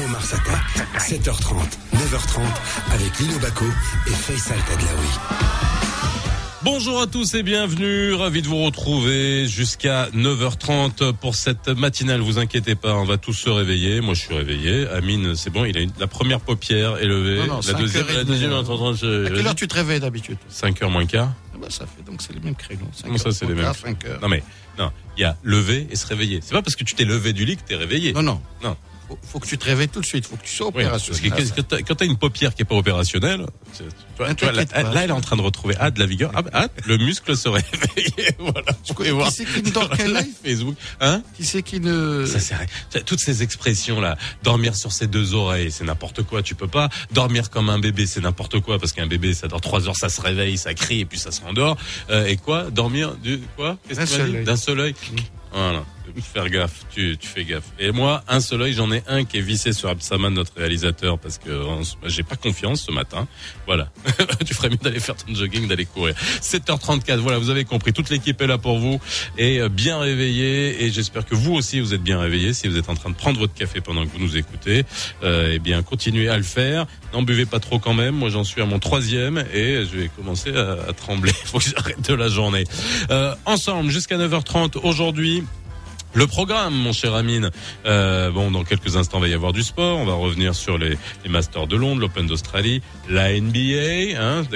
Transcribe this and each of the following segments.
Mars Attack, 7h30, 9h30, avec Lino Bacco et Faisal Tadlaoui. Bonjour à tous et bienvenue, ravi de vous retrouver jusqu'à 9h30 pour cette matinale. Vous inquiétez pas, on va tous se réveiller. Moi je suis réveillé, Amine c'est bon, il a la première paupière élevée. Non, la deuxième à quelle heure tu te réveilles d'habitude? 5h moins quart. Ah bah ça fait donc c'est les mêmes créneaux. Comment ça c'est les mêmes? 5h. Non, il y a lever et se réveiller. C'est pas parce que tu t'es levé du lit que t'es réveillé. Non. Faut que tu te réveilles tout de suite, faut que tu sois opérationnel. Parce que quand t'as une paupière qui est pas opérationnelle, tu vois, là elle est en train de retrouver de la vigueur. Le muscle se réveille. Voilà. Tu peux voir. Qui c'est qui ne dort quel œil? Facebook. Hein? Qui c'est qui ne... Ça c'est toutes ces expressions là, dormir sur ses deux oreilles, c'est n'importe quoi. Tu peux pas dormir comme un bébé, c'est n'importe quoi parce qu'un bébé ça dort 3 heures, ça se réveille, ça crie et puis ça se rendort. Et quoi? Dormir d'un seul œil. Voilà. Faire gaffe, tu fais gaffe. Et moi, un seul œil, j'en ai un qui est vissé sur Absaman, notre réalisateur, parce que j'ai pas confiance ce matin. Voilà. Tu ferais mieux d'aller faire ton jogging, d'aller courir. 7h34, voilà, vous avez compris. Toute l'équipe est là pour vous et bien réveillée. Et j'espère que vous aussi, vous êtes bien réveillés. Si vous êtes en train de prendre votre café pendant que vous nous écoutez, eh bien, continuez à le faire. N'en buvez pas trop quand même. Moi, j'en suis à mon 3e et je vais commencer à trembler. Faut que j'arrête de la journée. Ensemble, jusqu'à 9h30 aujourd'hui. Le programme, mon cher Amine. Dans quelques instants, il va y avoir du sport. On va revenir sur les Masters de Londres, l'Open d'Australie, la NBA,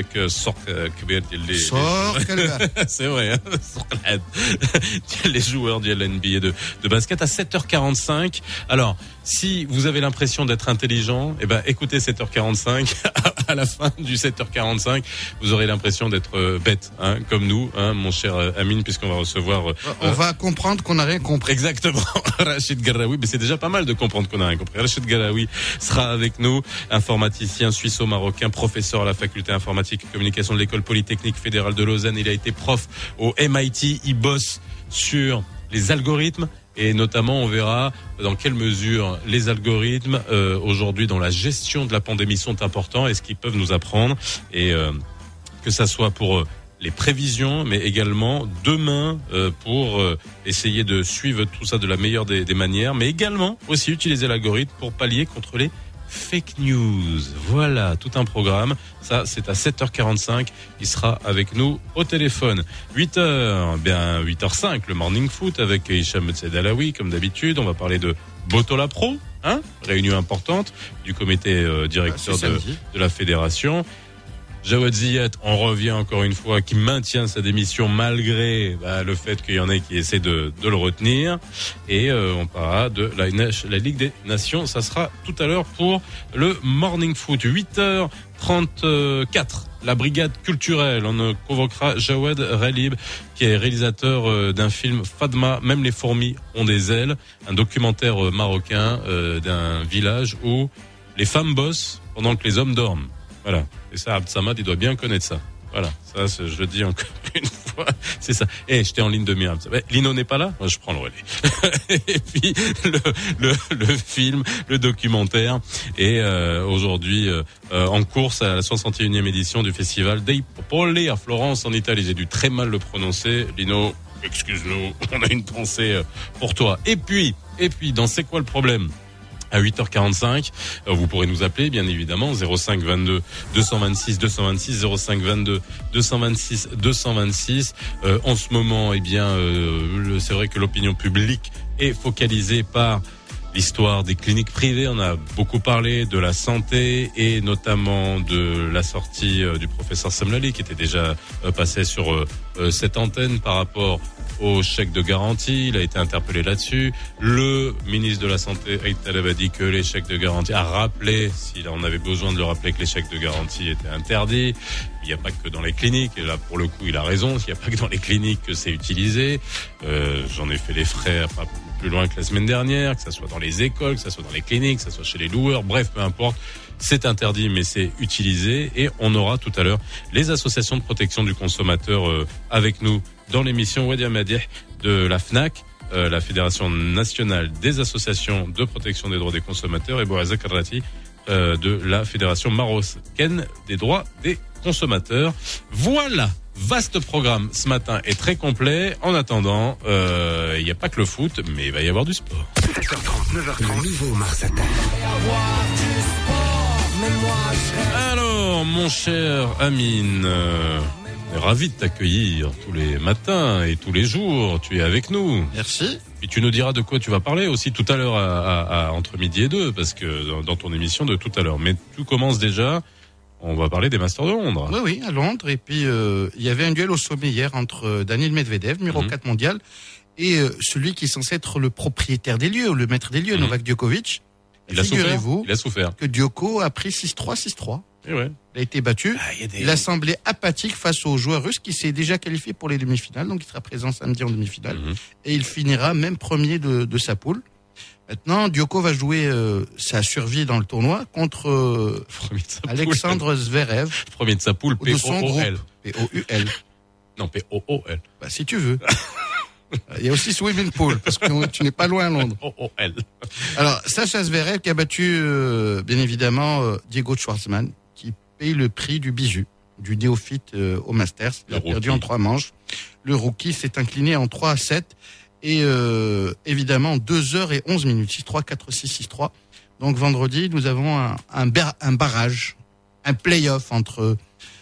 c'est vrai, hein. Les joueurs de la NBA de basket à 7h45. Alors, si vous avez l'impression d'être intelligent, écoutez 7h45. À la fin du 7h45, vous aurez l'impression d'être bête, hein, comme nous, hein, mon cher Amine, puisqu'on va recevoir... on va comprendre qu'on n'a rien compris. Exactement. Rachid Garaoui, mais c'est déjà pas mal de comprendre qu'on n'a rien compris. Rachid Garaoui sera avec nous, informaticien suisse-marocain, professeur à la faculté informatique et communication de l'école polytechnique fédérale de Lausanne. Il a été prof au MIT, il bosse sur les algorithmes. Et notamment, on verra dans quelle mesure les algorithmes, aujourd'hui, dans la gestion de la pandémie, sont importants et ce qu'ils peuvent nous apprendre. Et que ça soit pour les prévisions, mais également demain pour essayer de suivre tout ça de la meilleure des manières, mais également aussi utiliser l'algorithme pour pallier contre les fake news. Voilà, tout un programme. Ça, c'est à 7h45. Il sera avec nous au téléphone. 8h05, le morning foot avec Hicham Tsedalaoui, comme d'habitude. On va parler de Botola Pro, hein? Réunion importante du comité directeur de la fédération. Jawad Ziyat, on revient encore une fois, qui maintient sa démission malgré le fait qu'il y en ait qui essaient de le retenir. Et on parlera de la Ligue des Nations. Ça sera tout à l'heure pour le Morning Foot. 8h34, la brigade culturelle. On convoquera Jawad Ralib, qui est réalisateur d'un film Fadma, même les fourmis ont des ailes. Un documentaire marocain d'un village où les femmes bossent pendant que les hommes dorment. Voilà. Et ça, Abd Samad, il doit bien connaître ça. Voilà. Ça, je le dis encore une fois. C'est ça. J'étais en ligne de mire. Lino n'est pas là? Moi, je prends le relais. Et puis, le film, le documentaire est, aujourd'hui, en course à la 61e édition du festival Dei Popoli à Florence, en Italie. J'ai dû très mal le prononcer. Lino, excuse-nous. On a une pensée pour toi. Et puis, dans C'est quoi le problème? À 8h45, vous pourrez nous appeler, bien évidemment, 05 22 226 226, 05 22 226 226. En ce moment, c'est vrai que l'opinion publique est focalisée par l'histoire des cliniques privées. On a beaucoup parlé de la santé et notamment de la sortie du professeur Samlali, qui était déjà passé sur cette antenne par rapport au chèque de garantie. Il a été interpellé là-dessus. Le ministre de la Santé, Aït Taleb, a dit que les chèques de garantie, a rappelé, s'il en avait besoin de le rappeler, que les chèques de garantie étaient interdits. Il n'y a pas que dans les cliniques, et là pour le coup il a raison, il n'y a pas que dans les cliniques que c'est utilisé. J'en ai fait les frais pas plus loin que la semaine dernière, que ça soit dans les écoles, que ça soit dans les cliniques, que ça soit chez les loueurs, bref, peu importe. C'est interdit, mais c'est utilisé. Et on aura tout à l'heure les associations de protection du consommateur avec nous dans l'émission Wadi Amadih de la FNAC, la Fédération nationale des associations de protection des droits des consommateurs, et Bourazak Arrati de la Fédération marocaine des droits des consommateurs. Voilà. Vaste programme ce matin est très complet. En attendant, il n'y a pas que le foot, mais il va y avoir du sport. 7h30, 9h30, le nouveau Mars Attack. Alors, mon cher Amine, on est ravi de t'accueillir tous les matins et tous les jours. Tu es avec nous. Merci. Et tu nous diras de quoi tu vas parler aussi tout à l'heure à entre midi et 2, parce que dans ton émission de tout à l'heure. Mais tout commence déjà. On va parler des Masters de Londres. Oui, à Londres. Et puis, il y avait un duel au sommet hier entre Daniil Medvedev, numéro 4 mondial, et celui qui est censé être le propriétaire des lieux, le maître des lieux, Novak Djokovic. Il a souffert. Que Djoko a pris 6-3, 6-3. Et ouais. Il a été battu. Il a semblé apathique face au joueur russe qui s'est déjà qualifié pour les demi-finales. Donc, il sera présent samedi en demi-finale. Et il finira même premier de sa poule. Maintenant, Djoko va jouer sa survie dans le tournoi contre Alexandre Zverev. Premier de sa poule, P-O-O-L. P-O-U-L. Non, P-O-O-L. Bah, si tu veux. Il y a aussi Swimming Pool, parce que tu n'es pas loin à Londres. O-O-L. Alors, Sacha Zverev qui a battu, bien évidemment, Diego Schwartzman, qui paye le prix du bijou, du néophyte au Masters. Il a perdu en 3 manches. Le rookie s'est incliné en 3-7. Et évidemment, 2h11, 6-3, 4-6, 6-3. Donc vendredi, nous avons un barrage, un play-off entre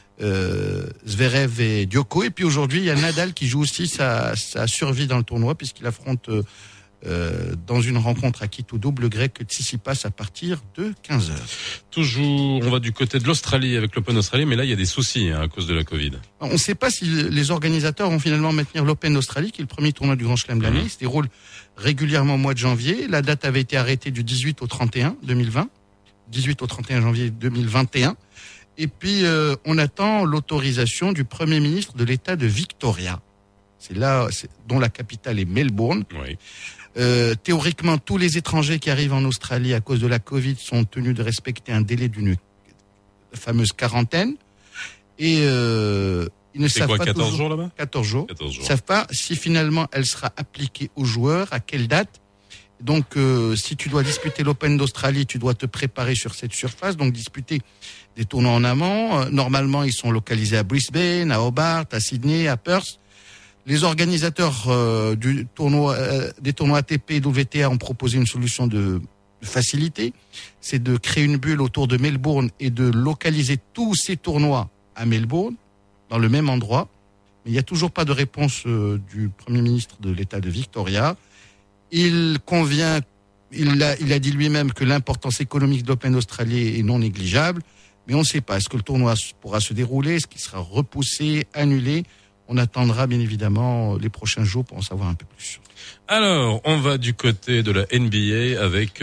Zverev et Djoko. Et puis aujourd'hui, il y a Nadal qui joue aussi sa survie dans le tournoi, puisqu'il affronte dans une rencontre à Quito double grec Tsitsipas à partir de 15h. Toujours, on va du côté de l'Australie avec l'Open Australie, mais là il y a des soucis à cause de la Covid. On ne sait pas si les organisateurs vont finalement maintenir l'Open Australie, qui est le premier tournoi du Grand Chelem de l'année. Il se déroule régulièrement au mois de janvier. La date avait été arrêtée du 18 au 31 2020, 18 au 31 janvier 2021. Et puis on attend l'autorisation du Premier ministre de l'État de Victoria. C'est là dont la capitale est Melbourne. Oui. Théoriquement, tous les étrangers qui arrivent en Australie à cause de la Covid sont tenus de respecter un délai d'une fameuse quarantaine. Et ils ne savent pas 14 jours là-bas 14 jours. Ils ne savent pas si finalement elle sera appliquée aux joueurs, à quelle date. Donc, si tu dois disputer l'Open d'Australie, tu dois te préparer sur cette surface, donc disputer des tournois en amont. Normalement, ils sont localisés à Brisbane, à Hobart, à Sydney, à Perth. Les organisateurs des tournois ATP et WTA ont proposé une solution de facilité. C'est de créer une bulle autour de Melbourne et de localiser tous ces tournois à Melbourne, dans le même endroit. Mais il n'y a toujours pas de réponse du Premier ministre de l'État de Victoria. Il a dit lui-même que l'importance économique de l'Open Australie est non négligeable. Mais on ne sait pas. Est-ce que le tournoi pourra se dérouler? Est-ce qu'il sera repoussé, annulé? On attendra bien évidemment les prochains jours pour en savoir un peu plus. Alors, on va du côté de la NBA avec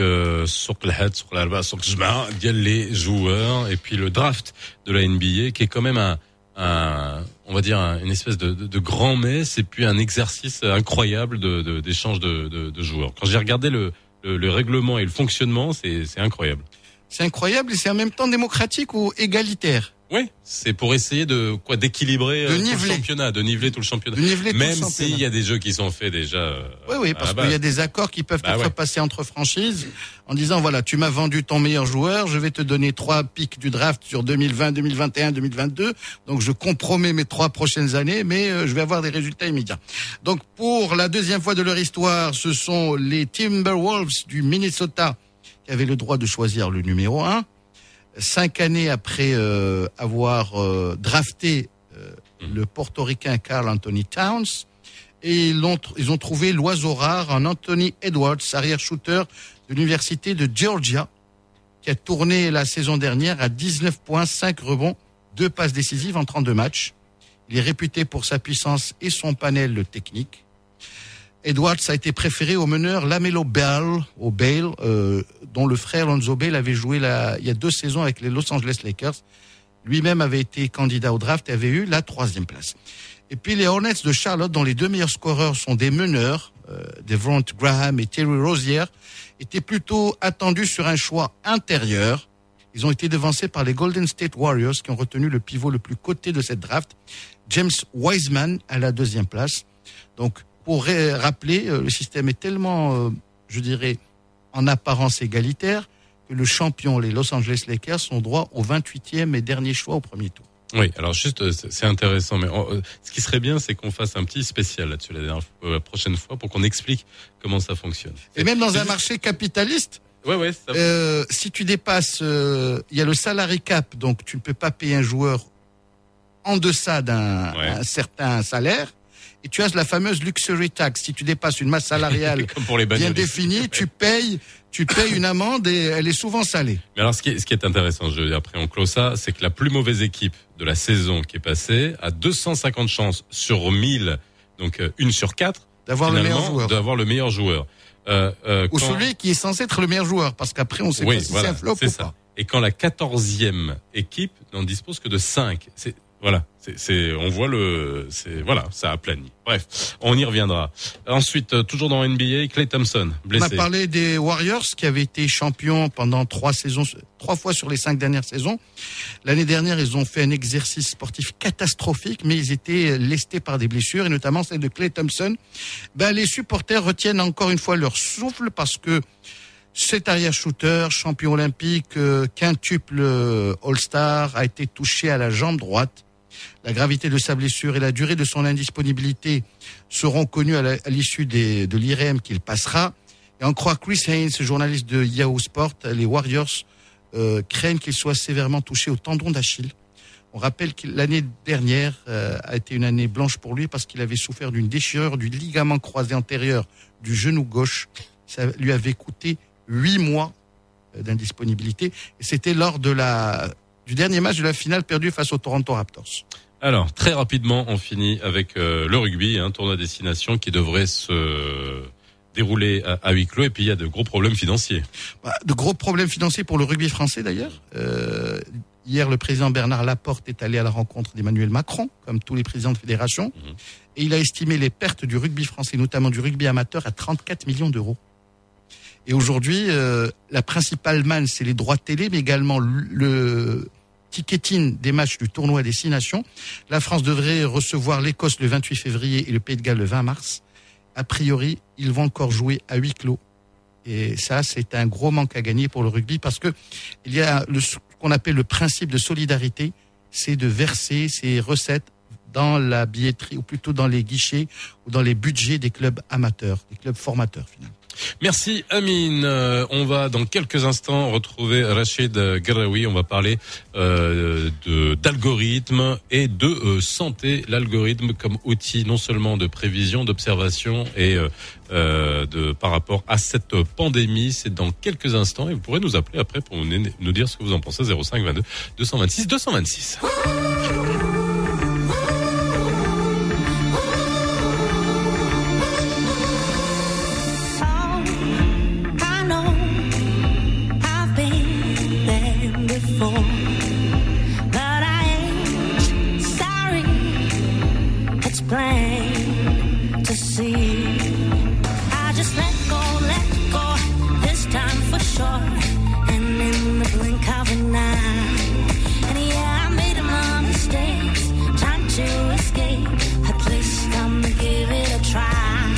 les joueurs et puis le draft de la NBA qui est quand même on va dire une espèce de grand messe et puis un exercice incroyable d'échange de joueurs. Quand j'ai regardé le règlement et le fonctionnement, c'est incroyable. C'est incroyable et c'est en même temps démocratique ou égalitaire. Oui, c'est pour essayer d'équilibrer tout le championnat, de niveler tout le championnat. Même s'il y a des jeux qui sont faits déjà. Oui, parce qu'il y a des accords qui peuvent être passés entre franchises en disant voilà, tu m'as vendu ton meilleur joueur, je vais te donner 3 pics du draft sur 2020, 2021, 2022. Donc je compromets mes 3 prochaines années, mais je vais avoir des résultats immédiats. Donc pour la deuxième fois de leur histoire, ce sont les Timberwolves du Minnesota qui avaient le droit de choisir le numéro 1. 5 années après avoir drafté le portoricain Karl Anthony Towns, et ils ont trouvé l'oiseau rare en Anthony Edwards, arrière-shooter de l'université de Georgia, qui a tourné la saison dernière à 19 points, 5 rebonds, 2 passes décisives en 32 matchs. Il est réputé pour sa puissance et son panel technique. Edwards a été préféré au meneur LaMelo Ball, dont le frère Lonzo Ball avait joué il y a 2 saisons avec les Los Angeles Lakers. Lui-même avait été candidat au draft et avait eu la 3e place. Et puis les Hornets de Charlotte, dont les 2 meilleurs scoreurs sont des meneurs, Devonte Graham et Terry Rozier, étaient plutôt attendus sur un choix intérieur. Ils ont été devancés par les Golden State Warriors qui ont retenu le pivot le plus coté de cette draft, James Wiseman, à la 2e place. Donc, pour rappeler, le système est tellement, je dirais, en apparence égalitaire, que le champion, les Los Angeles Lakers, ont droit au 28e et dernier choix au premier tour. Oui, alors juste, c'est intéressant, mais ce qui serait bien, c'est qu'on fasse un petit spécial là-dessus la prochaine fois pour qu'on explique comment ça fonctionne. Et même dans un marché capitaliste, si tu dépasses, il y a le salary cap, donc tu ne peux pas payer un joueur en deçà d'un certain salaire. Et tu as la fameuse luxury tax. Si tu dépasses une masse salariale bien définie, tu payes une amende et elle est souvent salée. Mais alors, ce qui est intéressant, après on clôt ça, c'est que la plus mauvaise équipe de la saison qui est passée a 250 chances sur 1000, donc 1 sur 4, d'avoir le meilleur joueur. Ou celui qui est censé être le meilleur joueur, parce qu'après on sait pas si c'est un flop ou pas. Et quand la 14e équipe n'en dispose que de 5, on voit ça aplanit. Bref, on y reviendra. Ensuite, toujours dans NBA, Klay Thompson, blessé. On a parlé des Warriors qui avaient été champions pendant 3 fois sur les 5 dernières saisons. L'année dernière, ils ont fait un exercice sportif catastrophique, mais ils étaient lestés par des blessures, et notamment celle de Klay Thompson. Les supporters retiennent encore une fois leur souffle parce que cet arrière-shooter, champion olympique, quintuple All-Star, a été touché à la jambe droite. La gravité de sa blessure et la durée de son indisponibilité seront connues à l'issue de l'IRM qu'il passera. Et on croit Chris Haynes, journaliste de Yahoo Sport, les Warriors craignent qu'il soit sévèrement touché au tendon d'Achille. On rappelle que l'année dernière a été une année blanche pour lui parce qu'il avait souffert d'une déchirure du ligament croisé antérieur du genou gauche. Ça lui avait coûté 8 mois d'indisponibilité. Et c'était lors du dernier match de la finale perdue face aux Toronto Raptors. Alors, très rapidement, on finit avec le rugby, tournoi destination qui devrait se dérouler à huis clos. Et puis, il y a de gros problèmes financiers. De gros problèmes financiers pour le rugby français, d'ailleurs. Hier, le président Bernard Laporte est allé à la rencontre d'Emmanuel Macron, comme tous les présidents de fédération. Et il a estimé les pertes du rugby français, notamment du rugby amateur, à 34 millions d'euros. Et aujourd'hui, la principale manne, c'est les droits télé, mais également le ticketing des matchs du tournoi destination. La France devrait recevoir l'Écosse le 28 février et le Pays de Galles le 20 mars. A priori, ils vont encore jouer à huis clos. Et ça, c'est un gros manque à gagner pour le rugby parce que il y a ce qu'on appelle le principe de solidarité, c'est de verser ces recettes dans la billetterie, ou plutôt dans les guichets ou dans les budgets des clubs amateurs, des clubs formateurs finalement. Merci Amine. On va dans quelques instants retrouver Rachid Gharaoui. On va parler d'algorithme et de santé. L'algorithme comme outil non seulement de prévision, d'observation et par rapport à cette pandémie. C'est dans quelques instants et vous pourrez nous appeler après pour nous dire ce que vous en pensez. 05 22 226 226. Plain to see. I just let go, this time for sure. And in the blink of an eye, and yeah, I made my mistakes, trying to escape. At least I'm gonna give it a try.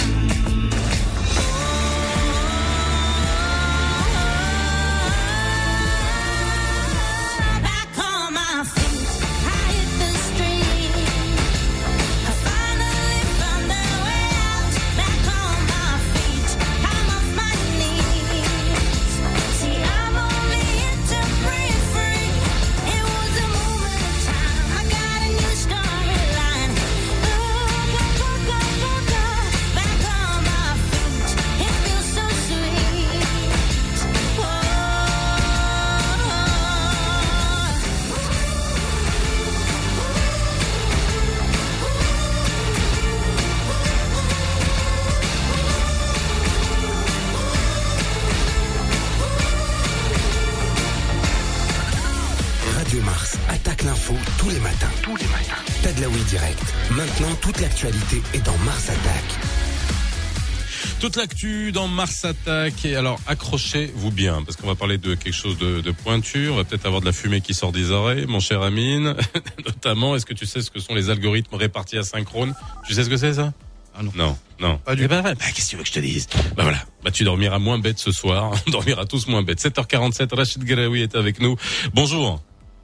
Tous les matins. Tadlaoui direct. Maintenant, toute l'actualité est dans Mars Attack. Toute l'actu dans Mars Attack. Et alors, accrochez-vous bien, parce qu'on va parler de quelque chose de pointu. On va peut-être avoir de la fumée qui sort des oreilles, mon cher Amine. Notamment, est-ce que tu sais ce que sont les algorithmes répartis asynchrones? Tu sais ce que c'est, ça? Ah non. Non. Pas du tout. Qu'est-ce que tu veux que je te dise? Voilà. Tu dormiras moins bête ce soir. On dormira tous moins bête. 7h47, Rachid Gharaoui est avec nous. Bonjour.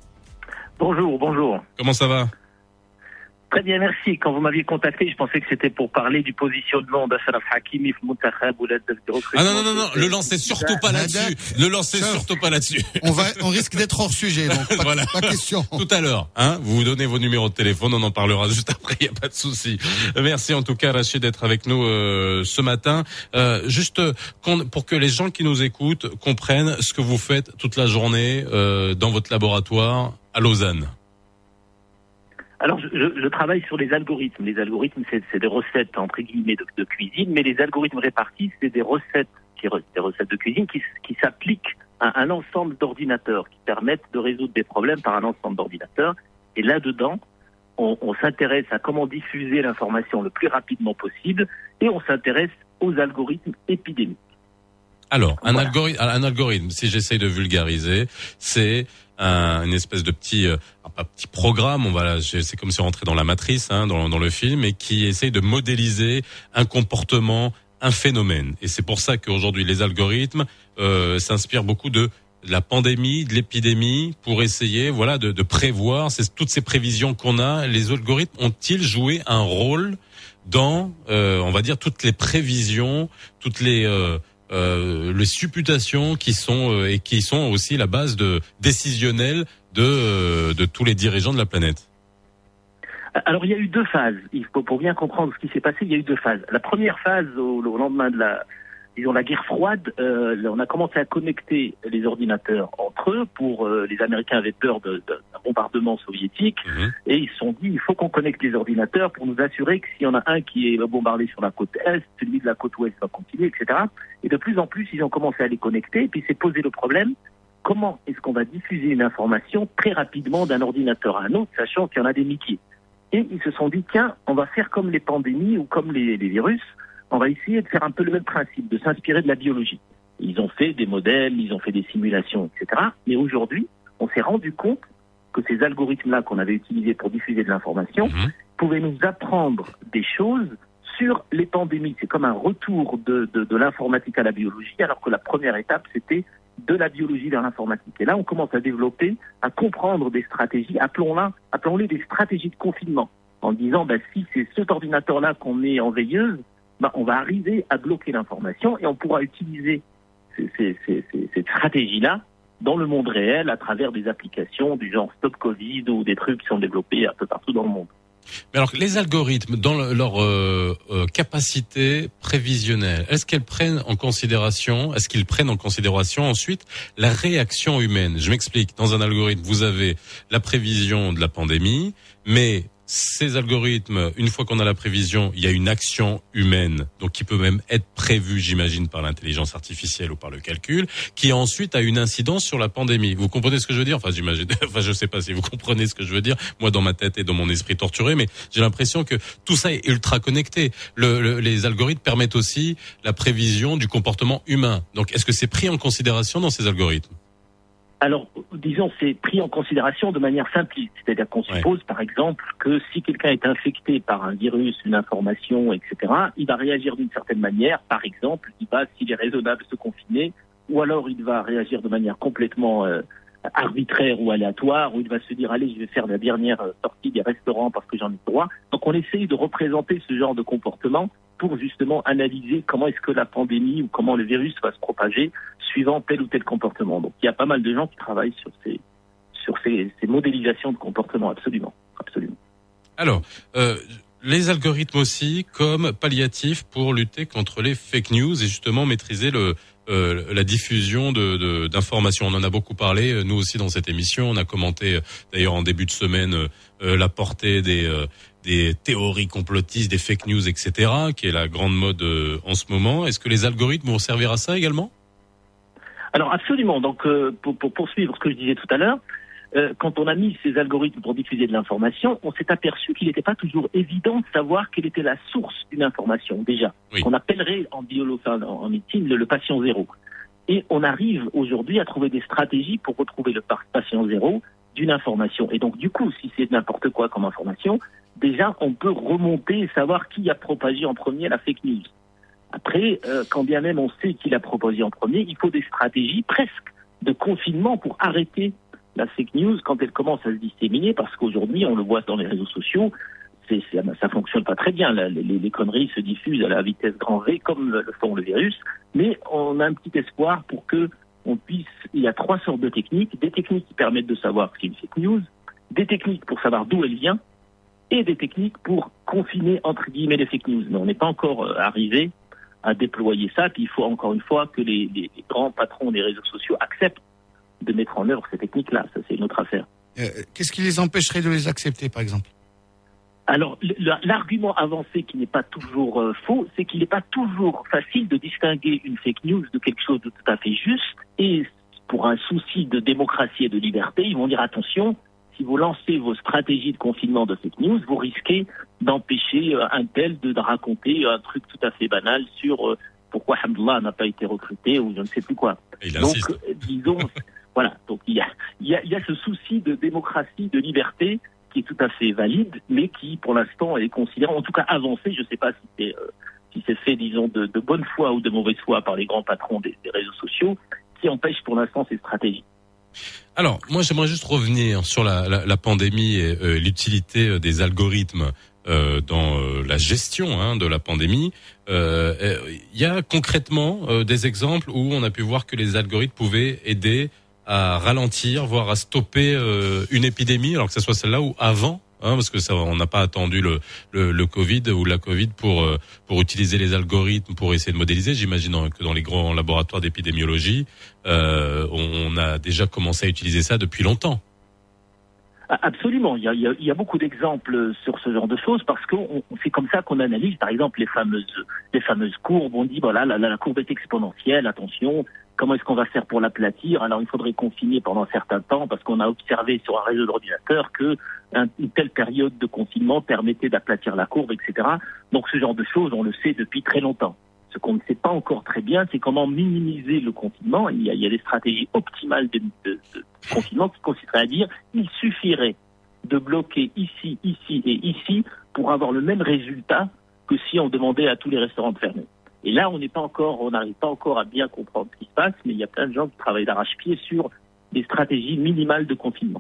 Bonjour. Comment ça va? Très bien, merci. Quand vous m'aviez contacté, je pensais que c'était pour parler du positionnement d'Achraf Hakimi au Muntakhab ou l'aide de recrutement. Ah non, le lancez surtout pas là-dessus. On risque d'être hors sujet, donc pas question. Tout à l'heure, vous vous donnez vos numéros de téléphone, on en parlera juste après, il n'y a pas de souci. Merci en tout cas, Rachid, d'être avec nous ce matin. Juste pour que les gens qui nous écoutent comprennent ce que vous faites toute la journée dans votre laboratoire à Lausanne. Alors, je travaille sur les algorithmes. Les algorithmes, c'est des recettes, entre guillemets, de cuisine, mais les algorithmes répartis, c'est des recettes de cuisine qui s'appliquent à un ensemble d'ordinateurs, qui permettent de résoudre des problèmes par un ensemble d'ordinateurs. Et là-dedans, on s'intéresse à comment diffuser l'information le plus rapidement possible, et on s'intéresse aux algorithmes épidémiques. Alors, un algorithme, si j'essaye de vulgariser, c'est une espèce de petit programme, c'est comme si on rentrait dans la matrice, dans le film, et qui essaye de modéliser un comportement, un phénomène. Et c'est pour ça qu'aujourd'hui, les algorithmes s'inspirent beaucoup de la pandémie, de l'épidémie, pour essayer, de prévoir toutes ces prévisions qu'on a. Les algorithmes ont-ils joué un rôle dans, on va dire, toutes les prévisions, toutes les supputations qui sont aussi la base décisionnelle de tous les dirigeants de la planète? Alors, il y a eu deux phases. Pour bien comprendre ce qui s'est passé, il y a eu deux phases. La première phase, au lendemain de la guerre froide, on a commencé à connecter les ordinateurs entre eux. Les Américains avaient peur d'un bombardement soviétique, et ils se sont dit, il faut qu'on connecte les ordinateurs pour nous assurer que s'il y en a un qui est bombardé sur la côte Est, celui de la côte Ouest va continuer, etc. Et de plus en plus, ils ont commencé à les connecter, et puis s'est posé le problème, comment est-ce qu'on va diffuser une information très rapidement d'un ordinateur à un autre, sachant qu'il y en a des milliers. Et ils se sont dit, tiens, on va faire comme les pandémies ou comme les virus, on va essayer de faire un peu le même principe, de s'inspirer de la biologie. Ils ont fait des modèles, ils ont fait des simulations, etc. Mais aujourd'hui, on s'est rendu compte que ces algorithmes-là qu'on avait utilisés pour diffuser de l'information pouvaient nous apprendre des choses sur les pandémies. C'est comme un retour de l'informatique à la biologie, alors que la première étape, c'était de la biologie vers l'informatique. Et là, on commence à développer, à comprendre des stratégies, appelons-les des stratégies de confinement, en disant, si c'est cet ordinateur-là qu'on met en veilleuse, on va arriver à bloquer l'information, et on pourra utiliser cette stratégie-là dans le monde réel à travers des applications du genre Stop Covid ou des trucs qui sont développés un peu partout dans le monde. Mais alors, les algorithmes, dans leur capacité prévisionnelle, est-ce qu'ils prennent en considération ensuite la réaction humaine? Je m'explique. Dans un algorithme, vous avez la prévision de la pandémie, mais ces algorithmes, une fois qu'on a la prévision, il y a une action humaine, donc qui peut même être prévue, j'imagine, par l'intelligence artificielle ou par le calcul, qui ensuite a une incidence sur la pandémie. Vous comprenez ce que je veux dire? Je sais pas si vous comprenez ce que je veux dire. Moi, dans ma tête et dans mon esprit torturé, mais j'ai l'impression que tout ça est ultra connecté. Les algorithmes permettent aussi la prévision du comportement humain. Donc, est-ce que c'est pris en considération dans ces algorithmes? Alors, disons, c'est pris en considération de manière simpliste. C'est-à-dire qu'on suppose, par exemple, que si quelqu'un est infecté par un virus, une information, etc., il va réagir d'une certaine manière. Par exemple, s'il est raisonnable, se confiner, ou alors il va réagir de manière complètement arbitraire ou aléatoire, où il va se dire, allez, je vais faire la dernière sortie des restaurants parce que j'en ai droit. Donc, on essaye de représenter ce genre de comportement pour justement analyser comment est-ce que la pandémie ou comment le virus va se propager suivant tel ou tel comportement. Donc, il y a pas mal de gens qui travaillent sur ces modélisations de comportement, absolument. Alors, les algorithmes aussi comme palliatif pour lutter contre les fake news et justement maîtriser la diffusion d'informations. On en a beaucoup parlé, nous aussi dans cette émission. On a commenté d'ailleurs en début de semaine la portée des théories complotistes, des fake news, etc., qui est la grande mode en ce moment. Est-ce que les algorithmes vont servir à ça également? Alors absolument. Donc pour poursuivre ce que je disais tout à l'heure, quand on a mis ces algorithmes pour diffuser de l'information, on s'est aperçu qu'il n'était pas toujours évident de savoir quelle était la source d'une information, déjà. Oui. On appellerait en en médecine le patient zéro. Et on arrive aujourd'hui à trouver des stratégies pour retrouver le patient zéro d'une information. Et donc, du coup, si c'est n'importe quoi comme information, déjà, on peut remonter et savoir qui a propagé en premier la fake news. Après, quand bien même on sait qui l'a propagé en premier, il faut des stratégies presque de confinement pour arrêter la fake news quand elle commence à se disséminer, parce qu'aujourd'hui, on le voit dans les réseaux sociaux, ça fonctionne pas très bien. Les conneries se diffusent à la vitesse grand V, comme le font le virus, mais on a un petit espoir pour que on puisse... Il y a 3 sortes de techniques. Des techniques qui permettent de savoir ce qu'est une fake news, des techniques pour savoir d'où elle vient, et des techniques pour confiner, entre guillemets, les fake news. Mais on n'est pas encore arrivé à déployer ça, puis il faut encore une fois que les grands patrons des réseaux sociaux acceptent de mettre en œuvre ces techniques-là. Ça, c'est une autre affaire. Qu'est-ce qui les empêcherait de les accepter, par exemple ? Alors, l'argument avancé qui n'est pas toujours faux, c'est qu'il n'est pas toujours facile de distinguer une fake news de quelque chose de tout à fait juste. Et pour un souci de démocratie et de liberté, ils vont dire attention, si vous lancez vos stratégies de confinement de fake news, vous risquez d'empêcher un tel de raconter un truc tout à fait banal sur pourquoi Hamdullah n'a pas été recruté ou je ne sais plus quoi. Donc, disons, voilà. Donc, il y a ce souci de démocratie, de liberté qui est tout à fait valide, mais qui, pour l'instant, est considéré, en tout cas avancé. Je ne sais pas si c'est fait, disons, de bonne foi ou de mauvaise foi par les grands patrons des réseaux sociaux, qui empêche pour l'instant ces stratégies. Alors, moi, j'aimerais juste revenir sur la pandémie et l'utilité des algorithmes dans la gestion de la pandémie. Il y a concrètement des exemples où on a pu voir que les algorithmes pouvaient aider à ralentir, voire à stopper une épidémie, alors que ce soit celle-là ou avant, parce que ça, on n'a pas attendu le Covid ou la Covid pour utiliser les algorithmes pour essayer de modéliser. J'imagine que dans les grands laboratoires d'épidémiologie, on a déjà commencé à utiliser ça depuis longtemps. Absolument, il y a beaucoup d'exemples sur ce genre de choses parce que c'est comme ça qu'on analyse, par exemple, les fameuses courbes. On dit voilà, la courbe est exponentielle, attention. Comment est-ce qu'on va faire pour l'aplatir? Alors, il faudrait confiner pendant un certain temps parce qu'on a observé sur un réseau d'ordinateurs que une telle période de confinement permettait d'aplatir la courbe, etc. Donc, ce genre de choses, on le sait depuis très longtemps. Ce qu'on ne sait pas encore très bien, c'est comment minimiser le confinement. Il y a des stratégies optimales de confinement qui consisteraient à dire il suffirait de bloquer ici, ici et ici pour avoir le même résultat que si on demandait à tous les restaurants de fermer. Et là, on n'arrive pas encore à bien comprendre ce qui se passe, mais il y a plein de gens qui travaillent d'arrache-pied sur des stratégies minimales de confinement.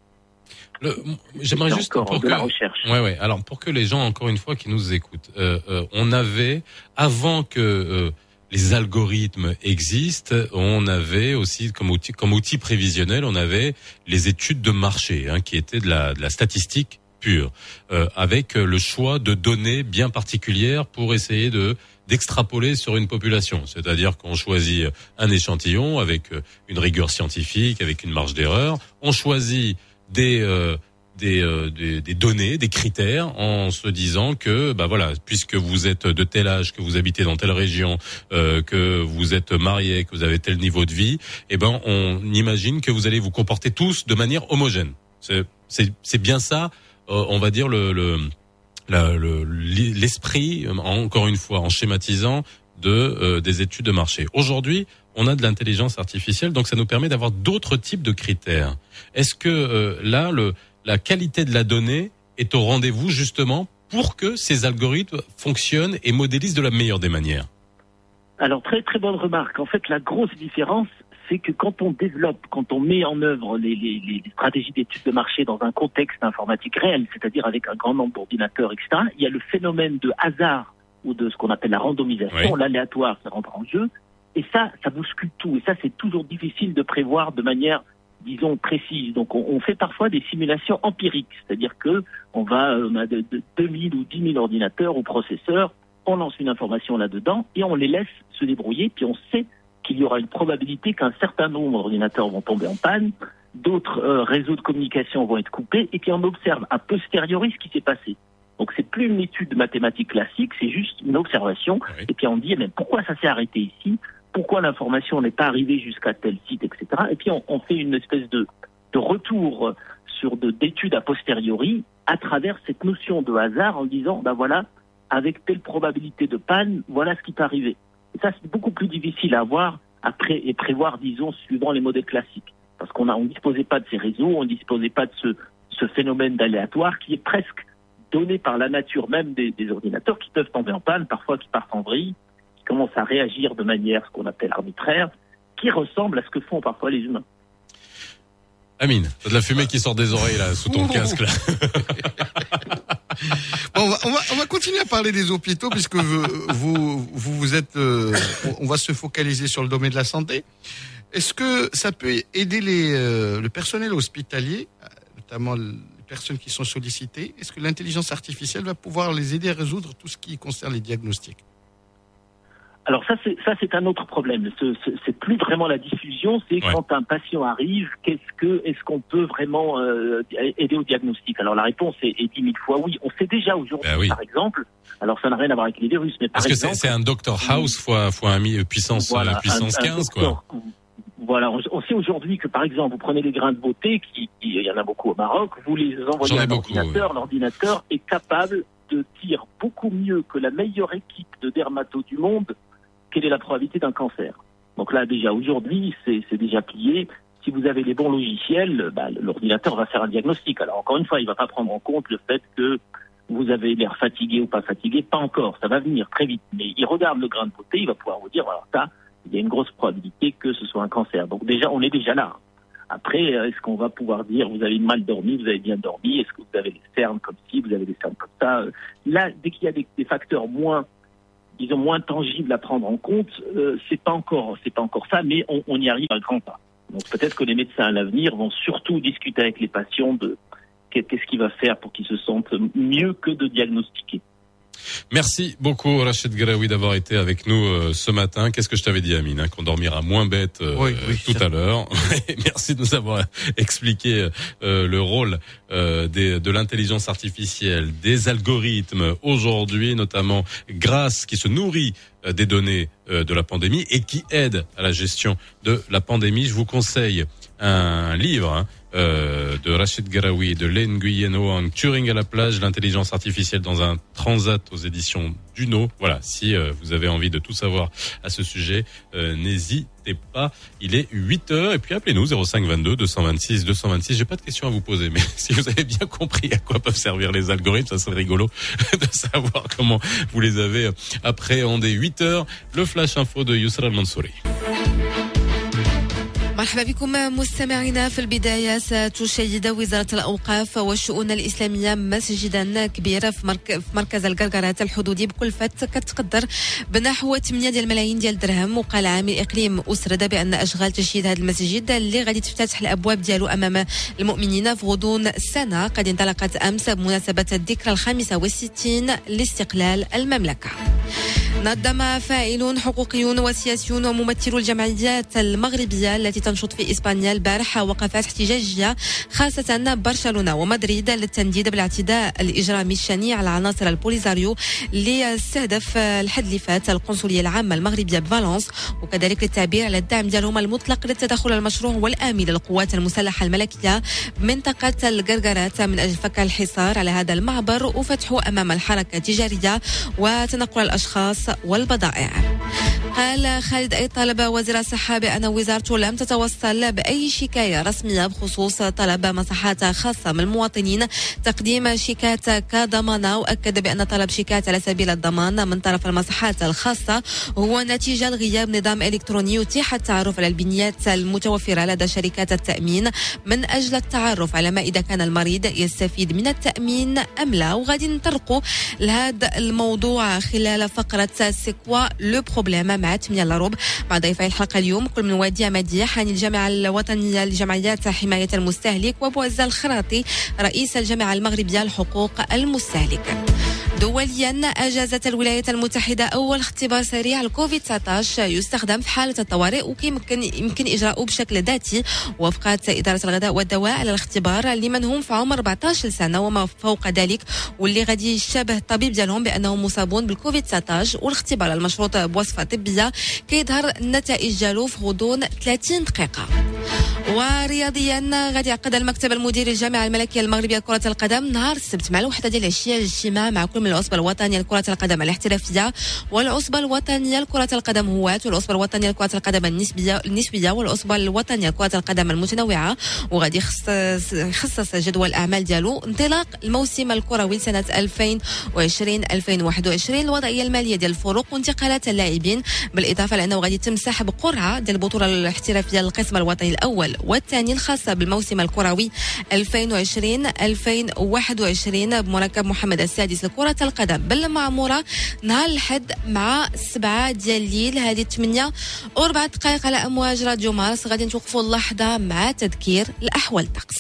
J'aimerais juste pour de la recherche. Ouais. Alors pour que les gens, encore une fois, qui nous écoutent, on avait avant que les algorithmes existent, on avait aussi comme outil prévisionnel, on avait les études de marché, qui étaient de la statistique pure, avec le choix de données bien particulières pour essayer d'extrapoler sur une population. C'est-à-dire qu'on choisit un échantillon avec une rigueur scientifique, avec une marge d'erreur. On choisit des données, des critères, en se disant que, voilà, puisque vous êtes de tel âge, que vous habitez dans telle région, que vous êtes marié, que vous avez tel niveau de vie, on imagine que vous allez vous comporter tous de manière homogène. C'est bien ça, on va dire l'esprit, encore une fois, en schématisant des études de marché. Aujourd'hui, on a de l'intelligence artificielle, donc ça nous permet d'avoir d'autres types de critères. Est-ce que là, la qualité de la donnée est au rendez-vous justement pour que ces algorithmes fonctionnent et modélisent de la meilleure des manières? Alors, très très bonne remarque. En fait, la grosse différence, c'est que quand on met en œuvre les stratégies d'études de marché dans un contexte informatique réel, c'est-à-dire avec un grand nombre d'ordinateurs, etc., il y a le phénomène de hasard ou de ce qu'on appelle la randomisation, l'aléatoire, ça rentre en jeu, et ça bouscule tout. Et ça, c'est toujours difficile de prévoir de manière, disons, précise. Donc, on fait parfois des simulations empiriques, c'est-à-dire que on a 2000 ou 10 000 ordinateurs ou processeurs, on lance une information là-dedans et on les laisse se débrouiller, puis on sait qu'il y aura une probabilité qu'un certain nombre d'ordinateurs vont tomber en panne, d'autres réseaux de communication vont être coupés, et puis on observe a posteriori ce qui s'est passé. Donc c'est plus une étude mathématique classique, c'est juste une observation, et puis on dit mais pourquoi ça s'est arrêté ici, pourquoi l'information n'est pas arrivée jusqu'à tel site, etc. Et puis on fait une espèce de retour sur d'études a posteriori à travers cette notion de hasard en disant voilà, avec telle probabilité de panne, voilà ce qui peut arriver. Et ça, c'est beaucoup plus difficile à avoir après et prévoir, disons, suivant les modèles classiques. Parce qu'on disposait pas de ces réseaux, on disposait pas de ce phénomène d'aléatoire qui est presque donné par la nature même des ordinateurs qui peuvent tomber en panne, parfois qui partent en vrille, qui commencent à réagir de manière ce qu'on appelle arbitraire, qui ressemble à ce que font parfois les humains. Amine, t'as de la fumée qui sort des oreilles là, sous ton casque là. Bon, on va continuer à parler des hôpitaux puisque vous êtes. On va se focaliser sur le domaine de la santé. Est-ce que ça peut aider le personnel hospitalier, notamment les personnes qui sont sollicitées? Est-ce que l'intelligence artificielle va pouvoir les aider à résoudre tout ce qui concerne les diagnostics? Alors ça c'est un autre problème. C'est plus vraiment la diffusion, c'est quand un patient arrive, est-ce qu'on peut vraiment aider au diagnostic? Alors la réponse est 10 000 fois oui. On sait déjà aujourd'hui, par exemple. Alors ça n'a rien à voir avec les virus, mais par exemple. Parce que c'est un Dr House fois puissance 15 quoi. Voilà, on sait aujourd'hui que par exemple, vous prenez les grains de beauté, il y en a beaucoup au Maroc, vous les envoyez à un ordinateur, l'ordinateur est capable de dire beaucoup mieux que la meilleure équipe de dermatos du monde quelle est la probabilité d'un cancer. Donc là, déjà, aujourd'hui, c'est déjà plié. Si vous avez les bons logiciels, l'ordinateur va faire un diagnostic. Alors, encore une fois, il ne va pas prendre en compte le fait que vous avez l'air fatigué ou pas fatigué. Pas encore, ça va venir très vite. Mais il regarde le grain de beauté, il va pouvoir vous dire, alors ça, il y a une grosse probabilité que ce soit un cancer. Donc déjà, on est déjà là. Après, est-ce qu'on va pouvoir dire, vous avez mal dormi, vous avez bien dormi, est-ce que vous avez les cernes comme ci, vous avez les cernes comme ça? Là, dès qu'il y a des facteurs moins tangibles à prendre en compte, c'est pas encore ça, mais on y arrive à grands pas. Donc peut-être que les médecins à l'avenir vont surtout discuter avec les patients de qu'est-ce qu'il va faire pour qu'ils se sentent mieux que de diagnostiquer. Merci beaucoup Rachid Garaoui d'avoir été avec nous ce matin. Qu'est-ce que je t'avais dit Amine, qu'on dormira moins bête tout à l'heure. Merci de nous avoir expliqué le rôle de l'intelligence artificielle, des algorithmes aujourd'hui, notamment qui se nourrit des données de la pandémie et qui aide à la gestion de la pandémie. Je vous conseille un livre de Rachid Garaoui et de Len Nguyen Oang, Turing à la plage, l'intelligence artificielle dans un transat aux éditions Duno. Voilà, si vous avez envie de tout savoir à ce sujet, n'hésitez pas. Il est 8h et puis appelez-nous 05 22 226 226. J'ai pas de questions à vous poser, mais si vous avez bien compris à quoi peuvent servir les algorithmes, ça serait rigolo de savoir comment vous les avez appréhendés. 8h, le flash info de Yousra Mansouri. مرحبا بكم مستمعينا. في البداية ستشيد وزارة الأوقاف والشؤون الإسلامية مسجدا كبيرا في مركز القرقرات الحدودي بكلفة كتقدر بنحو 8 ديال الملايين ديال الدرهم. وقال عامل إقليم أسرد بأن أشغال تشييد هذا المسجد اللي غادي تفتح الأبواب ديالو أمام المؤمنين في غضون سنة قد انطلقت أمس بمناسبة الذكرى 65 لاستقلال المملكة. نظم فاعلون حقوقيون وسياسيون وممثلو الجمعيات المغربية التي تنشط في إسبانيا البارحة وقفات احتجاجية خاصة برشلونة ومدريد للتنديد بالاعتداء الإجرامي الشنيع على عناصر البوليزاريو اللي استهدف الحد اللي فات القنصلية العامة المغربية بفالنس وكذلك للتعبير على الدعم ديالهم المطلق للتدخل المشروع والآمن للقوات المسلحة الملكية بمنطقة القرقرات من أجل فك الحصار على هذا المعبر وفتحه أمام الحركة التجارية وتنقل الأشخاص والبضائع. قال خالد أي طلب وزير الصحة بأن وزارته لم تتوصل بأي شكاية رسمية بخصوص طلب مصحات خاصة من المواطنين تقديم شيكات كضمانة. وأكد بأن طلب شيكات على سبيل الضمان من طرف المصحات الخاصة هو نتيجة لغياب نظام إلكتروني يتيح التعرف على البنيات المتوفرة لدى شركات التأمين من أجل التعرف على ما إذا كان المريض يستفيد من التأمين أم لا. وغادي نطرقوا لهذا الموضوع خلال فقرة سيكوا لو بروبليم مع 8:15 مع ضيفي الحلقة اليوم كل من وادي مديح عن الجامعة الوطنية لجمعيات حماية المستهلك وبوزة الخراطي رئيس الجامعة المغربية لحقوق المستهلك. دوليا أجازت الولايات المتحدة أول اختبار سريع لكوفيد-19 يستخدم في حالة الطوارئ ويمكن إجراؤه بشكل ذاتي. وافقت إدارة الغذاء والدواء على الاختبار لمن هم في عمر 14 سنة وما فوق ذلك واللي غادي يشبه الطبيب ديالهم بأنهم مصابون بالكوفيد-19 والاختبار المشروط بوصفة طبية كيظهر النتائج ديالو في غضون 30 دقيقة. ورياضيا غادي يعقد المكتب المديري الجامعة الملكية المغربية لكرة القدم نهار السبت مع الوحدة ديال العشية اجتماع مع كل من العصبة الوطنية لكرة القدم الاحترافية والعصبة الوطنية لكرة القدم هواة والعصبة الوطنية لكرة القدم النسبية والعصبة الوطنية لكرة القدم المتنوعة وغادي يخصص جدول الأعمال ديالو انطلاق الموسم الكروي سنة 2020-2021 الوضعية المالية ديال الفروق وانتقالات اللاعبين بالإضافة لأنه غادي يتم سحب قرعة ديال البطولة الاحترافية للقسم الوطني الأول والثاني الخاصة بالموسم الكروي 2020-2021 بمركب محمد السادس لكرة القدم بالمعمورة نهار الأحد مع 7 ديال الليل هذه 8:04 على أمواج راديو مارس غادي نتوقفوا اللحظة مع تذكير الأحوال الطقس.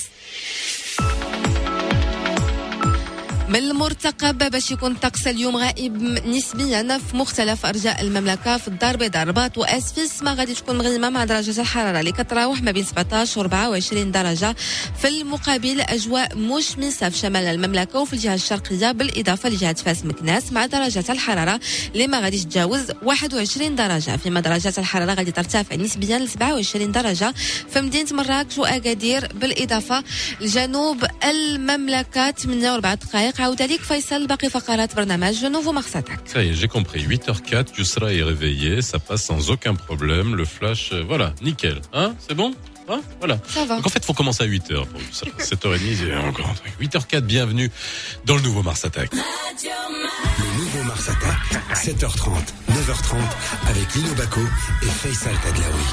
من المرتقب باش يكون الطقس اليوم غائب نسبيا في مختلف ارجاء المملكه في الدار البيضاء الرباط واسفيس ما غادي تكون مغيمه مع درجه الحراره اللي كتراوح ما بين 17 و 24 درجه في المقابل اجواء مشمسه في شمال المملكه وفي الجهه الشرقيه بالاضافه لجهه فاس مكناس مع درجه الحراره اللي ما غاديش تتجاوز 21 درجه فيما درجات الحراره غادي ترتفع نسبيا ل 27 درجه في مدينه مراكش واكادير بالاضافه لجنوب المملكه 48 دقائق عاود عليك فيصل باقي فقرات برنامج نوفو مارساتاك. Ça y est, j'ai compris. 8h04, Yousra est réveillé, ça passe sans aucun problème. Le flash, voilà, nickel. Hein, c'est bon? Hein, voilà. Ça va. Donc en fait, il faut commencer à 8h pour Yousra. 7h30, il y a encore un truc. 8h04, bienvenue dans le nouveau Mars Attack. Le nouveau Mars Attack, 7h30, 9h30, avec Lino Baco et Faisal Tadlaoui.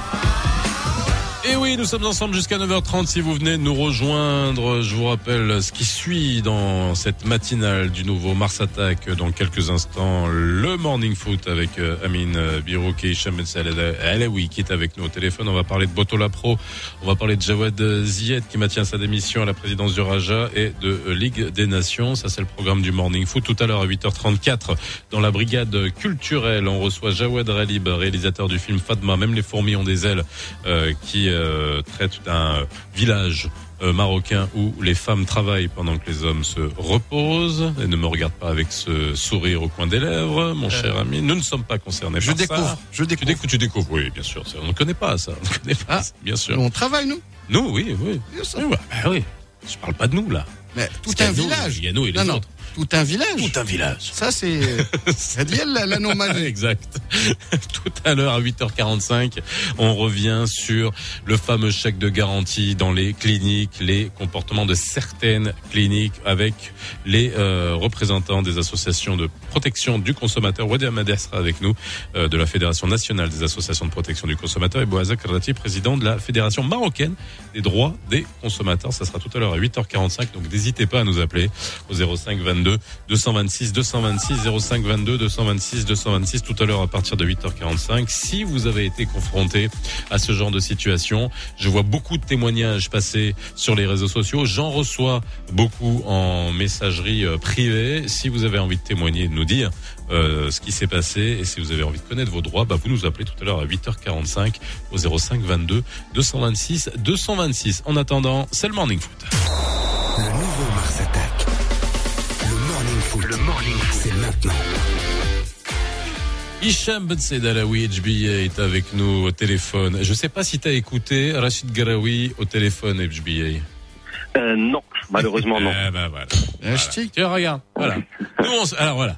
Et oui, nous sommes ensemble jusqu'à 9h30 si vous venez nous rejoindre. Je vous rappelle ce qui suit dans cette matinale du nouveau Mars Attack. Dans quelques instants, le Morning Foot avec Amine Birouk et Hicham Alaoui qui est avec nous au téléphone. On va parler de Botola Pro, on va parler de Jawad Ziyed qui maintient sa démission à la présidence du Raja et de Ligue des Nations. Ça, c'est le programme du Morning Foot. Tout à l'heure à 8h34, dans la brigade culturelle, on reçoit Jawad Ralib, réalisateur du film Fatma. Même les fourmis ont des ailes, qui traite d'un village marocain où les femmes travaillent pendant que les hommes se reposent. Et ne me regarde pas avec ce sourire au coin des lèvres, mon cher ami. Nous ne sommes pas concernés par ça. Je découvre. Tu découvres, oui, bien sûr. On ne connaît pas ça. On ne connaît pas, bien sûr. On travaille, nous. Nous, oui. Bien sûr. Oui, oui. Je parle pas de nous, là. Mais tout un village. Il y a nous et les autres. Tout un village. Tout un village. Ça, c'est l'anomalie. Exact. Tout à l'heure, à 8h45, on revient sur le fameux chèque de garantie dans les cliniques, les comportements de certaines cliniques avec les représentants des associations de protection du consommateur. Wadi Amader sera avec nous, de la Fédération nationale des associations de protection du consommateur, et Bouazak Rati, président de la Fédération marocaine des droits des consommateurs. Ça sera tout à l'heure à 8h45, donc n'hésitez pas à nous appeler au 05 22 226 226 05 22 226 226 tout à l'heure à partir de 8h45. Si vous avez été confronté à ce genre de situation, je vois beaucoup de témoignages passer sur les réseaux sociaux. J'en reçois beaucoup en messagerie privée. Si vous avez envie de témoigner, de nous dire ce qui s'est passé et si vous avez envie de connaître vos droits, vous nous appelez tout à l'heure à 8h45 au 05 22 226 226. En attendant, c'est le Morning Foot. Le nouveau Mars Attack. Le Morning Foot, c'est maintenant. Hicham Ben Said Alaoui, HBA, est avec nous au téléphone. Je ne sais pas si tu as écouté Rachid Garaoui au téléphone, HBA. Non, malheureusement non. Voilà. Tiens, regarde, voilà. Alors voilà.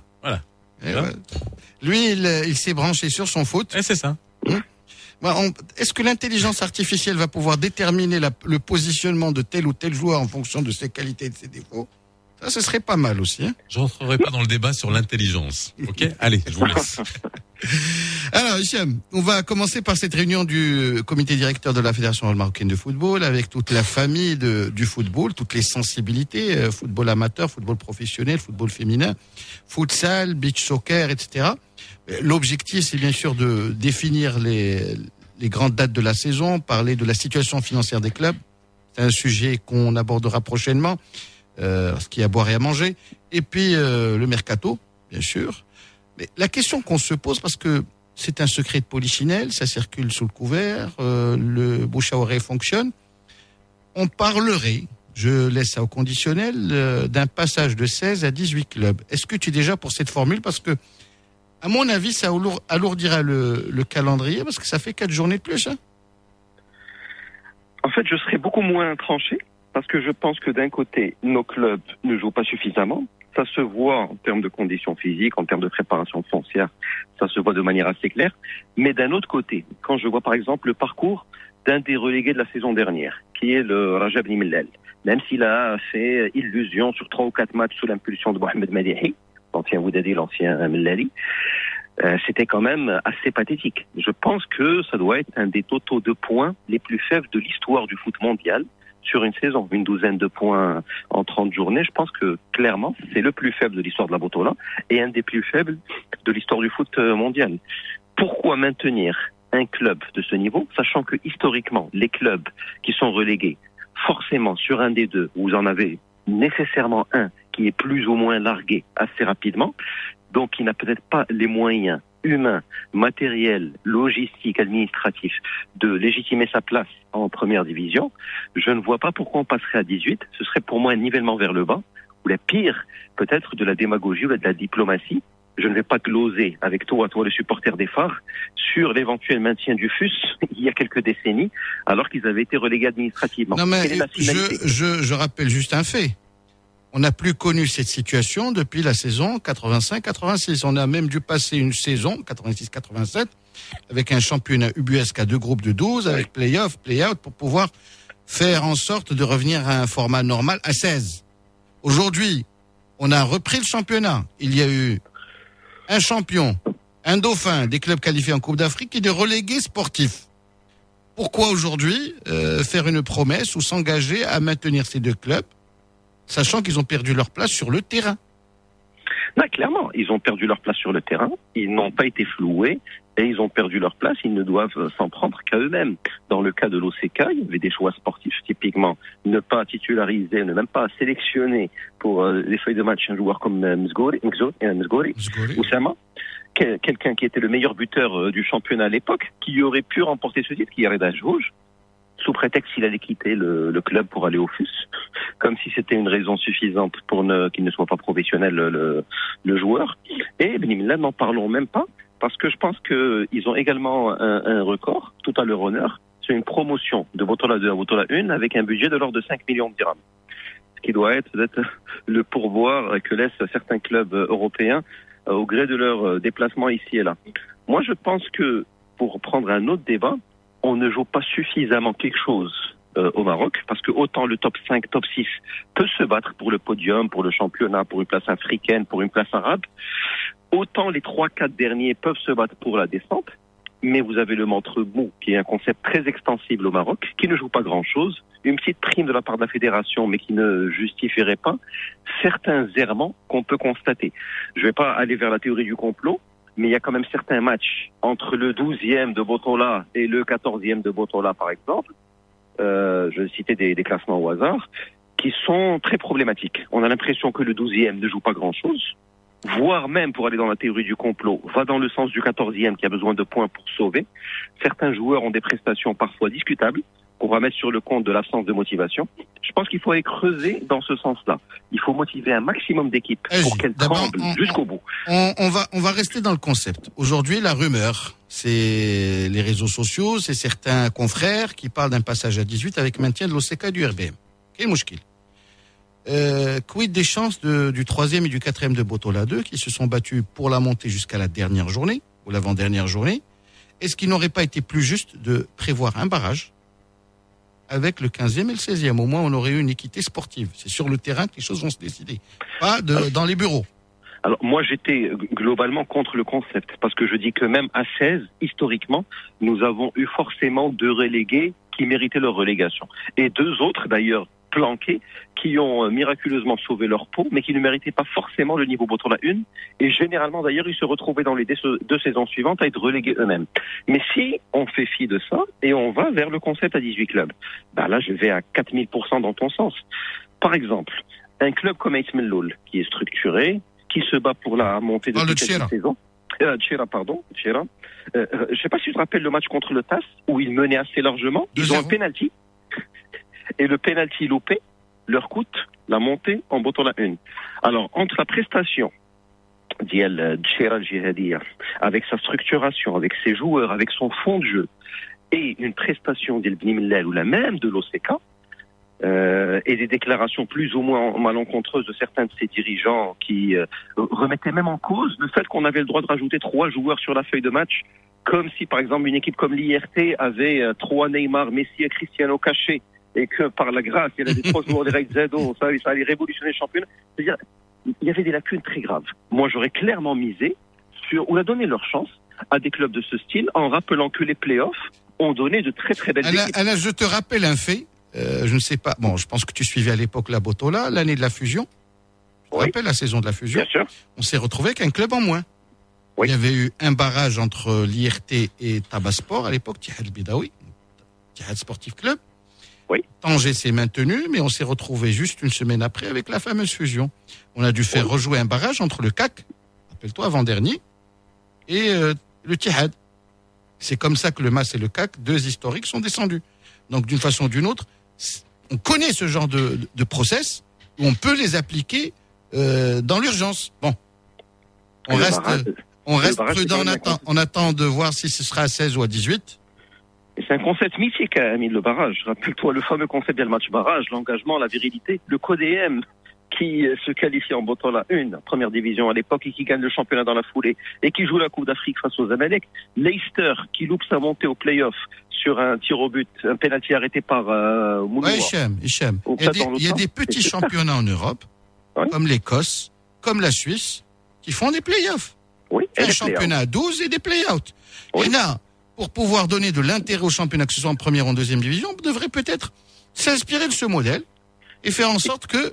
Lui, il s'est branché sur son foot. Et c'est ça. Est-ce que l'intelligence artificielle va pouvoir déterminer le positionnement de tel ou tel joueur en fonction de ses qualités et de ses défauts? Ça, ce serait pas mal aussi. Je rentrerai pas dans le débat sur l'intelligence. Ok, allez, je vous laisse. Alors, Hicham, on va commencer par cette réunion du comité directeur de la Fédération marocaine de football avec toute la famille du football, toutes les sensibilités, football amateur, football professionnel, football féminin, futsal, beach soccer, etc. L'objectif, c'est bien sûr de définir les grandes dates de la saison, parler de la situation financière des clubs. C'est un sujet qu'on abordera prochainement. Ce qu'il y a à boire et à manger, et puis le mercato, bien sûr. Mais la question qu'on se pose, parce que c'est un secret de polichinelle, ça circule sous le couvert, le bouche à oreille fonctionne, on parlerait, je laisse ça au conditionnel, d'un passage de 16 à 18 clubs. Est-ce que tu es déjà pour cette formule? Parce que, à mon avis, ça alourdira le calendrier, parce que ça fait 4 journées de plus, hein. En fait, je serais beaucoup moins tranché, parce que je pense que d'un côté, nos clubs ne jouent pas suffisamment. Ça se voit en termes de conditions physiques, en termes de préparation foncière, ça se voit de manière assez claire. Mais d'un autre côté, quand je vois par exemple le parcours d'un des relégués de la saison dernière, qui est le Raja Bni Mellal, même s'il a fait illusion sur 3 ou 4 matchs sous l'impulsion de Mohamed Madihi, l'ancien Woudadi, l'ancien Mellali, c'était quand même assez pathétique. Je pense que ça doit être un des totaux de points les plus faibles de l'histoire du foot mondial sur une saison. Une douzaine de points en 30 journées, je pense que clairement, c'est le plus faible de l'histoire de la Botola et un des plus faibles de l'histoire du foot mondial. Pourquoi maintenir un club de ce niveau, sachant que historiquement, les clubs qui sont relégués, forcément sur un des deux, vous en avez nécessairement un qui est plus ou moins largué assez rapidement, donc qui n'a peut-être pas les moyens humains, matériels, logistiques, administratifs de légitimer sa place en première division, je ne vois pas pourquoi on passerait à 18. Ce serait pour moi un nivellement vers le bas, ou la pire, peut-être de la démagogie ou de la diplomatie. Je ne vais pas gloser avec toi le supporter des Phares, sur l'éventuel maintien du FUS il y a quelques décennies, alors qu'ils avaient été relégués administrativement. Non mais je rappelle juste un fait. On n'a plus connu cette situation depuis la saison 85-86. On a même dû passer une saison 86-87 avec un championnat ubuesque à 2 groupes de 12, avec play-off, play-out, pour pouvoir faire en sorte de revenir à un format normal à 16. Aujourd'hui, on a repris le championnat. Il y a eu un champion, un dauphin, des clubs qualifiés en Coupe d'Afrique et des relégués sportifs. Pourquoi aujourd'hui faire une promesse ou s'engager à maintenir ces 2 clubs, sachant qu'ils ont perdu leur place sur le terrain? Non, clairement, ils ont perdu leur place sur le terrain, ils n'ont pas été floués, et ils ont perdu leur place, ils ne doivent s'en prendre qu'à eux-mêmes. Dans le cas de l'OCK, il y avait des choix sportifs, typiquement, ne pas titulariser, ne même pas sélectionner pour les feuilles de match un joueur comme Mzgouri, Oussama, quelqu'un qui était le meilleur buteur du championnat à l'époque, qui aurait pu remporter ce titre, qui est Reda Jouj, sous prétexte qu'il allait quitter le club pour aller au FUS, comme si c'était une raison suffisante pour qu'il ne soit pas professionnel le joueur. Et Bni Mellal, n'en parlons même pas, parce que je pense qu'ils ont également un record, tout à leur honneur, c'est une promotion de Botola 2 à Botola 1 avec un budget de l'ordre de 5 millions de dirhams. Ce qui doit être peut-être le pourboire que laissent certains clubs européens au gré de leur déplacement ici et là. Moi, je pense que, pour prendre un autre débat, on ne joue pas suffisamment quelque chose au Maroc, parce que autant le top 5, top 6 peut se battre pour le podium, pour le championnat, pour une place africaine, pour une place arabe, autant les 3-4 derniers peuvent se battre pour la descente, mais vous avez le montre mou, qui est un concept très extensible au Maroc, qui ne joue pas grand-chose, une petite prime de la part de la fédération, mais qui ne justifierait pas certains errements qu'on peut constater. Je ne vais pas aller vers la théorie du complot, mais il y a quand même certains matchs entre le 12e de Botola et le 14e de Botola, par exemple, je vais citer des classements au hasard, qui sont très problématiques. On a l'impression que le 12e ne joue pas grand-chose, voire même, pour aller dans la théorie du complot, va dans le sens du 14e qui a besoin de points pour sauver. Certains joueurs ont des prestations parfois discutables, qu'on va mettre sur le compte de l'absence de motivation. Je pense qu'il faut aller creuser dans ce sens-là. Il faut motiver un maximum d'équipes pour qu'elles tremblent jusqu'au bout. On va rester dans le concept. Aujourd'hui, la rumeur, c'est les réseaux sociaux, c'est certains confrères qui parlent d'un passage à 18 avec maintien de l'OCK et du RBM. Quel mouchkil. Quid des chances du 3e et du 4e de Botola 2 qui se sont battus pour la montée jusqu'à la dernière journée, ou l'avant-dernière journée? Est-ce qu'il n'aurait pas été plus juste de prévoir un barrage avec le 15e et le 16e? Au moins, on aurait eu une équité sportive. C'est sur le terrain que les choses vont se décider, pas dans les bureaux. Alors, moi, j'étais globalement contre le concept, parce que je dis que même à 16, historiquement, nous avons eu forcément 2 relégués qui méritaient leur relégation. Et 2 autres, d'ailleurs, planqués, qui ont miraculeusement sauvé leur peau, mais qui ne méritaient pas forcément le niveau Botola 1. Et généralement, d'ailleurs, ils se retrouvaient dans les 2 saisons suivantes à être relégués eux-mêmes. Mais si on fait fi de ça, et on va vers le concept à 18 clubs, ben là, je vais à 4000% dans ton sens. Par exemple, un club comme Aït Melloul, qui est structuré, qui se bat pour la montée de cette saison. Tchera. Je ne sais pas si tu te rappelles le match contre le TAS, où ils menaient assez largement. Ils ont un penalty. Et le penalty loupé leur coûte la montée en Botola 1. Alors, entre la prestation d'El Tchera Al-Jihadiya, avec sa structuration, avec ses joueurs, avec son fond de jeu, et une prestation d'El Millel ou la même de l'OCK, et des déclarations plus ou moins malencontreuses de certains de ses dirigeants qui remettaient même en cause le fait qu'on avait le droit de rajouter 3 joueurs sur la feuille de match, comme si par exemple une équipe comme l'IRT avait 3 Neymar, Messi et Cristiano cachés, et que par la grâce, il y avait des 3 joueurs des Zedo, ça allait révolutionner le championnat. C'est-à-dire, il y avait des lacunes très graves. Moi, j'aurais clairement misé sur, ou a donné leur chance à des clubs de ce style, en rappelant que les playoffs ont donné de très très belles équipes. Alain, je te rappelle un fait. Je ne sais pas. Bon, je pense que tu suivais à l'époque la Botola, l'année de la fusion. Tu te rappelles la saison de la fusion? Bien sûr. On s'est retrouvé avec un club en moins. Oui. Il y avait eu un barrage entre l'IRT et Tabasport à l'époque, Tihad Bidawi, Tihad Sportif Club. Oui. Tanger s'est maintenu, mais on s'est retrouvé juste une semaine après avec la fameuse fusion. On a dû faire rejouer un barrage entre le CAC, rappelle-toi, avant-dernier, et le Tihad. C'est comme ça que le MAS et le CAC, 2 historiques, sont descendus. Donc, d'une façon ou d'une autre, on connaît ce genre de process où on peut les appliquer dans l'urgence. Bon, on reste prudent, on attend de voir si ce sera à 16 ou à 18. Et c'est un concept mythique, Amine, le barrage. Rappelle-toi le fameux concept del match barrage, l'engagement, la virilité, le CODM qui se qualifie en Botola 1, première division à l'époque, et qui gagne le championnat dans la foulée, et qui joue la Coupe d'Afrique face aux Zamalek. Leicester, qui loupe sa montée au play-off sur un tir au but, un penalty arrêté par Mouloua. Oui, Hicham. Il y a des petits championnats en Europe, comme l'Écosse, comme la Suisse, qui font des play-offs. Oui, un championnat à 12 et des play-outs. Oui. Et là, pour pouvoir donner de l'intérêt au championnat, que ce soit en première ou en deuxième division, on devrait peut-être s'inspirer de ce modèle et faire en sorte que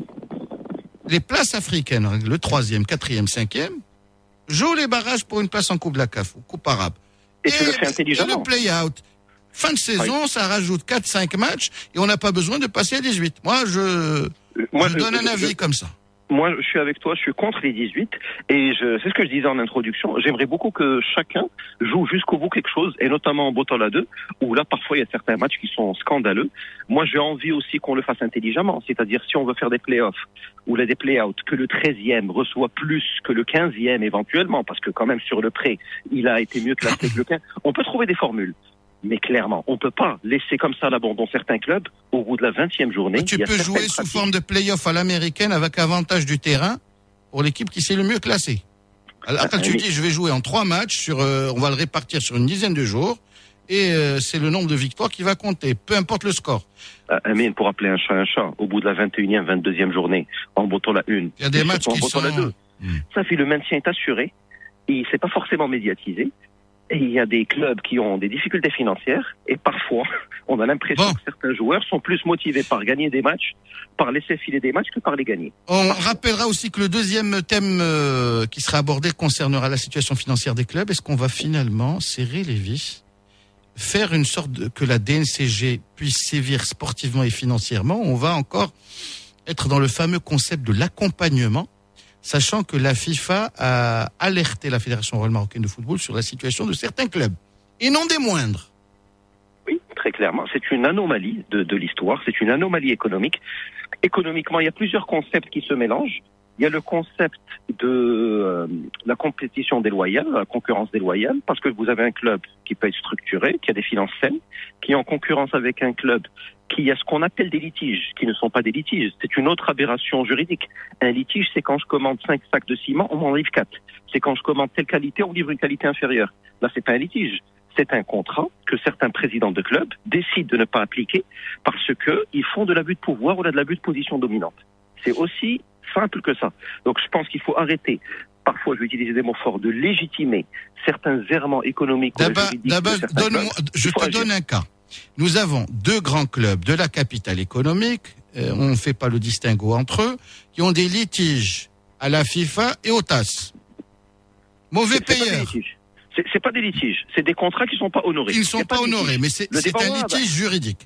les places africaines, le 3e, 4e, 5e, jouent les barrages pour une place en Coupe de la CAF ou Coupe arabe. Et tu le fais intelligemment. Et le play-out. Fin de saison, ça rajoute 4-5 matchs et on n'a pas besoin de passer à 18. Moi, je donne un avis comme ça. Moi, je suis avec toi, je suis contre les 18 et c'est ce que je disais en introduction. J'aimerais beaucoup que chacun joue jusqu'au bout quelque chose, et notamment en Botola 2, où là, parfois, il y a certains matchs qui sont scandaleux. Moi, j'ai envie aussi qu'on le fasse intelligemment, c'est-à-dire si on veut faire des play-offs ou des play-outs, que le 13e reçoit plus que le 15e éventuellement, parce que quand même sur le prêt, il a été mieux classé que le 15. On peut trouver des formules. Mais clairement, on peut pas laisser comme ça l'abandon certains clubs au bout de la 20e journée. Mais tu peux jouer sous forme de play-off à l'américaine avec avantage du terrain pour l'équipe qui s'est le mieux classée. Alors quand tu dis je vais jouer en 3 matchs, on va le répartir sur une dizaine de jours et c'est le nombre de victoires qui va compter, peu importe le score. Mais pour appeler un chat, au bout de la 21e, 22e journée, en Botola 1, il y a des matchs qui sont... 2, ça fait le maintien est assuré et c'est pas forcément médiatisé. Et il y a des clubs qui ont des difficultés financières et parfois, on a l'impression que certains joueurs sont plus motivés par gagner des matchs, par laisser filer des matchs que par les gagner. On rappellera aussi que le deuxième thème qui sera abordé concernera la situation financière des clubs. Est-ce qu'on va finalement serrer les vis, faire une sorte que la DNCG puisse sévir sportivement et financièrement? On va encore être dans le fameux concept de l'accompagnement, sachant que la FIFA a alerté la Fédération royale marocaine de football sur la situation de certains clubs, et non des moindres. Oui, très clairement. C'est une anomalie de l'histoire, c'est une anomalie économique. Économiquement, il y a plusieurs concepts qui se mélangent. Il y a le concept de la compétition déloyale, la concurrence déloyale, parce que vous avez un club qui peut être structuré, qui a des finances saines, qui est en concurrence avec un club qui a ce qu'on appelle des litiges, qui ne sont pas des litiges. C'est une autre aberration juridique. Un litige, c'est quand je commande 5 sacs de ciment, on m'en livre 4. C'est quand je commande telle qualité, on me livre une qualité inférieure. Là, c'est pas un litige. C'est un contrat que certains présidents de clubs décident de ne pas appliquer parce que ils font de l'abus de pouvoir ou de l'abus de position dominante. C'est aussi simple que ça. Donc, je pense qu'il faut arrêter. Parfois, je vais utiliser des mots forts, de légitimer certains errements économiques. Je te donne un cas. Nous avons 2 grands clubs de la capitale économique, on ne fait pas le distinguo entre eux, qui ont des litiges à la FIFA et au TAS. Mauvais payeurs. C'est pas des litiges, c'est des contrats qui sont pas honorés. Ils ne sont pas honorés, mais c'est un litige juridique.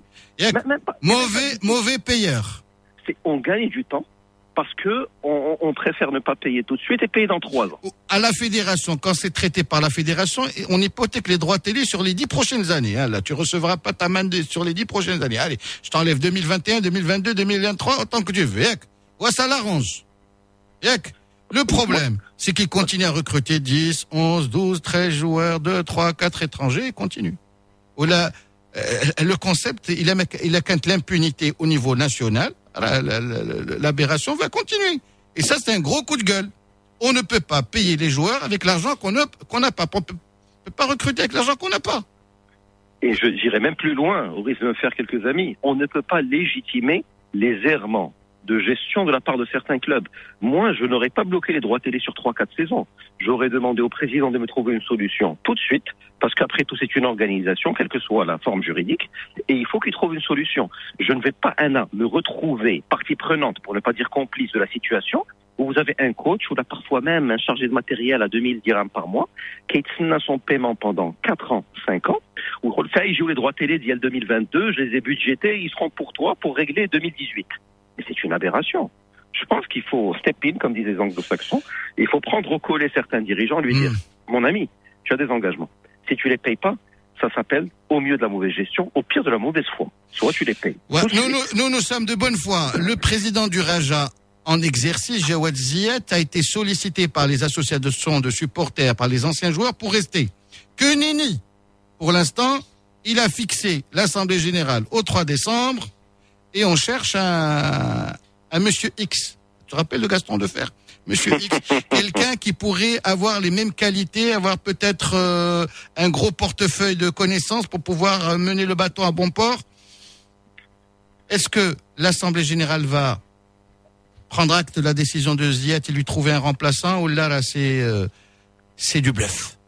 Mauvais payeurs. On gagne du temps parce que on préfère ne pas payer tout de suite et payer dans 3 ans. À la fédération, quand c'est traité par la fédération, on hypothèque les droits télé sur les 10 prochaines années. Hein. Là, tu recevras pas ta main sur les 10 prochaines années. Allez, je t'enlève 2021, 2022, 2023, autant que tu veux. Ouais, ça l'arrange. Le problème, c'est qu'ils continuent à recruter 10, 11, 12, 13 joueurs, 2, 3, 4 étrangers et continuent. le concept, il a qu'un l'impunité au niveau national. L'aberration va continuer. Et ça, c'est un gros coup de gueule. On ne peut pas payer les joueurs avec l'argent qu'on n'a pas. On ne peut pas recruter avec l'argent qu'on n'a pas. Et j'irai même plus loin, au risque de me faire quelques amis. On ne peut pas légitimer les errements de gestion de la part de certains clubs. Moi, je n'aurais pas bloqué les droits télé sur 3-4 saisons. J'aurais demandé au président de me trouver une solution tout de suite, parce qu'après tout, c'est une organisation, quelle que soit la forme juridique, et il faut qu'il trouve une solution. Je ne vais pas, me retrouver partie prenante, pour ne pas dire complice de la situation, où vous avez un coach, ou là parfois même un chargé de matériel à 2000 dirhams par mois, qui a son paiement pendant 4 ans, 5 ans, où il joue les droits télé d'il y a le 2022, je les ai budgétés, ils seront pour toi pour régler 2018. Et c'est une aberration. Je pense qu'il faut step in, comme disent les anglo-saxons, et il faut prendre au collet certains dirigeants, lui dire, mon ami, tu as des engagements. Si tu les payes pas, ça s'appelle au mieux de la mauvaise gestion, au pire de la mauvaise foi. Soit tu les payes. Ouais, nous sommes de bonne foi. Le président du Raja en exercice, Jawad Ziyat, a été sollicité par les associations de supporters, par les anciens joueurs pour rester. Que nenni. Pour l'instant, il a fixé l'Assemblée Générale au 3 décembre et on cherche un Monsieur X. Tu te rappelles de Gaston Defer? Monsieur X, quelqu'un qui pourrait avoir les mêmes qualités, avoir peut-être un gros portefeuille de connaissances pour pouvoir mener le bateau à bon port. Est-ce que l'Assemblée Générale va prendre acte de la décision de Ziyat et lui trouver un remplaçant, ou là c'est du bluff?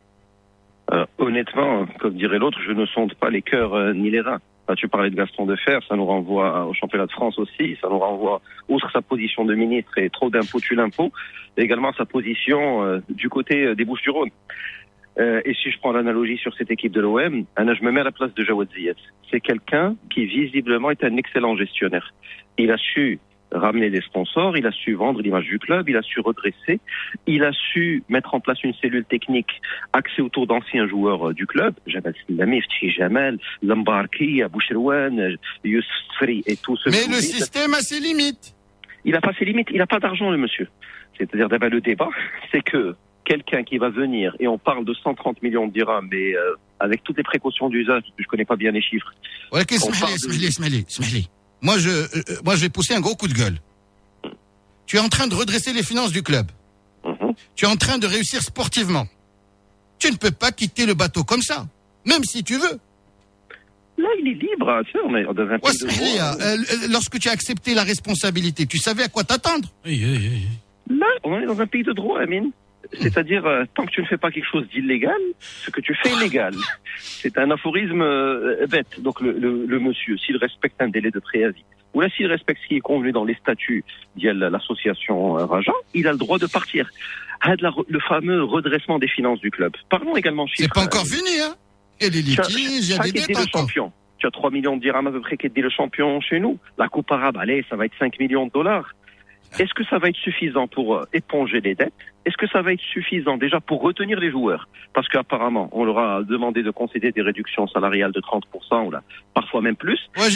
Honnêtement, comme dirait l'autre, je ne sonde pas les cœurs ni les reins. Là, tu parlais de Gaston Defer, ça nous renvoie au championnat de France aussi, ça nous renvoie, outre sa position de ministre et trop d'impôts tue l'impôt, également sa position du côté des Bouches-du-Rhône. Et si je prends l'analogie sur cette équipe de l'OM, je me mets à la place de Jawad Ziyat. C'est quelqu'un qui visiblement est un excellent gestionnaire. Il a su ramener des sponsors, il a su vendre l'image du club, il a su redresser, il a su mettre en place une cellule technique axée autour d'anciens joueurs du club, Jamal Slami, Fthi Jamal, Lambarki, Bouchrouane, Youssef Sfri et tout ce. Mais le système a ses limites. Il n'a pas ses limites, il n'a pas d'argent, le monsieur. C'est-à-dire, le débat, c'est que quelqu'un qui va venir, et on parle de 130 millions de dirhams, mais avec toutes les précautions d'usage, parce que je connais pas bien les chiffres. Ouais, Smali. Moi, je vais pousser un gros coup de gueule. Tu es en train de redresser les finances du club. Tu es en train de réussir sportivement. Tu ne peux pas quitter le bateau comme ça, même si tu veux. Là, il est libre. Tu sais, on est dans un pays de droit. Lorsque tu as accepté la responsabilité, tu savais à quoi t'attendre. Là, on est dans un pays de droit, Amine. C'est-à-dire, tant que tu ne fais pas quelque chose d'illégal, ce que tu fais est légal. C'est un aphorisme bête. Donc le monsieur, s'il respecte un délai de préavis, ou là s'il respecte ce qui est convenu dans les statuts de l'association Raja, il a le droit de partir. Le fameux redressement des finances du club. Parlons également chiffres. C'est pas encore fini, hein? Et les litiges, il y a des dettes encore. Tu as 3 millions de dirhams à peu près qui est le champion chez nous. La Coupe arabe, allez, ça va être 5 millions de dollars. Est-ce que ça va être suffisant pour éponger les dettes? Est-ce que ça va être suffisant déjà pour retenir les joueurs? Parce qu'apparemment, on leur a demandé de concéder des réductions salariales de 30%, ou là, parfois même plus. Ouais,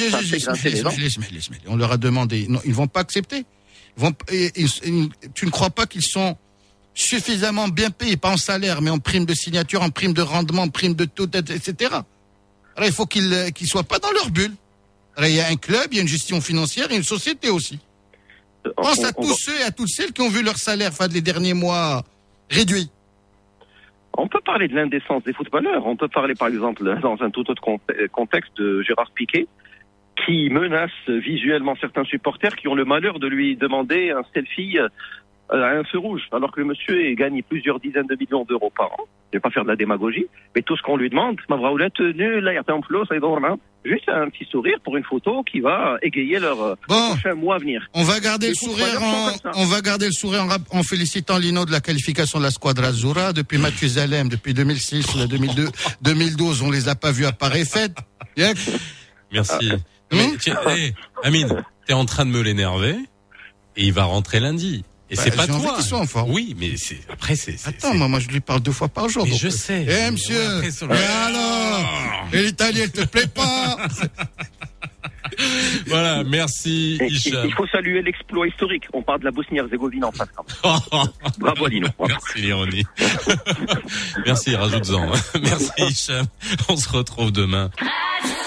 on leur a demandé. Non, ils vont pas accepter. Tu ne crois pas qu'ils sont suffisamment bien payés, pas en salaire, mais en prime de signature, en prime de rendement, en prime de tout, etc. Alors, il faut qu'ils soient pas dans leur bulle. Alors, il y a un club, il y a une gestion financière et une société aussi. Pense à tous ceux et à toutes celles qui ont vu leur salaire les derniers mois réduit. On peut parler de l'indécence des footballeurs. On peut parler, par exemple, dans un tout autre contexte, de Gérard Piqué, qui menace visuellement certains supporters qui ont le malheur de lui demander un selfie à un feu rouge, alors que le monsieur gagne plusieurs dizaines de millions d'euros par an. Je vais pas faire de la démagogie, mais tout ce qu'on lui demande, juste un petit sourire pour une photo qui va égayer leur prochain mois à venir. On va garder le sourire en félicitant Lino de la qualification de la Squadra Azzurra depuis Mathusalem, depuis 2006, 2012, on les a pas vus à Paris Fête. Merci. Mais Amine, t'es en train de me l'énerver et il va rentrer lundi. Et c'est pas toi. Qu'ils soient en forme. Oui, mais après c'est. Attends, moi je lui parle 2 fois par jour. Mais je sais. Monsieur. Et alors? Et l'Italie, elle te plaît pas? Voilà, merci Hicham. Il faut saluer l'exploit historique. On parle de la Bosnie-Herzégovine en face. Bravo Lino. Merci l'ironie. Merci, rajoute-en. Merci Hicham. On se retrouve demain.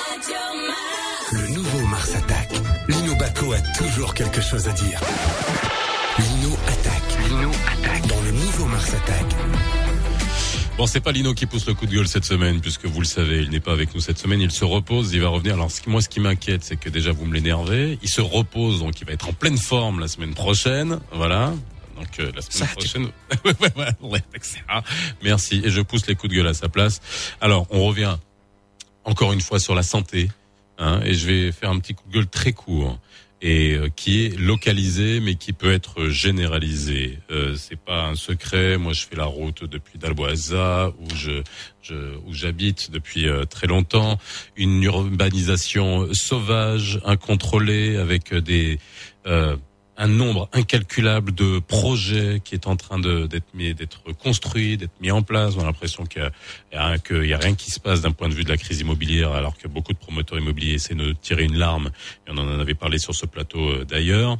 Le nouveau Mars Attack. Lino Bacco a toujours quelque chose à dire. Lino attaque. Dans le nouveau Mars Attack. Bon, c'est pas Lino qui pousse le coup de gueule cette semaine, puisque vous le savez, il n'est pas avec nous cette semaine, il se repose, il va revenir. Alors, ce qui m'inquiète, c'est que déjà vous me l'énervez. Il se repose, donc il va être en pleine forme la semaine prochaine. Voilà. Donc, la semaine prochaine. Ouais, merci. Et je pousse les coups de gueule à sa place. Alors, on revient encore une fois sur la santé, et je vais faire un petit coup de gueule très court. Et qui est localisé, mais qui peut être généralisé. C'est pas un secret. Moi, je fais la route depuis Dalboaza, où j'habite depuis très longtemps. Une urbanisation sauvage, incontrôlée, avec un nombre incalculable de projets qui est en train d'être construit, d'être mis en place. On a l'impression qu'il y a rien qui se passe d'un point de vue de la crise immobilière, alors que beaucoup de promoteurs immobiliers essaient de tirer une larme. Et on en avait parlé sur ce plateau d'ailleurs.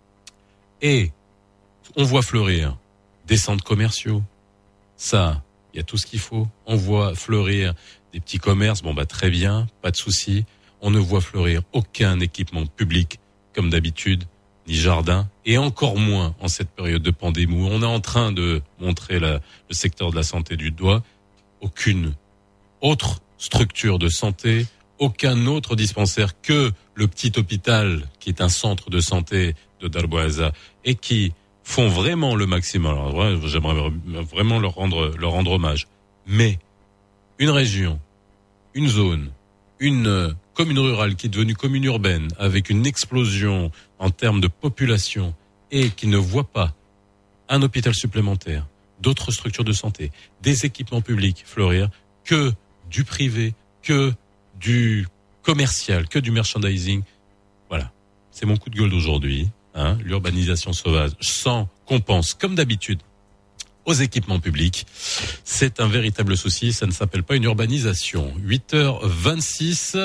Et on voit fleurir des centres commerciaux. Ça, il y a tout ce qu'il faut. On voit fleurir des petits commerces. Bon, très bien, pas de souci. On ne voit fleurir aucun équipement public, comme d'habitude, ni jardin, et encore moins en cette période de pandémie où on est en train de montrer le secteur de la santé du doigt. Aucune autre structure de santé, aucun autre dispensaire que le petit hôpital qui est un centre de santé de Darboaza et qui font vraiment le maximum. Alors j'aimerais vraiment leur rendre hommage. Mais une région, une zone, une commune rurale qui est devenue commune urbaine avec une explosion en termes de population et qui ne voit pas un hôpital supplémentaire, d'autres structures de santé, des équipements publics fleurir, que du privé, que du commercial, que du merchandising. Voilà, c'est mon coup de gueule d'aujourd'hui. L'urbanisation sauvage sans qu'on pense, comme d'habitude, aux équipements publics. C'est un véritable souci, ça ne s'appelle pas une urbanisation. 8h26,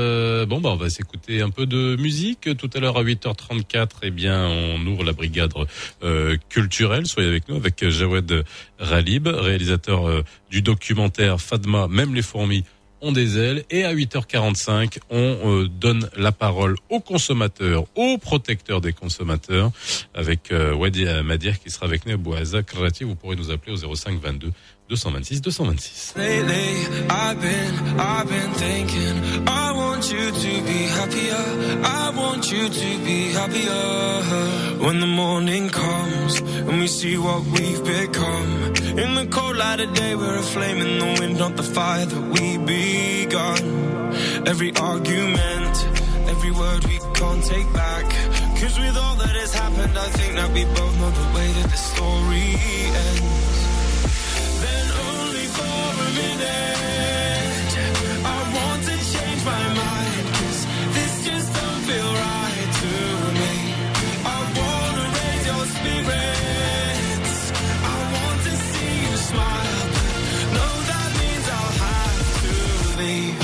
on va s'écouter un peu de musique. Tout à l'heure à 8h34, on ouvre la brigade culturelle. Soyez avec nous, avec Jawed Ralib, réalisateur du documentaire Fadma, même les fourmis ont des ailes. Et à 8h45, on donne la parole aux consommateurs, aux protecteurs des consommateurs, avec Wadi Madir qui sera avec nous à Bouaza Krati. Vous pourrez nous appeler au 05 22 226 226. Lately, I've been thinking, I want you to be happier. I want you to be happier. When the morning comes and we see what we've become. In the cold light of day, we're a flame in the wind, not the fire that we begun. Every argument, every word we can't take back. 'Cause with all that has happened, I think that we both know the way that the story ends. For a minute, I want to change my mind, 'cause this just don't feel right to me. I want to raise your spirits, I want to see you smile, but no, that means I'll have to leave.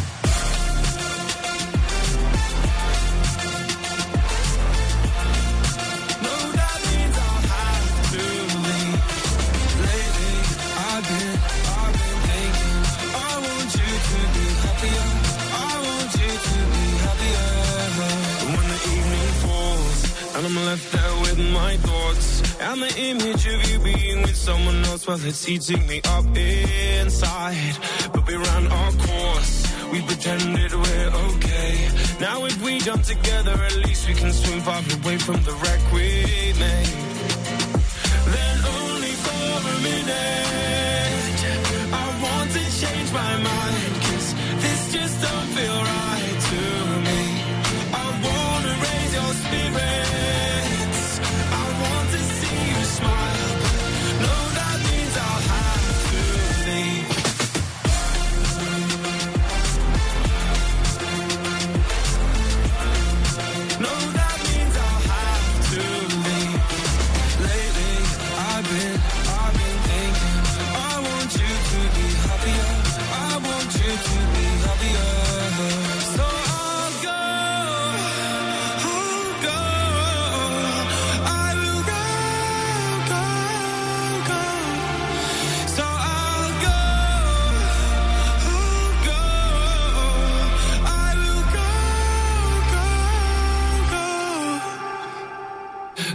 No, that means I'll have to leave. Lately, I've been thinking, I want you to be happier. I want you to be happier. When the evening falls and I'm left there with my thoughts and the image of you being with someone else, well, it's eating me up inside. But we ran our course, we pretended we're okay. Now if we jump together, at least we can swim far away from the wreck we made. Then only for a minute, I want to change my mind, 'cause this just don't feel right to me. I want to raise your spirits, I want to see you smile, but no, that means I'll have to leave. No, that means I'll have to leave.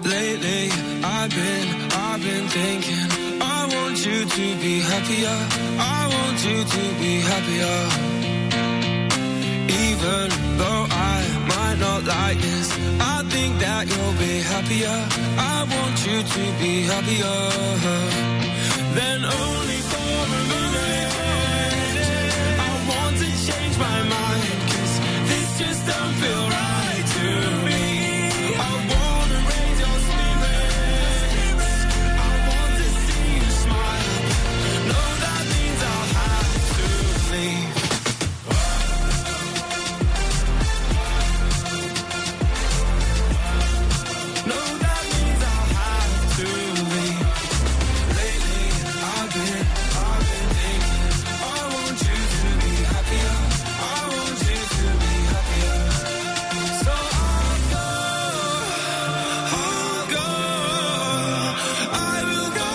Lately, I've been thinking, I want you to be happier. I want you to be happier. Even though I might not like this, I think that you'll be happier. I want you to be happier. Then only for a minute, I want to change my mind, 'cause this just don't feel right to me. I wanna raise your spirits, I want to see you smile. No, that means I'll have to leave. No, that means I'll have to leave. Lately, I've been thinking, I want you to be happier. I want you to be happier. So I'll go, I will go.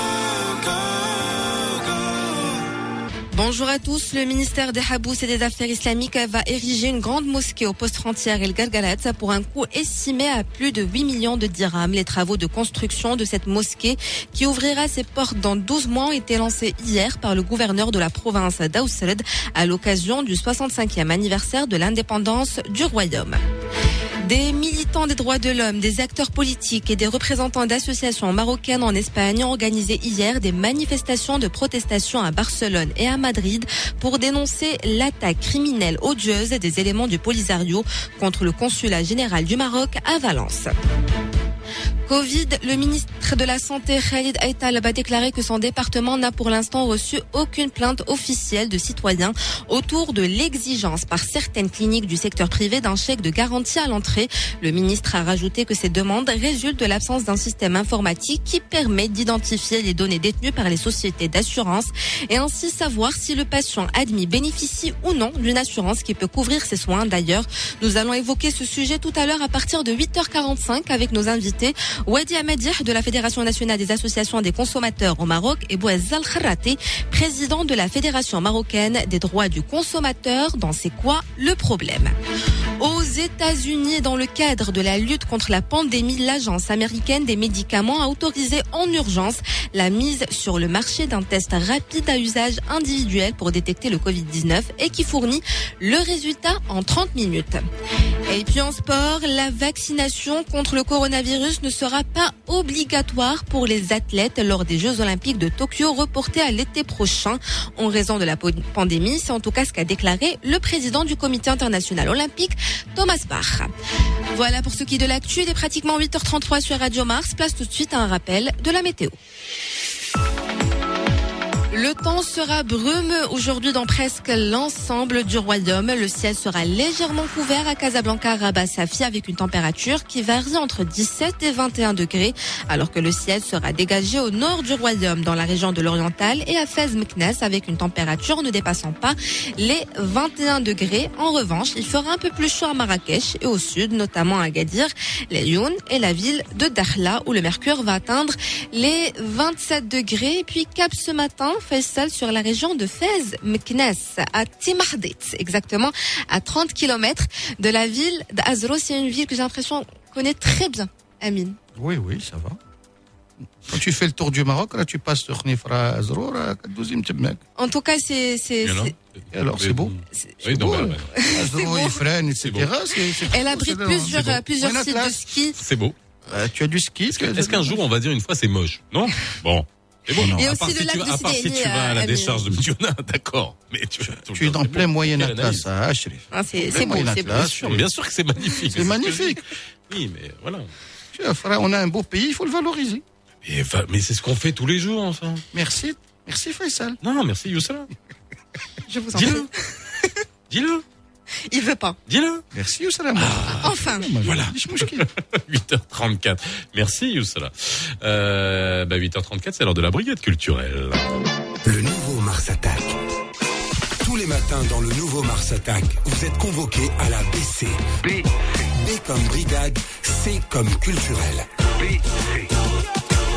Bonjour à tous. Le ministère des Habous et des Affaires islamiques va ériger une grande mosquée au poste frontière El Gargarat pour un coût estimé à plus de 8 millions de dirhams. Les travaux de construction de cette mosquée, qui ouvrira ses portes dans 12 mois, ont été lancés hier par le gouverneur de la province d'Ausred à l'occasion du 65e anniversaire de l'indépendance du royaume. Des militants des droits de l'homme, des acteurs politiques et des représentants d'associations marocaines en Espagne ont organisé hier des manifestations de protestation à Barcelone et à Madrid pour dénoncer l'attaque criminelle odieuse des éléments du Polisario contre le consulat général du Maroc à Valence. Covid, le ministre de la Santé, Khalid Aital, a déclaré que son département n'a pour l'instant reçu aucune plainte officielle de citoyens autour de l'exigence par certaines cliniques du secteur privé d'un chèque de garantie à l'entrée. Le ministre a rajouté que ces demandes résultent de l'absence d'un système informatique qui permet d'identifier les données détenues par les sociétés d'assurance et ainsi savoir si le patient admis bénéficie ou non d'une assurance qui peut couvrir ses soins. D'ailleurs, nous allons évoquer ce sujet tout à l'heure à partir de 8h45 avec nos invités. Wadi Ahmadi de la Fédération nationale des associations des consommateurs au Maroc et Bouez Al-Kharrati, président de la Fédération marocaine des droits du consommateur. Dans C'est quoi le problème? Aux États-Unis, dans le cadre de la lutte contre la pandémie, l'Agence américaine des médicaments a autorisé en urgence la mise sur le marché d'un test rapide à usage individuel pour détecter le Covid-19 et qui fournit le résultat en 30 minutes. Et puis en sport, la vaccination contre le coronavirus ne sera pas obligatoire pour les athlètes lors des Jeux Olympiques de Tokyo reportés à l'été prochain en raison de la pandémie. C'est en tout cas ce qu'a déclaré le président du Comité international olympique, Thomas Bach. Voilà pour ce qui est de l'actu. Il est pratiquement 8h33 sur Radio Mars. Place tout de suite à un rappel de la météo. Le temps sera brumeux aujourd'hui dans presque l'ensemble du royaume. Le ciel sera légèrement couvert à Casablanca, Rabat, Safi avec une température qui varie entre 17 et 21 degrés, alors que le ciel sera dégagé au nord du royaume, dans la région de l'Oriental et à Fez Meknès avec une température ne dépassant pas les 21 degrés. En revanche, il fera un peu plus chaud à Marrakech et au sud, notamment à Agadir, Laayoune et la ville de Dakhla où le mercure va atteindre les 27 degrés. Et puis Cap ce matin, Faisal sur la région de Fez Meknès à Timahdit, exactement à 30 km de la ville d'Azro. C'est une ville que j'ai l'impression connaît très bien, Amine. Oui, ça va. Quand tu fais le tour du Maroc, là tu passes sur Nifra, Azro, là, 12e Tebmek. En tout cas, c'est alors c'est beau. Oui, beau. beau. Azro, Ifrane, etc. Elle abrite plusieurs sites de ski. C'est beau. Tu as du ski. Est-ce qu'un jour on va dire une fois c'est moche? Non. Bon. C'est bon. Et aussi le lac de à part si tu vas à la décharge de Mediona, d'accord. Mais tu es dans plein Moyen Atlas, à Achrif. C'est beau, c'est beau. Bien sûr que c'est magnifique. C'est magnifique. Oui, mais voilà. On a un beau pays, il faut le valoriser. Mais c'est ce qu'on fait tous les jours, enfin. Merci Faisal. Non, merci Youssala. Je vous en prie. Dis-le. Il veut pas. Dis-le. Merci Youssala. Enfin. Voilà. 8h34. Merci Youssala. 8h34, c'est l'heure de la brigade culturelle. Le nouveau Mars Attack. Tous les matins dans le nouveau Mars Attack, vous êtes convoqués à la BC. B comme brigade, C comme culturel. BC.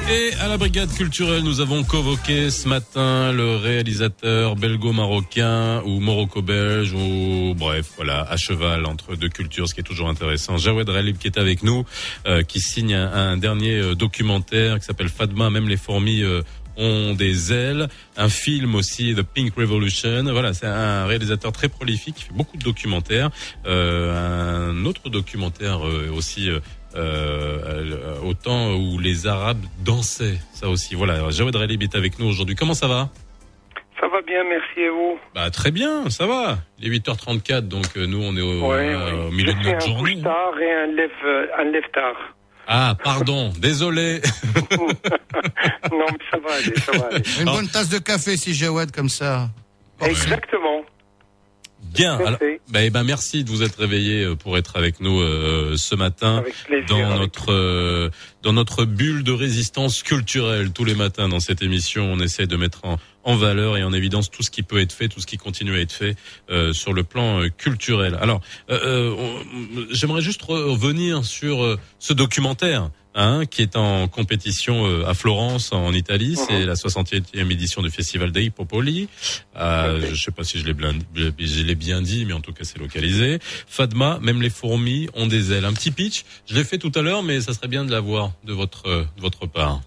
Et à la brigade culturelle, nous avons convoqué ce matin le réalisateur belgo-marocain ou morocco-belge ou bref, voilà, à cheval entre deux cultures, ce qui est toujours intéressant. Jawed Ralib qui est avec nous, qui signe un dernier documentaire qui s'appelle Fadma, même les fourmis ont des ailes. Un film aussi, The Pink Revolution. Voilà, c'est un réalisateur très prolifique, qui fait beaucoup de documentaires. Un autre documentaire aussi... au temps où les Arabes dansaient, ça aussi. Voilà, Jawed Ralib est avec nous aujourd'hui. Comment ça va ? Ça va bien, merci, et vous ? Bah très bien, ça va. Il est 8h34, donc nous on est au milieu de notre journée. Je fais un couche tard et un lève tard. Ah, pardon, désolé. Non, mais ça va aller. Une bonne tasse de café si Jawed comme ça. Exactement. Bien. Alors, merci de vous être réveillé pour être avec nous ce matin. Avec plaisir, dans notre bulle de résistance culturelle. Tous les matins dans cette émission, on essaie de mettre en valeur et en évidence tout ce qui peut être fait, tout ce qui continue à être fait sur le plan culturel. Alors, j'aimerais juste revenir sur ce documentaire. Qui est en compétition à Florence en Italie, c'est la 60e édition du Festival dei Popoli. Je sais pas si je l'ai bien dit, mais en tout cas c'est localisé. Fadma, même les fourmis ont des ailes. Un petit pitch, je l'ai fait tout à l'heure, mais ça serait bien de l'avoir de votre part.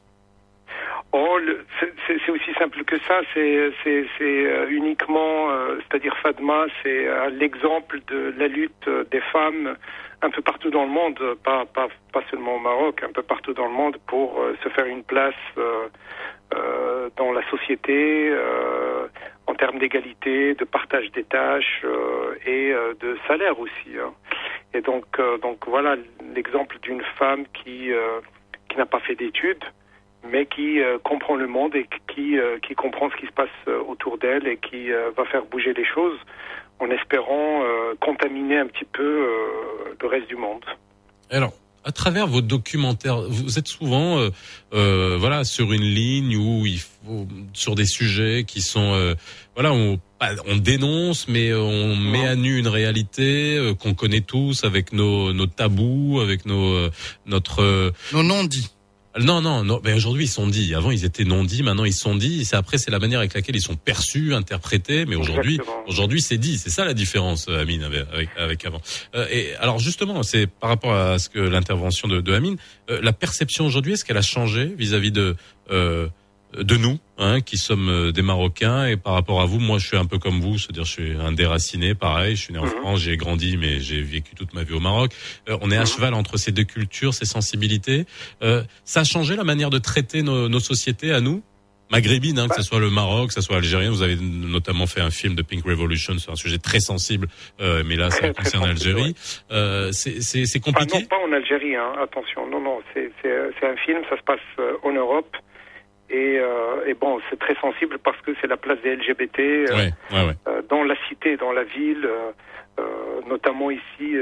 C'est aussi simple que ça. C'est uniquement, c'est-à-dire Fadma, c'est l'exemple de la lutte des femmes un peu partout dans le monde, pas seulement au Maroc, un peu partout dans le monde pour se faire une place dans la société en termes d'égalité, de partage des tâches et de salaire aussi. Et donc voilà l'exemple d'une femme qui n'a pas fait d'études, mais qui comprend le monde et qui comprend ce qui se passe autour d'elle et qui va faire bouger les choses en espérant contaminer un petit peu le reste du monde. Alors, à travers vos documentaires, vous êtes souvent sur une ligne où il faut sur des sujets qui sont on dénonce, mais on met à nu une réalité qu'on connaît tous avec nos tabous, avec nos non-dits. Non, mais aujourd'hui ils sont dits. Avant ils étaient non dits, maintenant ils sont dits. C'est la manière avec laquelle ils sont perçus, interprétés. Mais aujourd'hui c'est dit. C'est ça la différence, Amine, avec avant. Et alors justement, c'est par rapport à ce que l'intervention de Amine, la perception aujourd'hui, est-ce qu'elle a changé vis-à-vis de nous, qui sommes des Marocains, et par rapport à vous, moi je suis un peu comme vous, c'est-à-dire je suis un déraciné, pareil, je suis né en France, j'ai grandi, mais j'ai vécu toute ma vie au Maroc. On est à cheval entre ces deux cultures, ces sensibilités. Ça a changé la manière de traiter nos sociétés à nous, maghrébines, que ce soit le Maroc, que ce soit algérien. Vous avez notamment fait un film de Pink Revolution sur un sujet très sensible, mais là ça concerne l'Algérie. C'est compliqué. Non, pas en Algérie, attention. Non, c'est un film, ça se passe en Europe. Et bon, c'est très sensible parce que c'est la place des LGBT dans la cité, dans la ville, notamment ici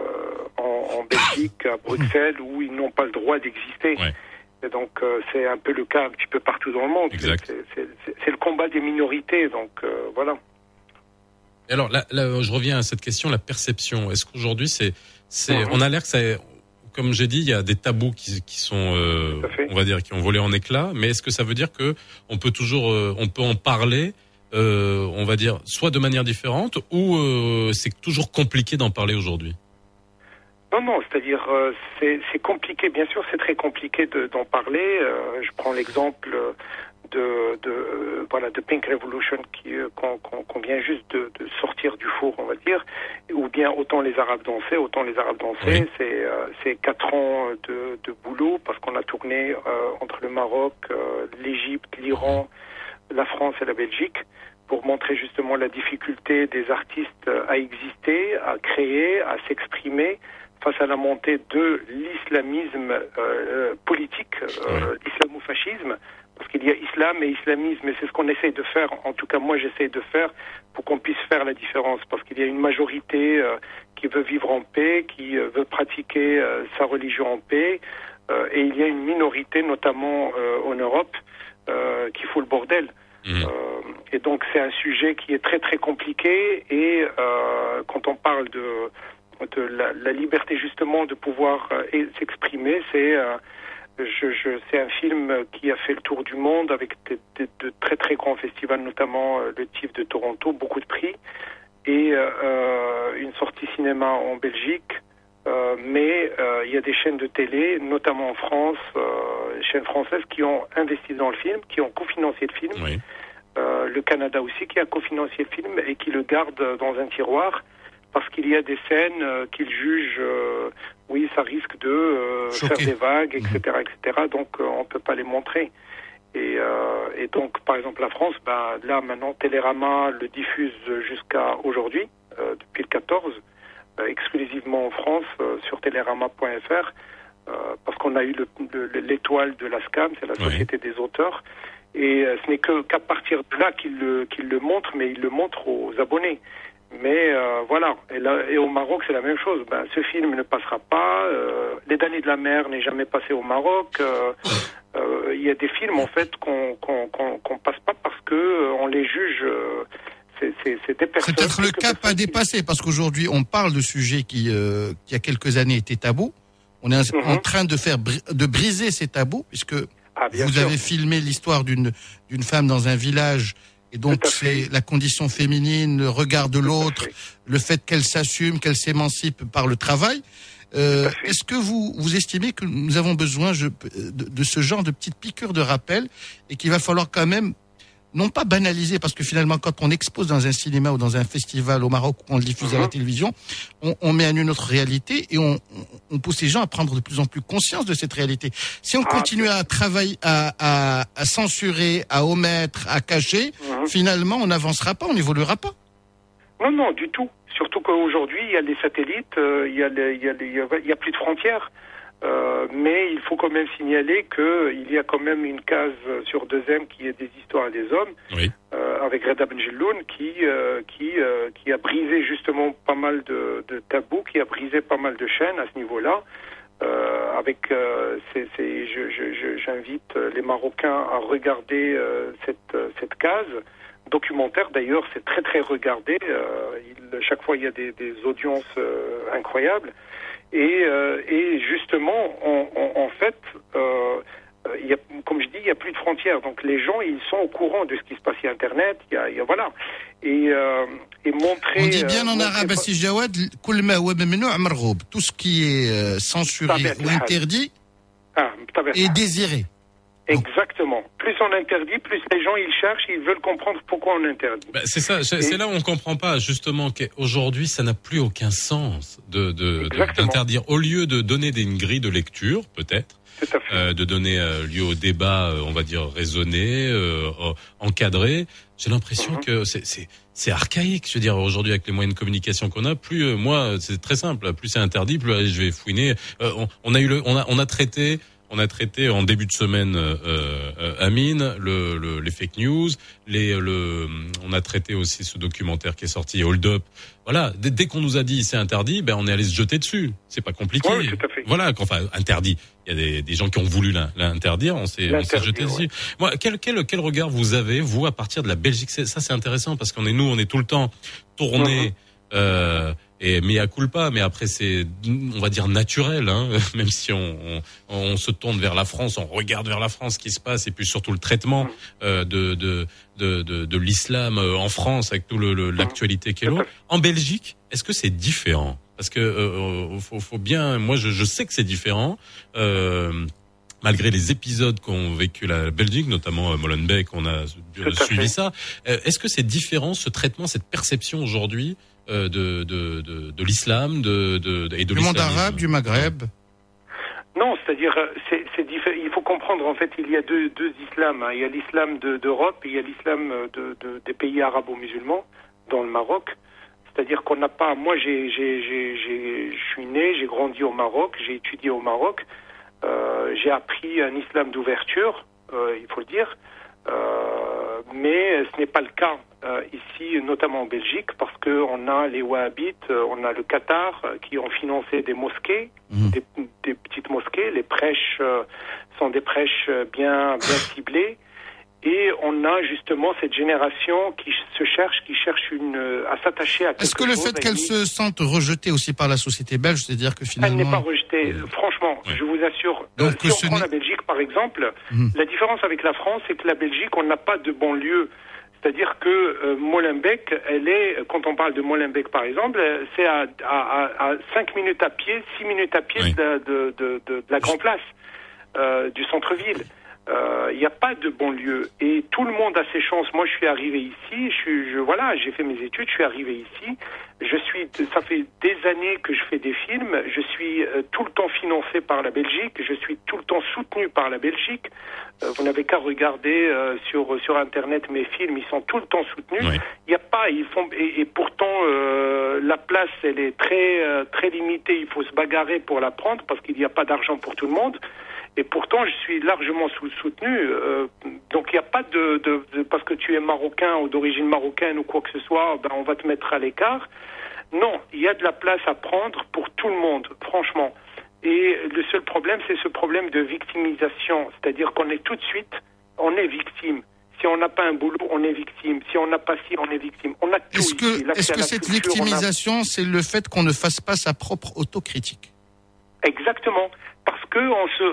en Belgique, à Bruxelles, où ils n'ont pas le droit d'exister. Ouais. Et donc c'est un peu le cas un petit peu partout dans le monde. C'est le combat des minorités, donc voilà. Alors là, je reviens à cette question, la perception. Est-ce qu'aujourd'hui on a l'air que ça... Comme j'ai dit, il y a des tabous qui sont, on va dire, qui ont volé en éclats. Mais est-ce que ça veut dire que on peut en parler, on va dire, soit de manière différente, ou c'est toujours compliqué d'en parler aujourd'hui ? Non, c'est-à-dire c'est compliqué. Bien sûr, c'est très compliqué d'en parler. Je prends l'exemple de Pink Revolution qu'on vient juste de sortir du four, on va dire, ou bien autant les Arabes dansaient. Oui. C'est 4 ans de boulot parce qu'on a tourné entre le Maroc, l'Égypte, l'Iran, la France et la Belgique pour montrer justement la difficulté des artistes à exister, à créer, à s'exprimer face à la montée de l'islamisme politique, l'islamo-fascisme. Parce qu'il y a islam et islamisme, et c'est ce qu'on essaye de faire, en tout cas moi j'essaye de faire, pour qu'on puisse faire la différence. Parce qu'il y a une majorité qui veut vivre en paix, qui veut pratiquer sa religion en paix, et il y a une minorité, notamment en Europe, qui fout le bordel. Et donc c'est un sujet qui est très très compliqué, et quand on parle de la liberté justement de pouvoir s'exprimer, c'est C'est un film qui a fait le tour du monde avec de très très grands festivals, notamment le TIFF de Toronto, beaucoup de prix, et une sortie cinéma en Belgique. Mais il y a des chaînes de télé, notamment en France, chaînes françaises qui ont investi dans le film, qui ont cofinancé le film. Oui. Le Canada aussi qui a cofinancé le film et qui le garde dans un tiroir parce qu'il y a des scènes qu'ils jugent, oui, ça risque de faire des vagues, etc., etc. Donc on peut pas les montrer. Et donc, par exemple, la France, là maintenant, Télérama le diffuse jusqu'à aujourd'hui, depuis le 14. Exclusivement en France sur télérama.fr parce qu'on a eu l'étoile de la SCAM, c'est la Société des auteurs, et ce n'est qu'à partir de là qu'il le montre, mais il le montre aux abonnés. Mais voilà, et au Maroc c'est la même chose. Ce film ne passera pas, Les damnés de la mer n'est jamais passé au Maroc. Il y a des films en fait qu'on passe pas parce que on les juge. C'est peut-être le cap à dépasser, parce qu'aujourd'hui, on parle de sujets qui il y a quelques années, étaient tabous. On est en train de briser ces tabous, puisque vous avez filmé l'histoire d'une femme dans un village, et donc c'est la condition féminine, le regard de l'autre, le fait qu'elle s'assume, qu'elle s'émancipe par le travail. Est-ce que vous estimez que nous avons besoin de ce genre de petites piqûres de rappel, et qu'il va falloir quand même non pas banaliser, parce que finalement, quand on expose dans un cinéma ou dans un festival au Maroc, ou on le diffuse à la télévision, on met à nu notre réalité, et on pousse les gens à prendre de plus en plus conscience de cette réalité. Si on continue à travailler, à censurer, à omettre, à cacher, finalement, on n'avancera pas, on n'évoluera pas. Non, du tout. Surtout qu'aujourd'hui, il y a les satellites, il y a plus de frontières. Mais il faut quand même signaler qu'il y a quand même une case sur 2M qui est des histoires des hommes, avec Reda Benjelloun qui a brisé justement pas mal de tabous, qui a brisé pas mal de chaînes à ce niveau-là. J'invite les Marocains à regarder cette case documentaire. D'ailleurs, c'est très très regardé. Chaque fois, il y a des audiences incroyables. Et justement, en fait, comme je dis, il n'y a plus de frontières. Donc les gens, ils sont au courant de ce qui se passe sur Internet. Voilà. Et montrer... On dit bien en arabe, Assi Jawad, tout ce qui est censuré ou interdit est désiré. Exactement. Plus on interdit, plus les gens ils cherchent, ils veulent comprendre pourquoi on interdit. C'est ça, c'est là où on comprend pas justement qu'aujourd'hui ça n'a plus aucun sens d'interdire. Au lieu de donner une grille de lecture, peut-être, de donner lieu au débat, on va dire raisonné, encadré. J'ai l'impression que c'est archaïque. Je veux dire, aujourd'hui avec les moyens de communication qu'on a, plus moi c'est très simple, plus c'est interdit, plus je vais fouiner. On a traité en début de semaine, Amine, les fake news, on a traité aussi ce documentaire qui est sorti, Hold Up. Voilà, dès qu'on nous a dit c'est interdit, on est allé se jeter dessus. C'est pas compliqué. Oui, tout à fait. Voilà, enfin interdit. Il y a des gens qui ont voulu l'interdire, on s'est jeté dessus. Moi, quel regard vous avez, vous, à partir de la Belgique? Ça c'est intéressant parce on est tout le temps tourné. Et mea culpa, mais après c'est, on va dire naturel, même si on se tourne vers la France, on regarde vers la France ce qui se passe, et puis surtout le traitement de l'islam en France avec tout l'actualité qui est là. En Belgique, est-ce que c'est différent? Parce que faut bien, moi je sais que c'est différent. Malgré les épisodes qu'ont vécu la Belgique, notamment Molenbeek, on a suivi ça. Est-ce que c'est différent, ce traitement, cette perception aujourd'hui de l'islam, et de du monde arabe, du Maghreb? Non, c'est-à-dire, c'est différent. Il faut comprendre, en fait, il y a deux islams. Il y a l'islam d'Europe et il y a l'islam des pays arabo-musulmans, dans le Maroc. C'est-à-dire qu'on n'a pas... Moi, je suis né, j'ai grandi au Maroc, j'ai étudié au Maroc. J'ai appris un islam d'ouverture, il faut le dire. Mais ce n'est pas le cas ici, notamment en Belgique, parce qu'on a les Wahhabites, on a le Qatar qui ont financé des mosquées, des petites mosquées. Les prêches sont des prêches bien ciblés. Et on a justement cette génération qui cherche à s'attacher à quelque chose. Est-ce que le fait qu'elle se sente rejetée aussi par la société belge, c'est-à-dire que finalement... Elle n'est pas rejetée, franchement, je vous assure. Donc, si on prend la Belgique, par exemple, la différence avec la France, c'est que la Belgique, on n'a pas de banlieue. C'est-à-dire que Molenbeek, quand on parle de Molenbeek, par exemple, c'est à 5 minutes à pied, 6 minutes à pied de la Grand Place, du centre-ville. Il n'y a pas de banlieue et tout le monde a ses chances. Moi, je suis arrivé ici, j'ai fait mes études, je suis arrivé ici. Ça fait des années que je fais des films. Je suis tout le temps financé par la Belgique. Je suis tout le temps soutenu par la Belgique. Vous n'avez qu'à regarder sur Internet mes films. Ils sont tout le temps soutenus. Oui. Il y a pas, et pourtant la place, elle est très limitée. Il faut se bagarrer pour la prendre parce qu'il n'y a pas d'argent pour tout le monde. Et pourtant, je suis largement soutenu. Donc, il n'y a pas de parce que tu es marocain ou d'origine marocaine ou quoi que ce soit, on va te mettre à l'écart. Non, il y a de la place à prendre pour tout le monde, franchement. Et le seul problème, c'est ce problème de victimisation. C'est-à-dire qu'on est tout de suite, on est victime. Si on n'a pas un boulot, on est victime. Si on n'a pas ci, on est victime. On a tout. Est-ce que cette victimisation, c'est le fait qu'on ne fasse pas sa propre autocritique? Exactement. Parce que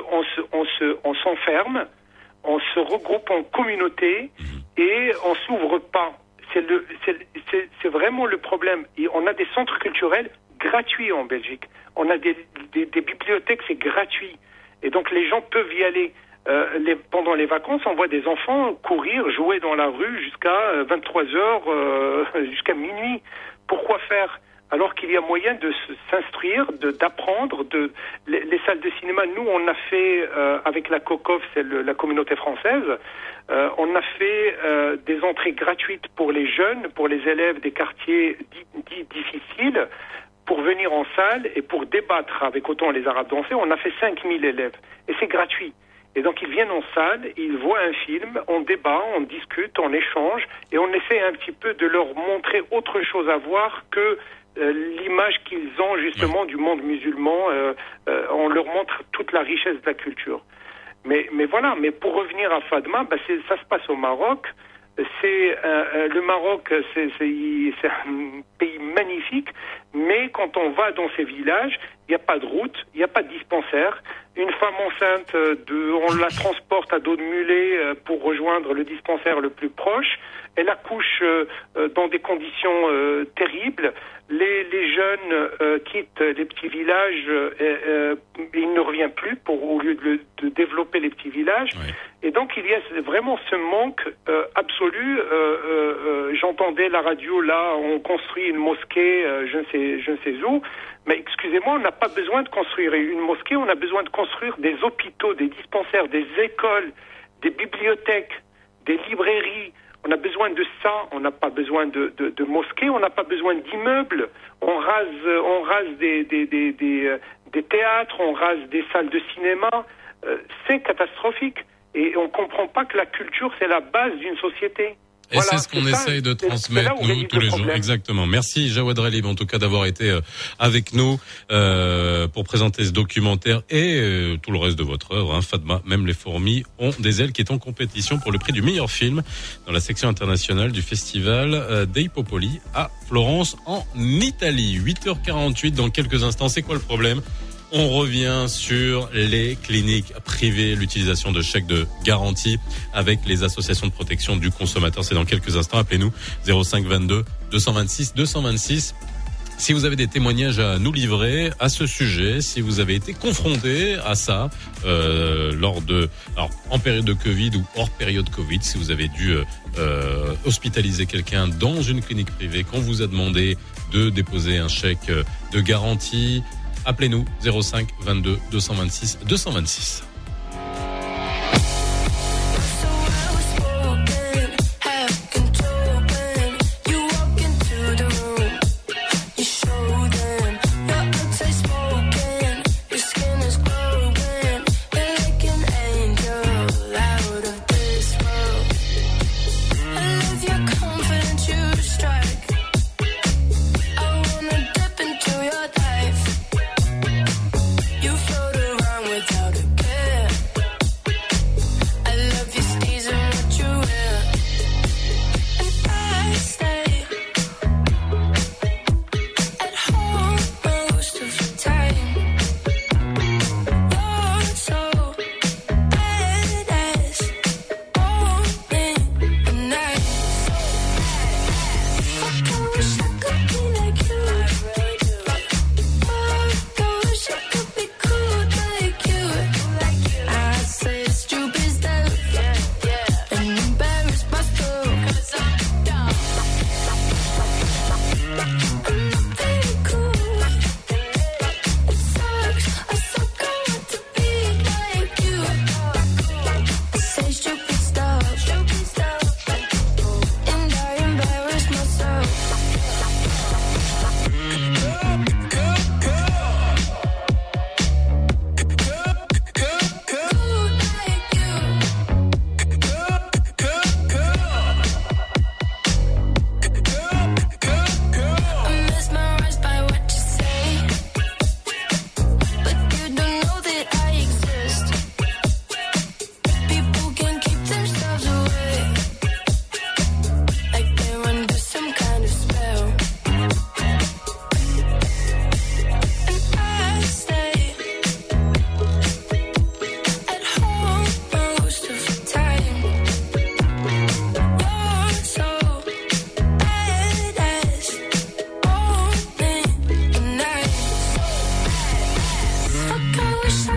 on s'enferme, on se regroupe en communauté et on s'ouvre pas. C'est vraiment le problème. Et on a des centres culturels gratuits en Belgique. On a des bibliothèques, c'est gratuit. Et donc les gens peuvent y aller. Pendant les vacances, on voit des enfants courir, jouer dans la rue jusqu'à 23h, jusqu'à minuit. Pourquoi faire ? Alors qu'il y a moyen de s'instruire, d'apprendre. Les salles de cinéma, nous, on a fait, avec la COCOF, c'est la communauté française, on a fait des entrées gratuites pour les jeunes, pour les élèves des quartiers dits difficiles, pour venir en salle et pour débattre avec autant les Arabes danser. On a fait 5000 élèves. Et c'est gratuit. Et donc, ils viennent en salle, ils voient un film, on débat, on discute, on échange, et on essaie un petit peu de leur montrer autre chose à voir que l'image qu'ils ont justement du monde musulman. On leur montre toute la richesse de la culture. Mais voilà, mais pour revenir à Fadma, ça se passe au Maroc. Le Maroc, c'est un pays magnifique, mais quand on va dans ces villages, il n'y a pas de route, il n'y a pas de dispensaire. Une femme enceinte, on la transporte à dos de mulet pour rejoindre le dispensaire le plus proche. Elle accouche dans des conditions terribles. Les jeunes quittent les petits villages, ils ne reviennent plus au lieu de développer les petits villages. Oui. Et donc il y a vraiment ce manque absolu. J'entendais la radio là, on construit une mosquée, je ne sais où. Mais excusez-moi, on n'a pas besoin de construire une mosquée, on a besoin de construire des hôpitaux, des dispensaires, des écoles, des bibliothèques, des librairies. On a besoin de ça, on n'a pas besoin de mosquées, on n'a pas besoin d'immeubles. On rase des théâtres, on rase des salles de cinéma. C'est catastrophique. Et on ne comprend pas que la culture, c'est la base d'une société. Et voilà, c'est ce qu'on essaye de transmettre, nous, tous les jours. Exactement. Merci, Jawad Relib, en tout cas, d'avoir été avec nous pour présenter ce documentaire et tout le reste de votre œuvre. Hein. Fadma, même les fourmis ont des ailes, qui est en compétition pour le prix du meilleur film dans la section internationale du festival dei Popoli à Florence, en Italie. 8h48 dans quelques instants. C'est quoi le problème ? On revient sur les cliniques privées, l'utilisation de chèques de garantie avec les associations de protection du consommateur. C'est dans quelques instants. Appelez-nous 05 22 226 226. Si vous avez des témoignages à nous livrer à ce sujet, si vous avez été confronté à ça en période de Covid ou hors période Covid, si vous avez dû hospitaliser quelqu'un dans une clinique privée, qu'on vous a demandé de déposer un chèque de garantie, appelez-nous 05 22 226 226. You float around without a care.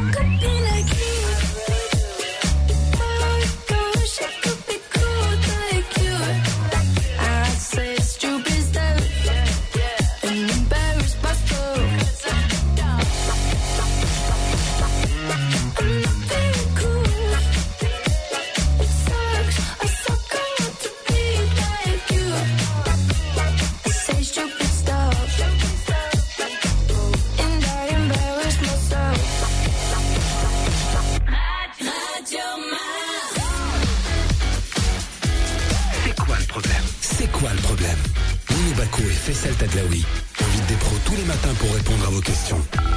could be like you. Oh gosh, I could be cool like you. I say stupid stuff and embarrass myself. I'm not very cool. It sucks. I suck. I want to be like you. I say stupid stuff and I embarrass myself. C'est quoi le problème? C'est quoi le problème? Lino Bacco et Faisal Tadlaoui invitent des pros tous les matins pour répondre à vos questions.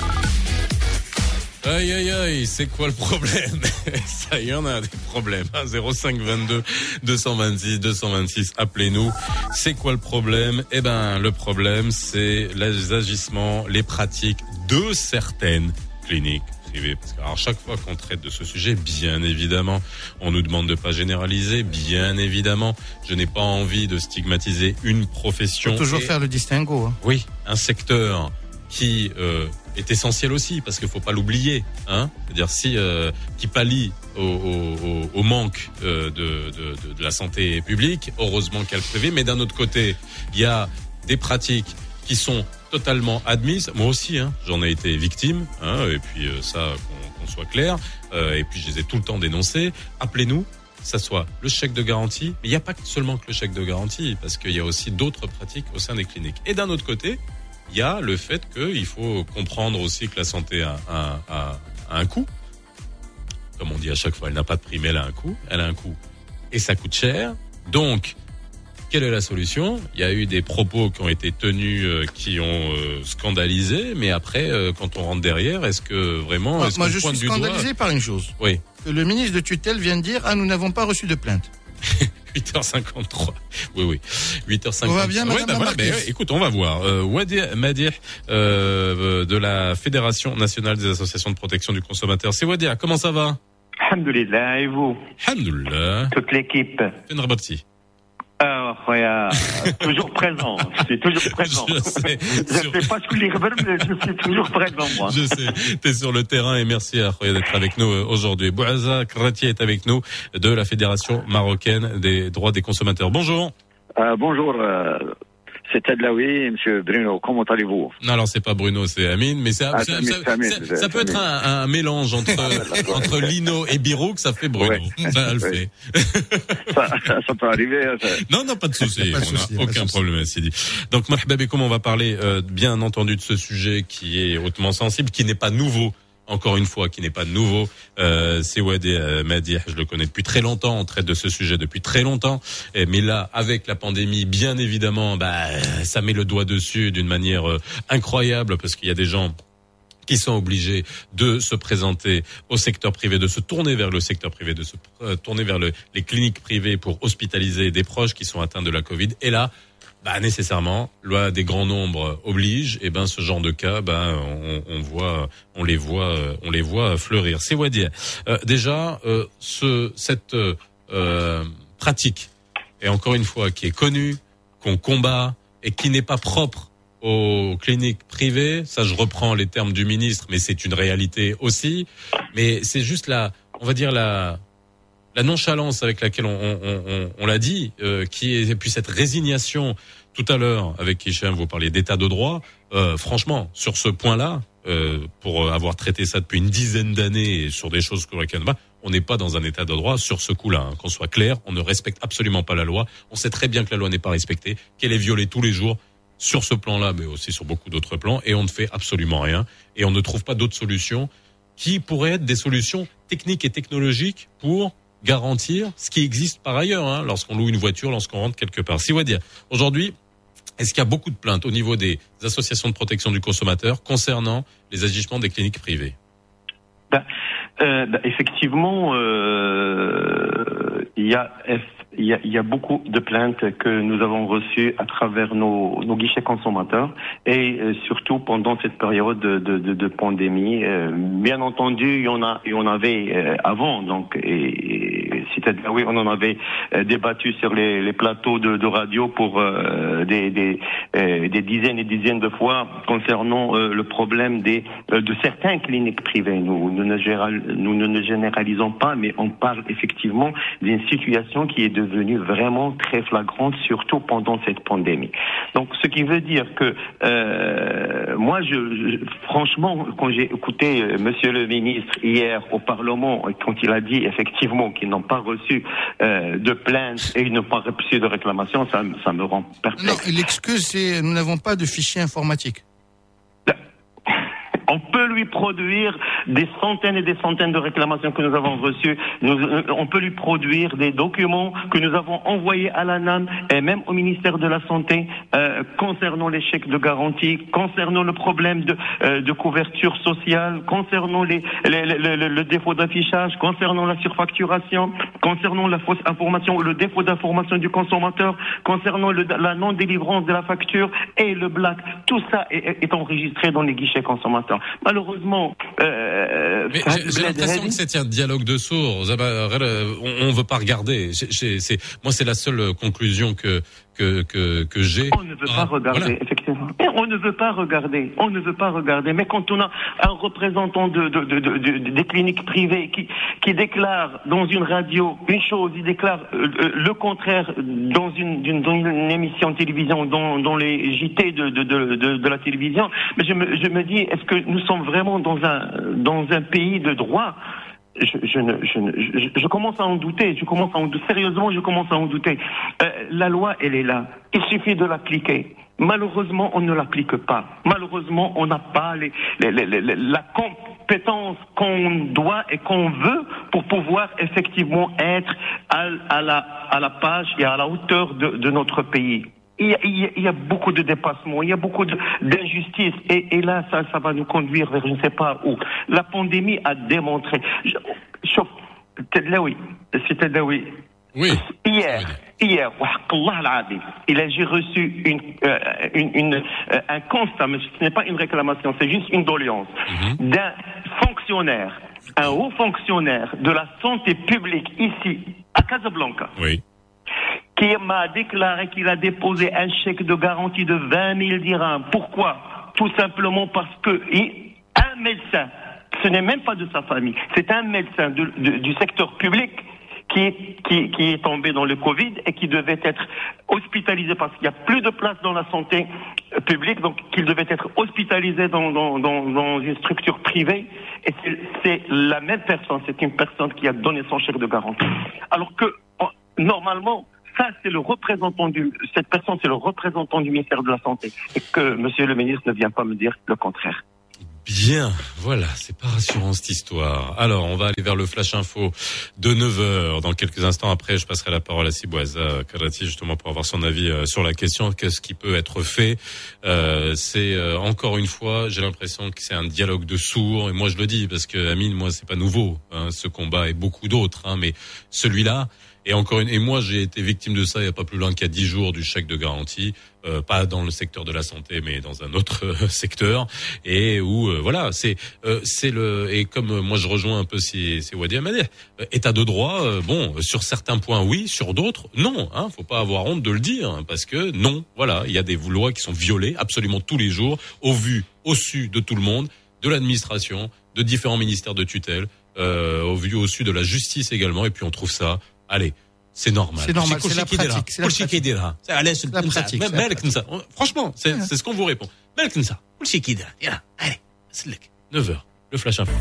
Aïe aïe aïe, c'est quoi le problème? Ça y en a des problèmes. 05 22 226 226, appelez-nous. C'est quoi le problème? Eh ben, le problème, c'est les agissements, les pratiques de certaines cliniques privées. Parce que, alors, chaque fois qu'on traite de ce sujet, bien évidemment, on nous demande de pas généraliser. Bien évidemment, je n'ai pas envie de stigmatiser une profession. Faut toujours faire le distinguo. Hein. Oui, un secteur qui est essentiel aussi, parce qu'il faut pas l'oublier, hein. C'est-à-dire qui pallie au manque de la santé publique. Heureusement qu'il y a le privé, mais d'un autre côté, il y a des pratiques qui sont totalement admises. Moi aussi, hein, j'en ai été victime, hein, et puis ça, qu'on soit clair. Et puis je les ai tout le temps dénoncés. Appelez-nous. Ça soit le chèque de garantie, mais il n'y a pas seulement que le chèque de garantie, parce qu'il y a aussi d'autres pratiques au sein des cliniques. Et d'un autre côté, il y a le fait qu'il faut comprendre aussi que la santé a un coût. Comme on dit à chaque fois, elle n'a pas de prix, mais elle a un coût. Elle a un coût et ça coûte cher. Donc, quelle est la solution? Il y a eu des propos qui ont été tenus, qui ont scandalisé, mais après, quand on rentre derrière, est-ce que vraiment... Moi, je suis scandalisé par une chose. Oui. Que le ministre de tutelle vient de dire « Ah, nous n'avons pas reçu de plainte ». 8h53. Oui. 8h53. On va bien, madame la voilà, écoute, on va voir. Wadi Madih, de la Fédération nationale des associations de protection du consommateur. C'est Wadia, comment ça va? Alhamdulillah, et vous? Alhamdulillah. Toute l'équipe. Fais Rabati. Toujours présent. Je suis toujours présent. Je sais. Je ne sais pas ce que les rebelles, mais je suis toujours présent, moi. Je sais. T'es sur le terrain et merci à Khoya d'être avec nous aujourd'hui. Bouaza Krati est avec nous de la Fédération marocaine des droits des consommateurs. Bonjour. Bonjour. C'est Tadlaoui, monsieur Bruno. Comment allez-vous? Non, alors c'est pas Bruno, c'est Amine, mais ça peut être un mélange entre Lino et Biro que ça fait Bruno. Ouais. Ça le fait. Ça peut arriver. Non, pas de souci. On n'a aucun problème, Sidi. Donc, Mahbab, comment on va parler, bien entendu, de ce sujet qui est hautement sensible, qui n'est pas nouveau. Encore une fois, qui n'est pas nouveau, c'est Wadi Madih, je le connais depuis très longtemps, on traite de ce sujet depuis très longtemps, mais là, avec la pandémie, bien évidemment, ça met le doigt dessus d'une manière incroyable, parce qu'il y a des gens qui sont obligés de se présenter au secteur privé, de se tourner vers le secteur privé, de se tourner vers les cliniques privées pour hospitaliser des proches qui sont atteints de la Covid, et là, nécessairement, loi des grands nombres oblige, et ce genre de cas, on les voit fleurir. C'est Wadi. Déjà, cette pratique, et encore une fois, qui est connue, qu'on combat, et qui n'est pas propre aux cliniques privées, ça je reprends les termes du ministre, mais c'est une réalité aussi, mais c'est juste la nonchalance avec laquelle on l'a dit, et puis cette résignation. Tout à l'heure, avec Hicham, vous parliez d'état de droit. Franchement, sur ce point-là, pour avoir traité ça depuis une dizaine d'années et sur des choses sur lesquelles on n'est pas dans un état de droit sur ce coup-là. Qu'on soit clair, on ne respecte absolument pas la loi. On sait très bien que la loi n'est pas respectée, qu'elle est violée tous les jours sur ce plan-là, mais aussi sur beaucoup d'autres plans, et on ne fait absolument rien. Et on ne trouve pas d'autres solutions qui pourraient être des solutions techniques et technologiques pour garantir ce qui existe par ailleurs, lorsqu'on loue une voiture, lorsqu'on rentre quelque part. Si on va dire, aujourd'hui, est-ce qu'il y a beaucoup de plaintes au niveau des associations de protection du consommateur concernant les agissements des cliniques privées? Effectivement, il y a beaucoup de plaintes que nous avons reçues à travers nos guichets consommateurs et surtout pendant cette période de pandémie. Bien entendu, il y en avait avant, donc et Cité de la Haoué, on en avait débattu sur les plateaux de radio pour des dizaines et dizaines de fois concernant le problème de certaines cliniques privées. Nous ne généralisons pas, mais on parle effectivement d'une situation qui est devenue vraiment très flagrante, surtout pendant cette pandémie. Donc, ce qui veut dire que moi, franchement, quand j'ai écouté Monsieur le ministre hier au Parlement, quand il a dit effectivement qu'ils n'ont pas reçu de plainte et ils n'ont pas reçu de réclamation, ça me rend perplexe. Non, l'excuse, c'est nous n'avons pas de fichier informatique. On peut lui produire des centaines et des centaines de réclamations que nous avons reçues. On peut lui produire des documents que nous avons envoyés à l'ANAM et même au ministère de la Santé concernant les chèques de garantie, concernant le problème de couverture sociale, concernant le défaut d'affichage, concernant la surfacturation, concernant la fausse information, le défaut d'information du consommateur, concernant la non-délivrance de la facture et le black. Tout ça est enregistré dans les guichets consommateurs. Malheureusement, j'ai l'impression que c'est un dialogue de sourds. On veut pas regarder. Moi, c'est la seule conclusion que j'ai. On ne veut pas regarder, effectivement. Et on ne veut pas regarder. Mais quand on a un représentant des cliniques privées qui déclare dans une radio une chose, il déclare le contraire dans une émission de télévision, dans les JT de la télévision, mais je me dis, est-ce que nous sommes vraiment dans un pays de droit? Je commence à en douter. Sérieusement, je commence à en douter. La loi, elle est là. Il suffit de l'appliquer. Malheureusement, on ne l'applique pas. Malheureusement, on n'a pas la compétence qu'on doit et qu'on veut pour pouvoir effectivement être à la page et à la hauteur de notre pays. Il y a beaucoup de dépassements, il y a beaucoup d'injustices, et là, ça va nous conduire vers je ne sais pas où. La pandémie a démontré. C'était là, oui. Oui. Hier, j'ai reçu un constat, mais ce n'est pas une réclamation, c'est juste une doléance d'un fonctionnaire, un haut fonctionnaire de la santé publique ici, à Casablanca. Oui. Qui m'a déclaré qu'il a déposé un chèque de garantie de 20 000 dirhams. Pourquoi? Tout simplement parce que un médecin, ce n'est même pas de sa famille, c'est un médecin du secteur public qui est tombé dans le Covid et qui devait être hospitalisé parce qu'il n'y a plus de place dans la santé publique, donc qu'il devait être hospitalisé dans une structure privée. Et c'est la même personne, c'est une personne qui a donné son chèque de garantie. Alors que, normalement, ça, cette personne, c'est le représentant du ministère de la Santé. Et que monsieur le ministre ne vient pas me dire le contraire. Bien, voilà, c'est pas rassurant cette histoire. Alors, on va aller vers le Flash Info de 9h. Dans quelques instants après, je passerai la parole à Sibouaza Karati, justement, pour avoir son avis sur la question. Qu'est-ce qui peut être fait? C'est, encore une fois, j'ai l'impression que c'est un dialogue de sourds. Et moi, je le dis, parce que, Amine, moi, c'est pas nouveau, hein, ce combat et beaucoup d'autres, hein, mais celui-là, et moi, j'ai été victime de ça il y a pas plus loin qu'il y a 10 jours du chèque de garantie, pas dans le secteur de la santé, mais dans un autre secteur, et où voilà, et comme moi je rejoins un peu c'est Wadi Amadeh, état de droit, bon, sur certains points oui, sur d'autres non, hein, faut pas avoir honte de le dire, hein, parce que non, voilà, il y a des lois qui sont violées absolument tous les jours, au su de tout le monde, de l'administration, de différents ministères de tutelle, au su de la justice également, et puis on trouve ça. Allez, c'est normal. C'est normal, c'est la pratique. C'est la pratique. Franchement, c'est ce qu'on vous répond. Allez, 9h, le Flash Info.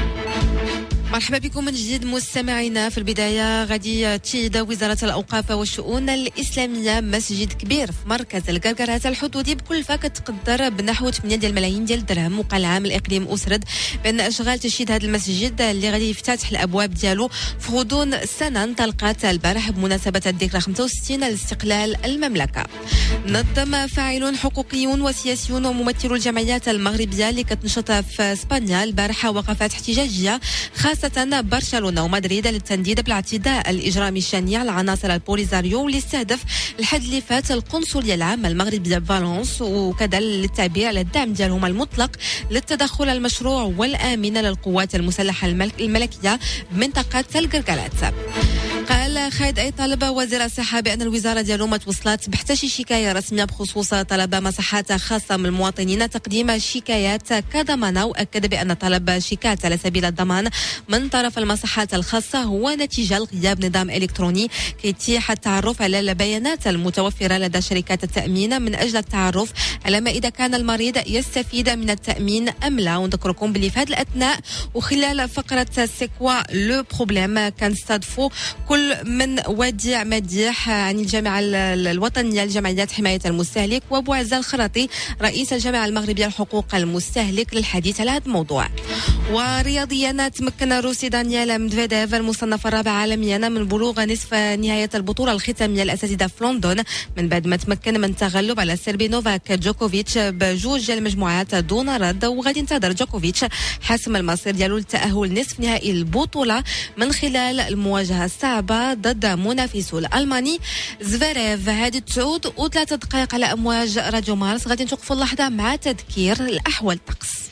مرحبا بكم من جديد مستمعينا. في البداية غادي تشيد وزارة الأوقاف والشؤون الإسلامية مسجد كبير في مركز القرقرات الحدودي بكلفة كتقدر بنحو 8 ديال الملايين ديال الدرهم. وقال عام الإقليم أسرد بأن أشغال تشييد هذا المسجد اللي غادي يفتتح الأبواب ديالو في غضون السنة انطلقت البارح بمناسبة الذكرى 65 لاستقلال المملكة. نظم فاعلون حقوقيون وسياسيون وممثلو الجمعيات المغربية اللي كتنشط في اسبانيا البارحة وقفات احتجاجية خاصة برشلونة ومدريد للتنديد بالاعتداء الإجرامي الشنيع على عناصر البوليزاريو واللي استهدف الحد اللي فات القنصلية العامة المغربية بفالنس، وكذا للتعبير على الدعم ديالهم المطلق للتدخل المشروع والآمن للقوات المسلحة الملكية بمنطقة القرقرات. قال خالد أي طالبة وزير الصحة بأن الوزارة ديالو ما توصلت بحتى شي شكاية رسمية بخصوص طلب مصحات خاصة من المواطنين تقديم شكايات كضمانة، وأكد بأن طلب شيكات على سبيل الضمان من طرف المصحات الخاصة هو نتيجة لغياب نظام إلكتروني كيتيح التعرف على البيانات المتوفرة لدى شركات التأمين من أجل التعرف على ما إذا كان المريض يستفيد من التأمين أم لا. ونذكركم باللي في هذه الأثناء وخلال فقرة سيكوا لو بروبليم كنستضيفوا كل من وديع مديح عن الجامعة الوطنية لجمعيات حماية المستهلك وأبو عزة الخراطي رئيس الجامعة المغربية لحقوق المستهلك للحديث على هذا الموضوع. ورياضيا تمكن الروسي دانيال ميدفيديف المصنف الرابع عالميا من بلوغ نصف نهاية البطولة الختامية الأساتذة في لندن من بعد ما تمكن من التغلب على السربي نوفاك جوكوفيتش بجوج المجموعات دون رد. وغادي ينتظر جوكوفيتش حسم المصير ديالو للتأهل نصف نهائي البطولة من خلال المواجهة الصعبة ضد منافسه الألماني زفيريف. هذه 9:03 دقائق على أمواج راديو مارس. غادي نتوقفوا اللحظة مع تذكير الأحوال الطقس.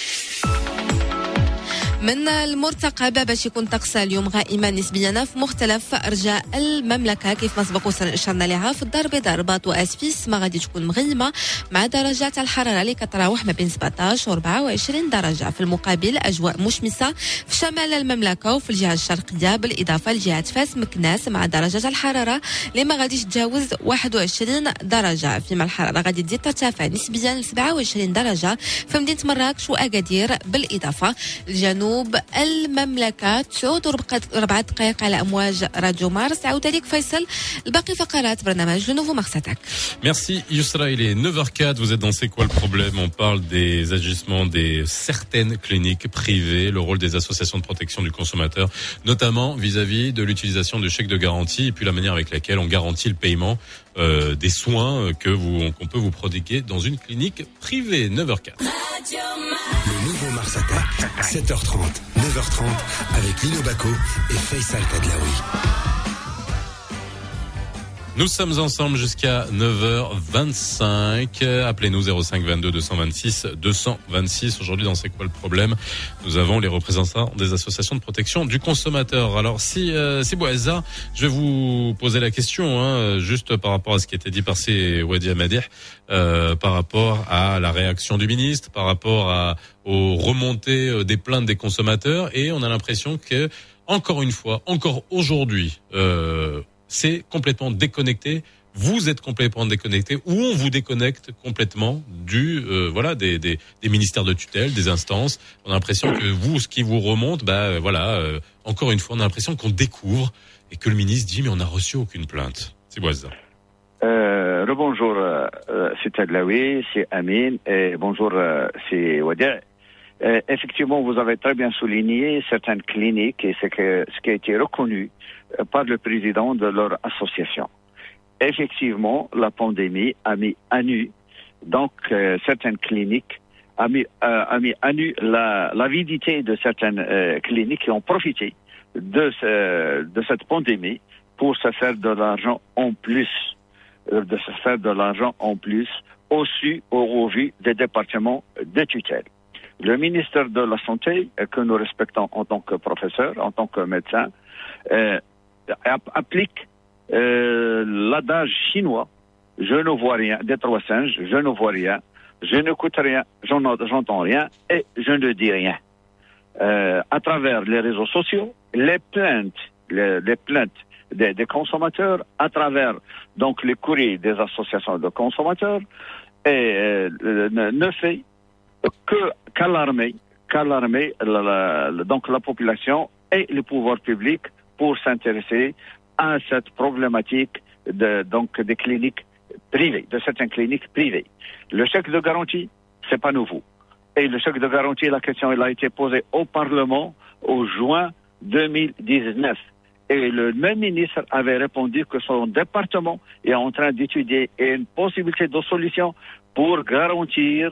من المرتقب باش يكون طقس اليوم غائما نسبيا في مختلف ارجاء المملكه كيف ما سبق اشرنا لها. في الدار البيضاء الرباط واسفيس ما غادي تكون مغيمه مع درجات الحراره اللي كتراوح ما بين 17 و 24 درجه. في المقابل اجواء مشمسه في شمال المملكه وفي الجهه الشرقيه بالاضافه لجهه فاس مكناس مع درجات الحراره اللي ما غاديش تجاوز 21 درجه. فيما الحراره غادي تزيد ترتفع نسبيا ل 27 درجه في مدينه مراكش واكادير بالاضافه لجنوب المملكة. 9:04 دقائق على أمواج راديو مارس. عودة لك فيصل الباقي فقرات برنامج لو نوفو مارساتاك. Merci Yousra, il est 9h04, vous êtes dans C'est quoi le problème? On parle des agissements des certaines cliniques privées, le rôle des associations de protection du consommateur, notamment vis-à-vis de l'utilisation du chèque de garantie et puis la manière avec laquelle on garantit le paiement des soins qu'on peut vous prodiguer dans une clinique privée. 9h04. Le nouveau Mars Attack, 7h30, 9h30, avec Lino Bacco et Faisal Tadlaoui. Nous sommes ensemble jusqu'à 9h25. Appelez-nous 05 22 226 226. Aujourd'hui, dans C'est quoi le problème? Nous avons les représentants des associations de protection du consommateur. Alors, si Bouazza, je vais vous poser la question, juste par rapport à ce qui était dit par Wadi Amadih, par rapport à la réaction du ministre, par rapport aux remontées des plaintes des consommateurs, et on a l'impression que, encore une fois, encore aujourd'hui, c'est complètement déconnecté. Vous êtes complètement déconnecté, ou on vous déconnecte complètement des ministères de tutelle, des instances. On a l'impression que vous, ce qui vous remonte, encore une fois, on a l'impression qu'on découvre et que le ministre dit mais on n'a reçu aucune plainte. C'est Boazza. Rebonjour, c'est Tadlaoui, c'est Amin, et bonjour, c'est Wadi. Effectivement, vous avez très bien souligné certaines cliniques et ce qui a été reconnu par le président de leur association. Effectivement, la pandémie a mis à nu, donc certaines cliniques, a mis à nu l'avidité de certaines cliniques qui ont profité de cette pandémie pour se faire de l'argent en plus, au vu des départements de tutelle. Le ministère de la Santé, que nous respectons en tant que professeur, en tant que médecin, applique l'adage chinois « je ne vois rien », des trois singes, « je ne vois rien », « je n'écoute rien »,« j'entends rien » et « je ne dis rien ». À travers les réseaux sociaux, les plaintes des consommateurs, à travers donc les courriers des associations de consommateurs, et ne fait qu'alarmer donc la population et les pouvoirs publics pour s'intéresser à cette problématique des cliniques privées, de certaines cliniques privées. Le chèque de garantie, c'est pas nouveau. Et le chèque de garantie, la question elle a été posée au Parlement au juin 2019. Et le même ministre avait répondu que son département est en train d'étudier une possibilité de solution pour garantir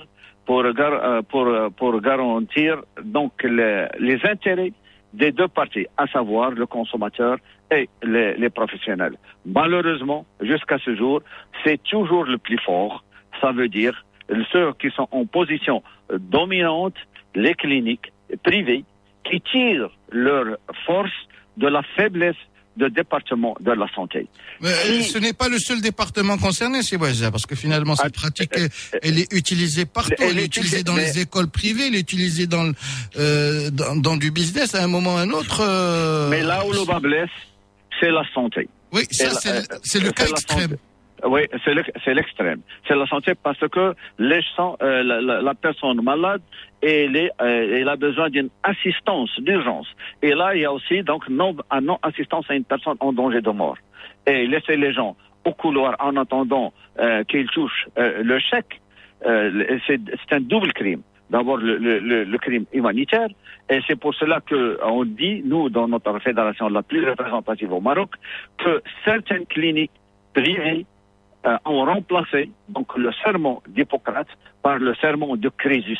donc les intérêts des deux parties, à savoir le consommateur et les professionnels. Malheureusement, jusqu'à ce jour, c'est toujours le plus fort. Ça veut dire ceux qui sont en position dominante, les cliniques privées, qui tirent leur force de la faiblesse de département de la santé. Mais ce n'est pas le seul département concerné, c'est Bouazizi, parce que finalement cette pratique, elle est utilisée partout. Elle est utilisée dans les écoles privées, elle est utilisée dans du business à un moment ou à un autre. Mais là où le bas blesse, c'est la santé. Oui, ça c'est le cas extrême. Oui, c'est l'extrême. C'est la santé parce que la personne malade, elle a besoin d'une assistance d'urgence. Et là, il y a aussi donc non-assistance à une personne en danger de mort. Et laisser les gens au couloir en attendant qu'ils touchent le chèque, c'est un double crime. D'abord, le crime humanitaire. Et c'est pour cela qu'on dit, nous, dans notre fédération la plus représentative au Maroc, que certaines cliniques privées ont remplacé donc le serment d'Hippocrate par le serment de Crésus.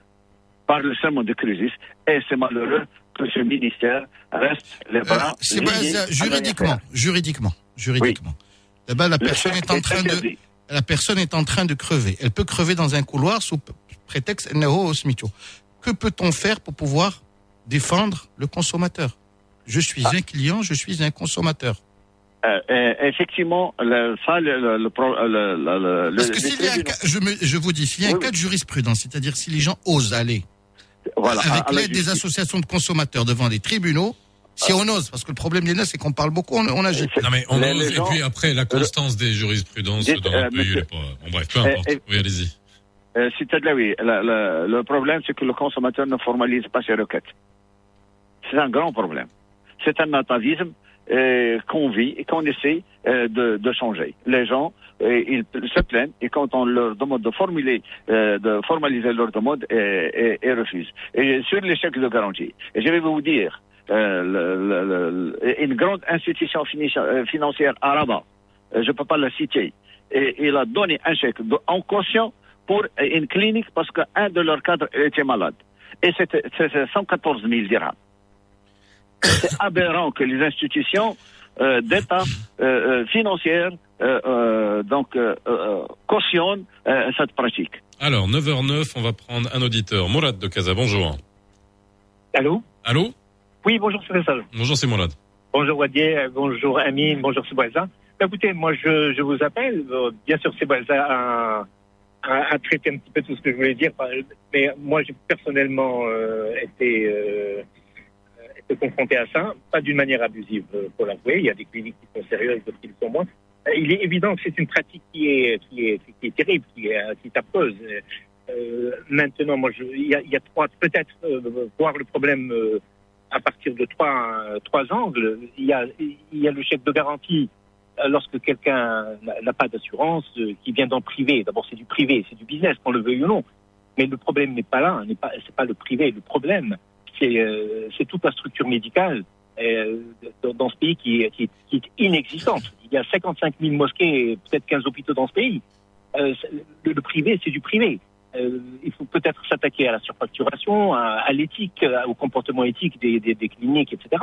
Et c'est malheureux que ce ministère reste les bras liés. Juridiquement. Oui. Là-bas, la personne est en train de crever. Elle peut crever dans un couloir sous prétexte Nao Smithio. Que peut-on faire pour pouvoir défendre le consommateur? Je suis un client, je suis un consommateur. Effectivement, parce que s'il y a un cas, je vous dis, s'il y a un cas de jurisprudence, c'est-à-dire si les gens osent aller avec l'aide des associations de consommateurs devant les tribunaux, si on ose, parce que le problème des c'est qu'on parle beaucoup, on agit. Non mais on ose, et puis après la constance des jurisprudences dans le pays, bon bref, peu importe. Oui, allez-y. Le problème, c'est que le consommateur ne formalise pas ses requêtes. C'est un grand problème. C'est un atavisme qu'on vit et qu'on essaie de changer. Les gens, ils se plaignent et quand on leur demande de formaliser leur demande, ils refusent. Et sur les chèques de garantie, et je vais vous dire, une grande institution financière à Rabat, je ne peux pas la citer, et il a donné un chèque en caution pour une clinique parce qu'un de leurs cadres était malade. Et c'était 114 000 dirhams. C'est aberrant que les institutions d'État financières cautionnent cette pratique. Alors, 9h09, on va prendre un auditeur. Mourad de Casa, bonjour. Allô? Oui, bonjour, c'est Faisal. Bonjour, c'est Mourad. Bonjour, Wadier. Bonjour, Amine. Bonjour, Sébouaza. Écoutez, moi, je vous appelle. Bien sûr, Sébouaza a traité un petit peu tout ce que je voulais dire. Mais moi, j'ai personnellement été confronté à ça, pas d'une manière abusive, pour l'avouer. Il y a des cliniques qui sont sérieuses, d'autres qui le sont moins. Il est évident que c'est une pratique qui est terrible, qui est affreuse. Maintenant, moi, il y a peut-être voir le problème à partir de trois angles. Il y a le chèque de garantie lorsque quelqu'un n'a pas d'assurance, qui vient dans le privé. D'abord, c'est du privé, c'est du business, qu'on le veuille ou non. Mais le problème n'est pas là, c'est pas le privé. Le problème, c'est toute la structure médicale dans ce pays qui est inexistante. Il y a 55 000 mosquées et peut-être 15 hôpitaux dans ce pays. Le privé, c'est du privé. Il faut peut-être s'attaquer à la surfacturation, à l'éthique, au comportement éthique des cliniques, etc.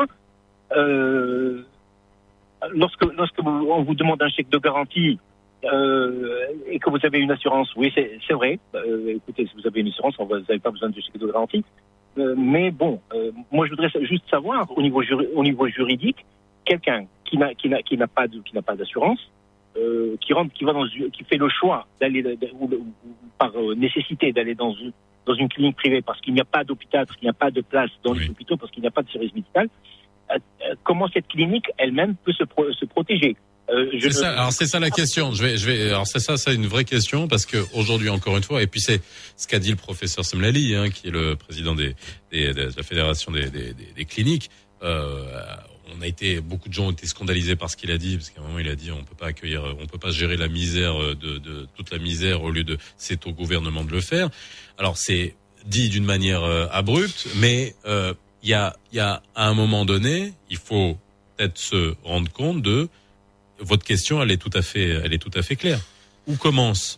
Lorsque on vous demande un chèque de garantie et que vous avez une assurance, oui, c'est vrai. Écoutez, si vous avez une assurance, vous n'avez pas besoin de chèque de garantie. Mais bon, moi je voudrais juste savoir au niveau juridique, quelqu'un qui n'a pas d'assurance, qui fait le choix d'aller ou par nécessité d'aller dans une clinique privée parce qu'il n'y a pas d'hôpital, parce qu'il n'y a pas de place dans les hôpitaux, parce qu'il n'y a pas de service médical. Comment cette clinique elle-même peut se protéger? C'est ça la question. C'est une vraie question parce que aujourd'hui encore une fois, et puis c'est ce qu'a dit le professeur Semlali, qui est le président de la fédération des cliniques. Beaucoup de gens ont été scandalisés par ce qu'il a dit, parce qu'à un moment il a dit on peut pas gérer la misère de toute la misère au lieu de c'est au gouvernement de le faire. Alors c'est dit d'une manière abrupte, mais il y a à un moment donné, il faut peut-être se rendre compte de votre question, elle est tout à fait claire. Où commence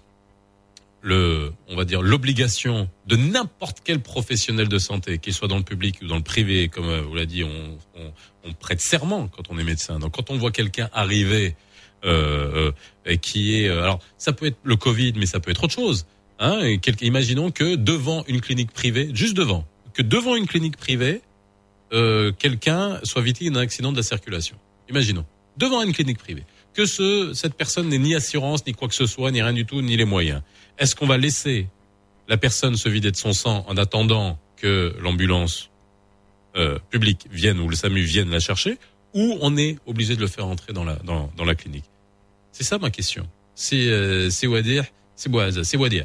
l'obligation de n'importe quel professionnel de santé, qu'il soit dans le public ou dans le privé, comme vous l'a dit, on prête serment quand on est médecin. Donc quand on voit quelqu'un arriver qui est, alors ça peut être le Covid, mais ça peut être autre chose. Imaginons que devant une clinique privée, devant une clinique privée, quelqu'un soit victime d'un accident de la circulation. devant une clinique privée, que cette personne n'ait ni assurance, ni quoi que ce soit, ni rien du tout, ni les moyens. Est-ce qu'on va laisser la personne se vider de son sang en attendant que l'ambulance publique vienne ou le SAMU vienne la chercher, ou on est obligé de le faire entrer dans la clinique? C'est ça ma question. C'est Wadir, c'est Bouaza, c'est Wadir.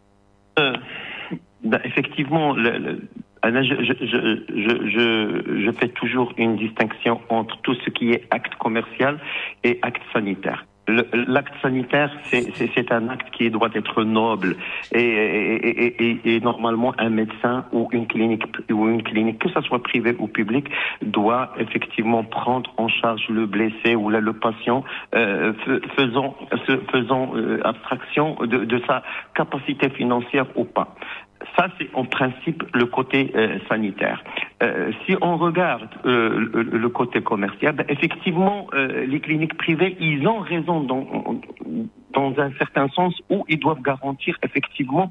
Effectivement, je fais toujours une distinction entre tout ce qui est acte commercial et acte sanitaire. L'acte sanitaire, c'est un acte qui doit être noble et normalement un médecin ou une clinique, que ça soit privé ou public, doit effectivement prendre en charge le blessé ou le patient, faisant abstraction de sa capacité financière ou pas. Ça, c'est en principe le côté sanitaire. Si on regarde le côté commercial, effectivement, les cliniques privées, ils ont raison dans un certain sens où ils doivent garantir effectivement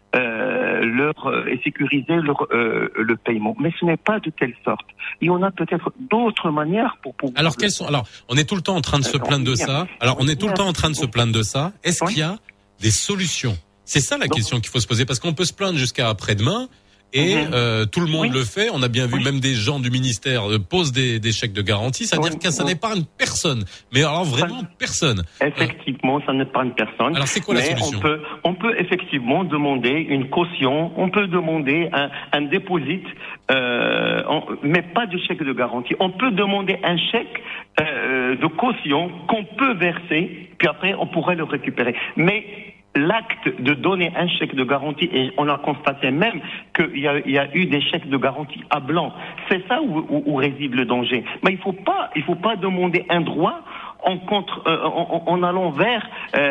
et sécuriser le paiement. Mais ce n'est pas de telle sorte. Il y en a peut-être d'autres manières pour pouvoir... Alors, quelles sont... Alors, on est tout le temps en train de se plaindre de ça. Est-ce qu'il y a des solutions? C'est ça la question qu'il faut se poser, parce qu'on peut se plaindre jusqu'à après-demain et tout le monde le fait. On a bien vu même des gens du ministère posent des chèques de garantie, c'est-à-dire que ça n'épargne personne. Mais alors vraiment personne. Effectivement, ça n'épargne personne. Alors c'est quoi la solution? On peut effectivement demander une caution, on peut demander un dépôt, mais pas de chèque de garantie. On peut demander un chèque de caution qu'on peut verser, puis après on pourrait le récupérer. Mais l'acte de donner un chèque de garantie, et on a constaté même qu'il y a eu des chèques de garantie à blanc, c'est ça où réside le danger. Mais il faut pas demander un droit en allant vers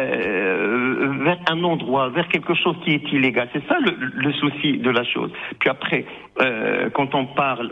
un non-droit, vers quelque chose qui est illégal. C'est ça le souci de la chose. Puis après, quand on parle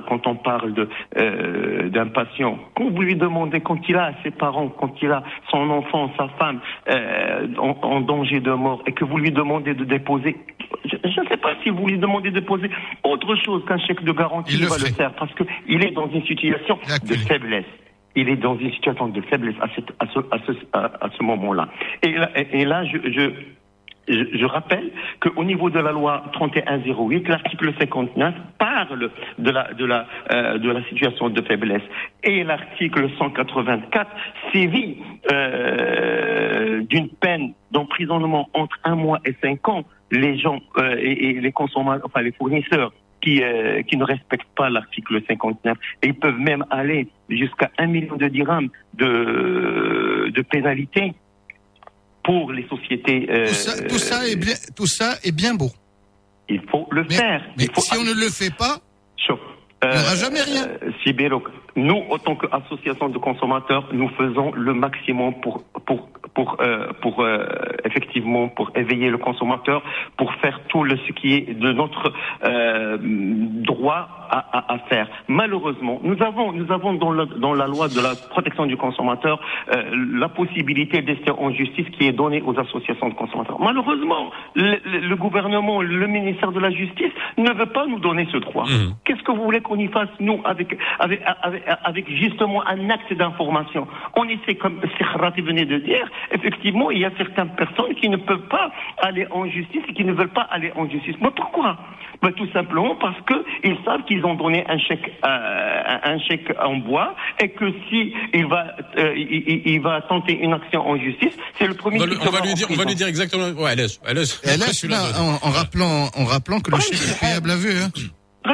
d'un patient, quand vous lui demandez, quand il a ses parents, quand il a son enfant, sa femme en danger de mort, et que vous lui demandez de déposer, je ne sais pas si vous lui demandez de déposer autre chose qu'un chèque de garantie, il va le faire, parce que il est dans une situation de faiblesse. Il est dans une situation de faiblesse à ce moment-là. Et là, je rappelle qu'au niveau de la loi 3108, l'article 59 parle de la situation de faiblesse. Et l'article 184 sévit d'une peine d'emprisonnement entre 1 mois et 5 ans les gens et les consommateurs, enfin les fournisseurs qui ne respectent pas l'article 59, et ils peuvent même aller jusqu'à 1 million de dirhams de pénalité pour les sociétés. Tout ça est bien beau. Il faut le faire. Mais si on ne le fait pas, il n'y aura jamais rien. Sibéro, nous, en tant qu'association de consommateurs, nous faisons le maximum pour effectivement pour éveiller le consommateur, pour faire tout ce qui est de notre droit à faire. Malheureusement, nous avons dans la loi de la protection du consommateur la possibilité d'ester en justice qui est donnée aux associations de consommateurs. Malheureusement, le gouvernement, le ministère de la Justice ne veut pas nous donner ce droit. Qu'est-ce que vous voulez qu'on y fasse, nous, avec justement un acte d'information? On essaie, comme Serrati venait de dire, effectivement, il y a certaines personnes qui ne peuvent pas aller en justice et qui ne veulent pas aller en justice. Mais pourquoi? Tout simplement parce qu'ils savent qu'ils ont donné un chèque en bois, et que si il va tenter une action en justice, c'est le premier. On va lui dire exactement. Ouais, laisse, en rappelant que le chèque est payable à vue. Hein. On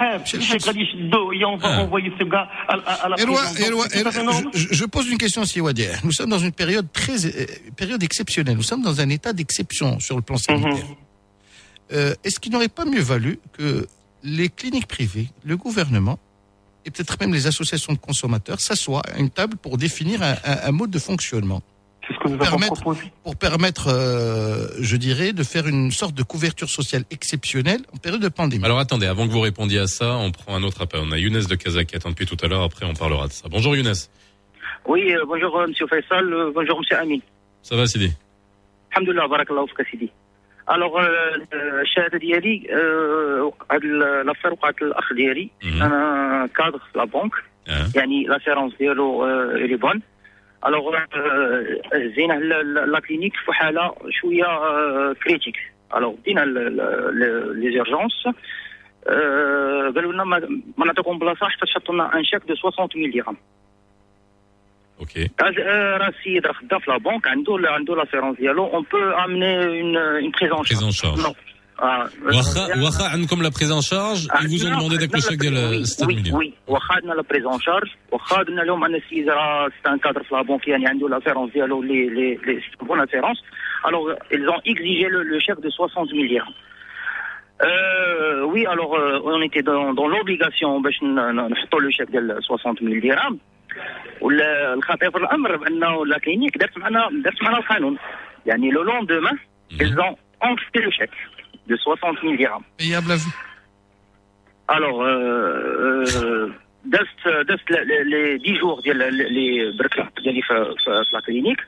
va envoyer ce gars à la prison. Je pose une question aussi, Wadir. Nous sommes dans une période exceptionnelle. Nous sommes dans un état d'exception sur le plan sanitaire. Est-ce qu'il n'aurait pas mieux valu que les cliniques privées, le gouvernement et peut-être même les associations de consommateurs s'assoient à une table pour définir un mode de fonctionnement? C'est ce que nous avons proposé. Pour permettre, je dirais, de faire une sorte de couverture sociale exceptionnelle en période de pandémie. Alors attendez, avant que vous répondiez à ça, on prend un autre appel. On a Younes de Casa qui attend depuis tout à l'heure, après on parlera de ça. Bonjour Younes. Oui, bonjour Monsieur Faisal, bonjour Monsieur Amin. Ça va Sidi? Alhamdulillah, barakallahu fika Sidi. Alors الشهاده ديالي هاد الافير وقعت الاخ ديالي انا كادر لا بنك يعني لاسيرونس ديالو لي بون. الوغ زينه لا كلينيك في حاله شويه كريتيك. الوغ دينا لي زيرجونس قالوا لنا ما نعطيكم بلاصه حتى تحطوا لنا ان شيك دو 60000 درهم. اوكي. راه السيد راه خدام في لا بنك عنده لاسيرونس ديالو اون بو امني اون بريزون شارج. واخا عندكم لا بريز ان شارج ils vous ont demandé داك الشيك ديال 6 مليون. وي واخا عندنا لا بريز ان شارج واخا قلنا لهم ان السيد راه سي ان كادر في لا بنك يعني عنده لاسيرونس ديالو لي بون اسيرونس. الوغ ils ont exigé le chèque de 60000 dirhams. Oui, alors on était dans l'obligation باش نحطوا le chèque ديال 60000 dirhams. والخطير في الامر بانه لا كلينيك درت معنا القانون يعني لو لوندومان ils ont encaissé le chèque de 60000 dirhams. Payable à vue. Alors دست les 10 jours ديال les بركه ديالي في la clinique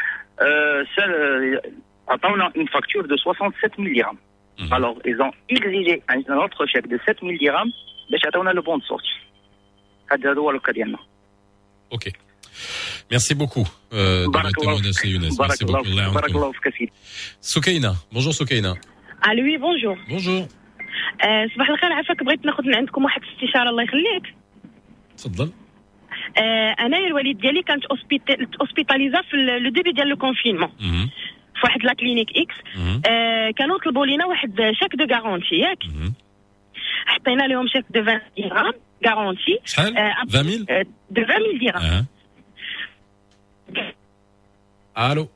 عطاونا une facture de 67000 dirhams. Alors ils ont exigé un autre chèque de 7000 dirhams باش عطاونا le bon de sortie. هذا هو الكا ديالنا. Ok. Merci beaucoup de votre témoignage, Younes. Merci beaucoup. Barakallahu fik سيدي. Soukaina. Bonjour Soukaina. الو وي بونجور. Bonjour. صباح الخير. عافاك بغيت ناخذ من عندكم واحد الاستشاره الله يخليك. تفضل. انايا الوالد ديالي كانت اوسبيتاليزا في لو ديبي ديال لو كونفينمون في واحد لا كلينيك اكس. كانوا طلبوا لينا واحد شاك دو غارونتي ياك. حطينا لهم شاك دو 20 درهم غارونتي. شحال 20000 دو 20000 درهم. الو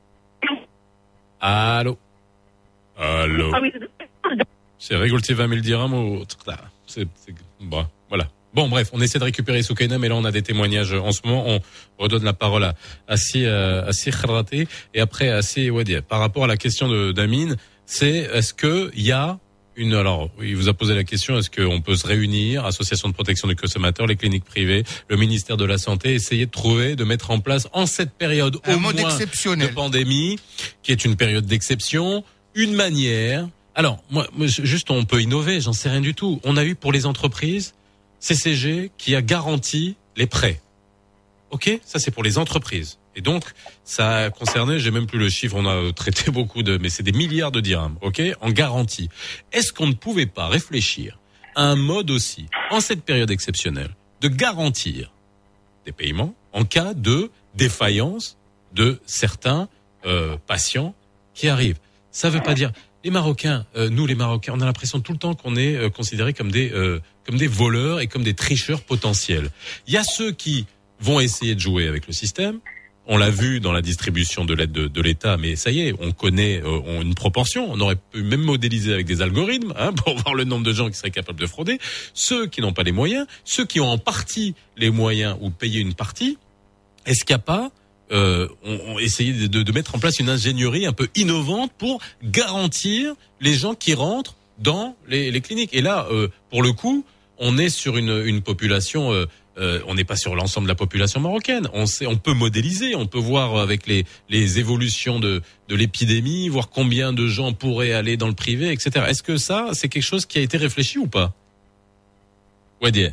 C'est récolter 20 000 dirhams ou c'est bon, voilà. Bon, bref, on essaie de récupérer Soukaina, mais là on a des témoignages en ce moment. On redonne la parole à Assi Kharraté et après à Assi Wadia. Par rapport à la question d'Amine, c'est est-ce que il y a alors, il vous a posé la question, est-ce qu'on peut se réunir, association de protection des consommateurs, les cliniques privées, le ministère de la Santé, essayer de trouver, de mettre en place en cette période au moins de pandémie, qui est une période d'exception, une manière. Alors, moi, juste, on peut innover, j'en sais rien du tout. On a eu pour les entreprises, CCG, qui a garanti les prêts. Ok? Ça, c'est pour les entreprises. Et donc, ça a concerné, j'ai même plus le chiffre, on a traité beaucoup mais c'est des milliards de dirhams, ok, en garantie. Est-ce qu'on ne pouvait pas réfléchir à un mode aussi, en cette période exceptionnelle, de garantir des paiements en cas de défaillance de certains patients qui arrivent? Ça veut pas dire, les Marocains, nous les Marocains, on a l'impression tout le temps qu'on est considérés comme des voleurs et comme des tricheurs potentiels. Il y a ceux qui vont essayer de jouer avec le système. On l'a vu dans la distribution de l'aide de l'État, mais ça y est, on connaît une proportion. On aurait pu même modéliser avec des algorithmes pour voir le nombre de gens qui seraient capables de frauder. Ceux qui n'ont pas les moyens, ceux qui ont en partie les moyens ou payer une partie, est-ce qu'il n'y a pas on essayé de mettre en place une ingénierie un peu innovante pour garantir les gens qui rentrent dans les cliniques? Et là, pour le coup, on est sur une population... on n'est pas sur l'ensemble de la population marocaine. On peut modéliser, on peut voir avec les évolutions de l'épidémie, voir combien de gens pourraient aller dans le privé, etc. Est-ce que ça, c'est quelque chose qui a été réfléchi ou pas? Wadia.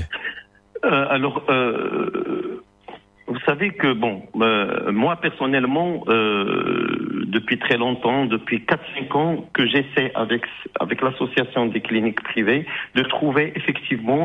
Alors, vous savez que moi personnellement, depuis très longtemps, depuis 4-5 ans, que j'essaie avec l'association des cliniques privées de trouver effectivement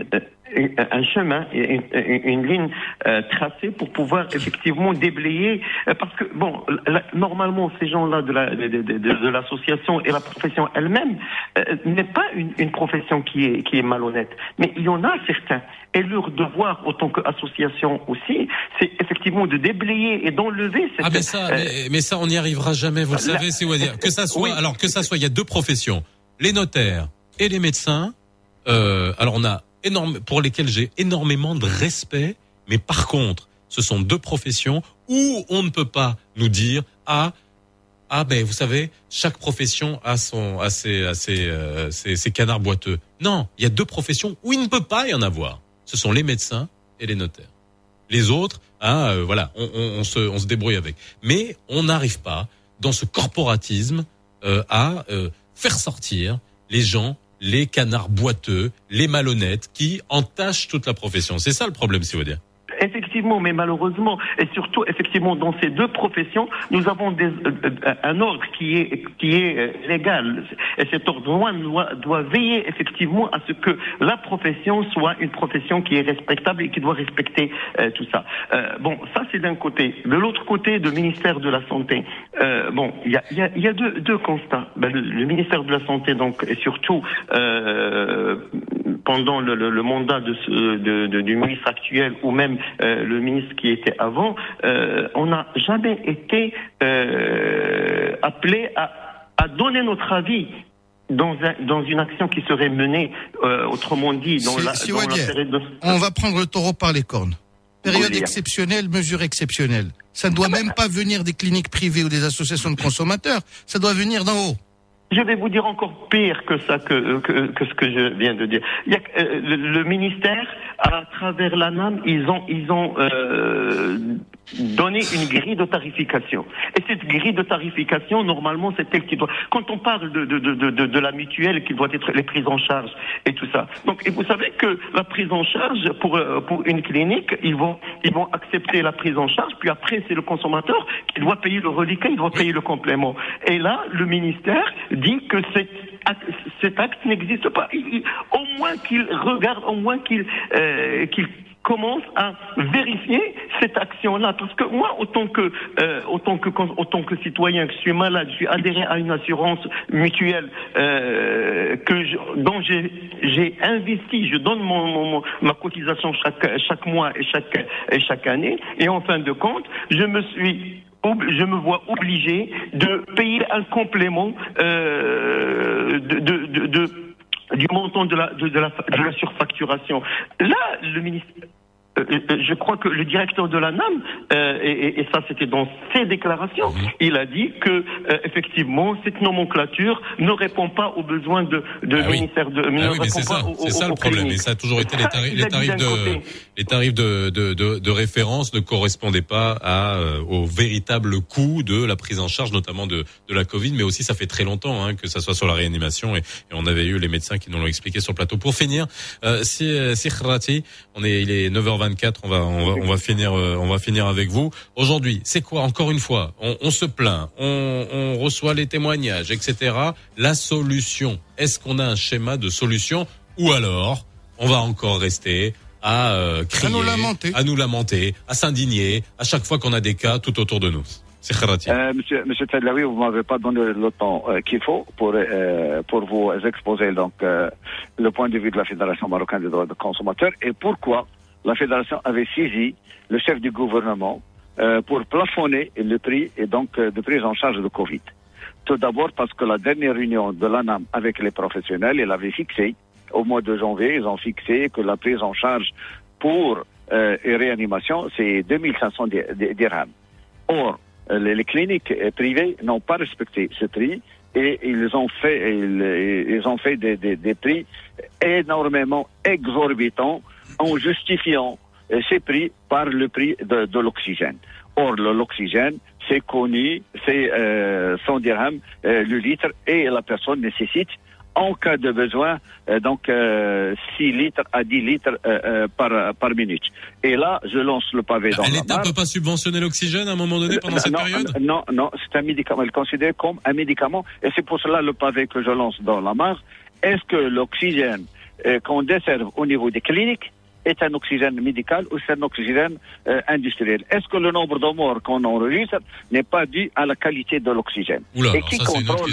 un chemin, une ligne tracée pour pouvoir effectivement déblayer, parce que normalement ces gens-là de l'association et la profession elle-même n'est pas une profession qui est malhonnête, mais il y en a certains, et leur devoir en tant qu'association aussi, c'est effectivement de déblayer et d'enlever cette... mais ça on n'y arrivera jamais, vous le savez, c'est Wadia. Que ça soit, alors que ça soit, il y a deux professions, les notaires et les médecins. Alors on a pour lesquels j'ai énormément de respect, mais par contre, ce sont deux professions où on ne peut pas nous dire vous savez, chaque profession a ses canards boiteux. Non, il y a deux professions où il ne peut pas y en avoir. Ce sont les médecins et les notaires. Les autres, on se débrouille avec. Mais on n'arrive pas dans ce corporatisme à faire sortir les gens les canards boiteux, les malhonnêtes qui entachent toute la profession. C'est ça le problème, si vous voulez. Effectivement, mais malheureusement, et surtout, effectivement, dans ces deux professions, nous avons un ordre qui est légal. Et cet ordre doit veiller effectivement à ce que la profession soit une profession qui est respectable et qui doit respecter tout ça. Bon, ça c'est d'un côté. De l'autre côté, le ministère de la Santé, bon, il y a deux constats. Le ministère de la Santé, donc, et surtout pendant le mandat du ministre actuel ou même le ministre qui était avant, on n'a jamais été appelé à donner notre avis dans une action qui serait menée, autrement dit, on va prendre le taureau par les cornes. Période exceptionnelle, mesure exceptionnelle. Ça ne doit même pas venir des cliniques privées ou des associations de consommateurs, ça doit venir d'en haut. Je vais vous dire encore pire que ça, que ce que je viens de dire. Il y a, le ministère, à travers l'ANAM, ils ont donné une grille de tarification. Et cette grille de tarification, normalement, c'est elle qui doit. Quand on parle de la mutuelle, qui doit être les prises en charge et tout ça. Donc, et vous savez que la prise en charge pour une clinique, ils vont accepter la prise en charge, puis après c'est le consommateur qui doit payer le reliquat, il doit payer le complément. Et là, le ministère dit que cet acte n'existe pas. Au moins qu'il regarde, au moins qu'il commence à vérifier cette action-là. Parce que moi, autant que citoyen, que je suis malade, je suis adhéré à une assurance mutuelle dont j'ai investi, je donne ma cotisation chaque mois et chaque année. Et en fin de compte, je me vois obligé de payer un complément du montant de la surfacturation. Là, le ministère, je crois que le directeur de l'ANAM, et ça c'était dans ses déclarations, il a dit que effectivement cette nomenclature ne répond pas aux besoins du ministère de. C'est ça le problème. Et ça a toujours été les tarifs de référence ne correspondaient pas au véritable coût de la prise en charge, notamment de la Covid, mais aussi ça fait très longtemps que ça soit sur la réanimation et on avait eu les médecins qui nous l'ont expliqué sur le plateau. Pour finir, Sikhrati, il est 9h24, on va finir avec vous. Aujourd'hui, c'est quoi, encore une fois, on se plaint, on reçoit les témoignages, etc. La solution, est-ce qu'on a un schéma de solution ou alors on va encore rester à crier, à nous lamenter, à s'indigner à chaque fois qu'on a des cas tout autour de nous? C'est Kharati. Monsieur Tadlaoui, vous m'avez pas donné le temps qu'il faut pour vous exposer donc le point de vue de la Fédération marocaine des droits des consommateurs et pourquoi la Fédération avait saisi le chef du gouvernement pour plafonner le prix et donc de prise en charge de Covid. Tout d'abord parce que la dernière réunion de l'ANAM avec les professionnels, il avait fixé, au mois de janvier, ils ont fixé que la prise en charge pour réanimation, c'est 2500 dirhams. Or, les cliniques privées n'ont pas respecté ce prix et ils ont fait des prix énormément exorbitants en justifiant ces prix par le prix de l'oxygène. Or, l'oxygène, c'est connu, c'est 100 dirhams le litre et la personne nécessite en cas de besoin, 6 litres à 10 litres par minute. Et là, je lance le pavé dans la mare. L'État ne peut pas subventionner l'oxygène à un moment donné pendant cette période? Non, c'est un médicament. Elle est considérée comme un médicament. Et c'est pour cela le pavé que je lance dans la mare. Est-ce que l'oxygène qu'on desserve au niveau des cliniques est un oxygène médical ou c'est un oxygène industriel? Est-ce que le nombre de morts qu'on enregistre n'est pas dû à la qualité de l'oxygène? Et qui contrôle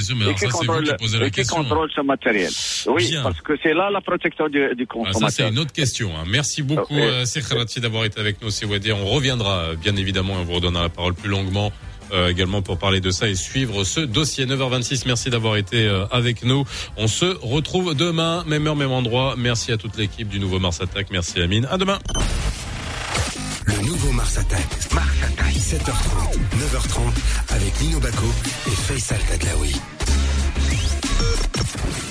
ce matériel? Oui, bien. Parce que c'est là la protection du consommateur. Ça, c'est une autre question. Merci beaucoup, Sikhrati, d'avoir été avec nous, Siwadi. On reviendra, bien évidemment, et on vous redonnera la parole plus longuement également pour parler de ça et suivre ce dossier. 9h26, merci d'avoir été avec nous. On se retrouve demain, même heure, même endroit. Merci à toute l'équipe du nouveau Mars Attack. Merci Amine. À demain. Le nouveau Mars Attack. 7h30, 9h30 avec Lino Bacco et Faisal Tadlaoui.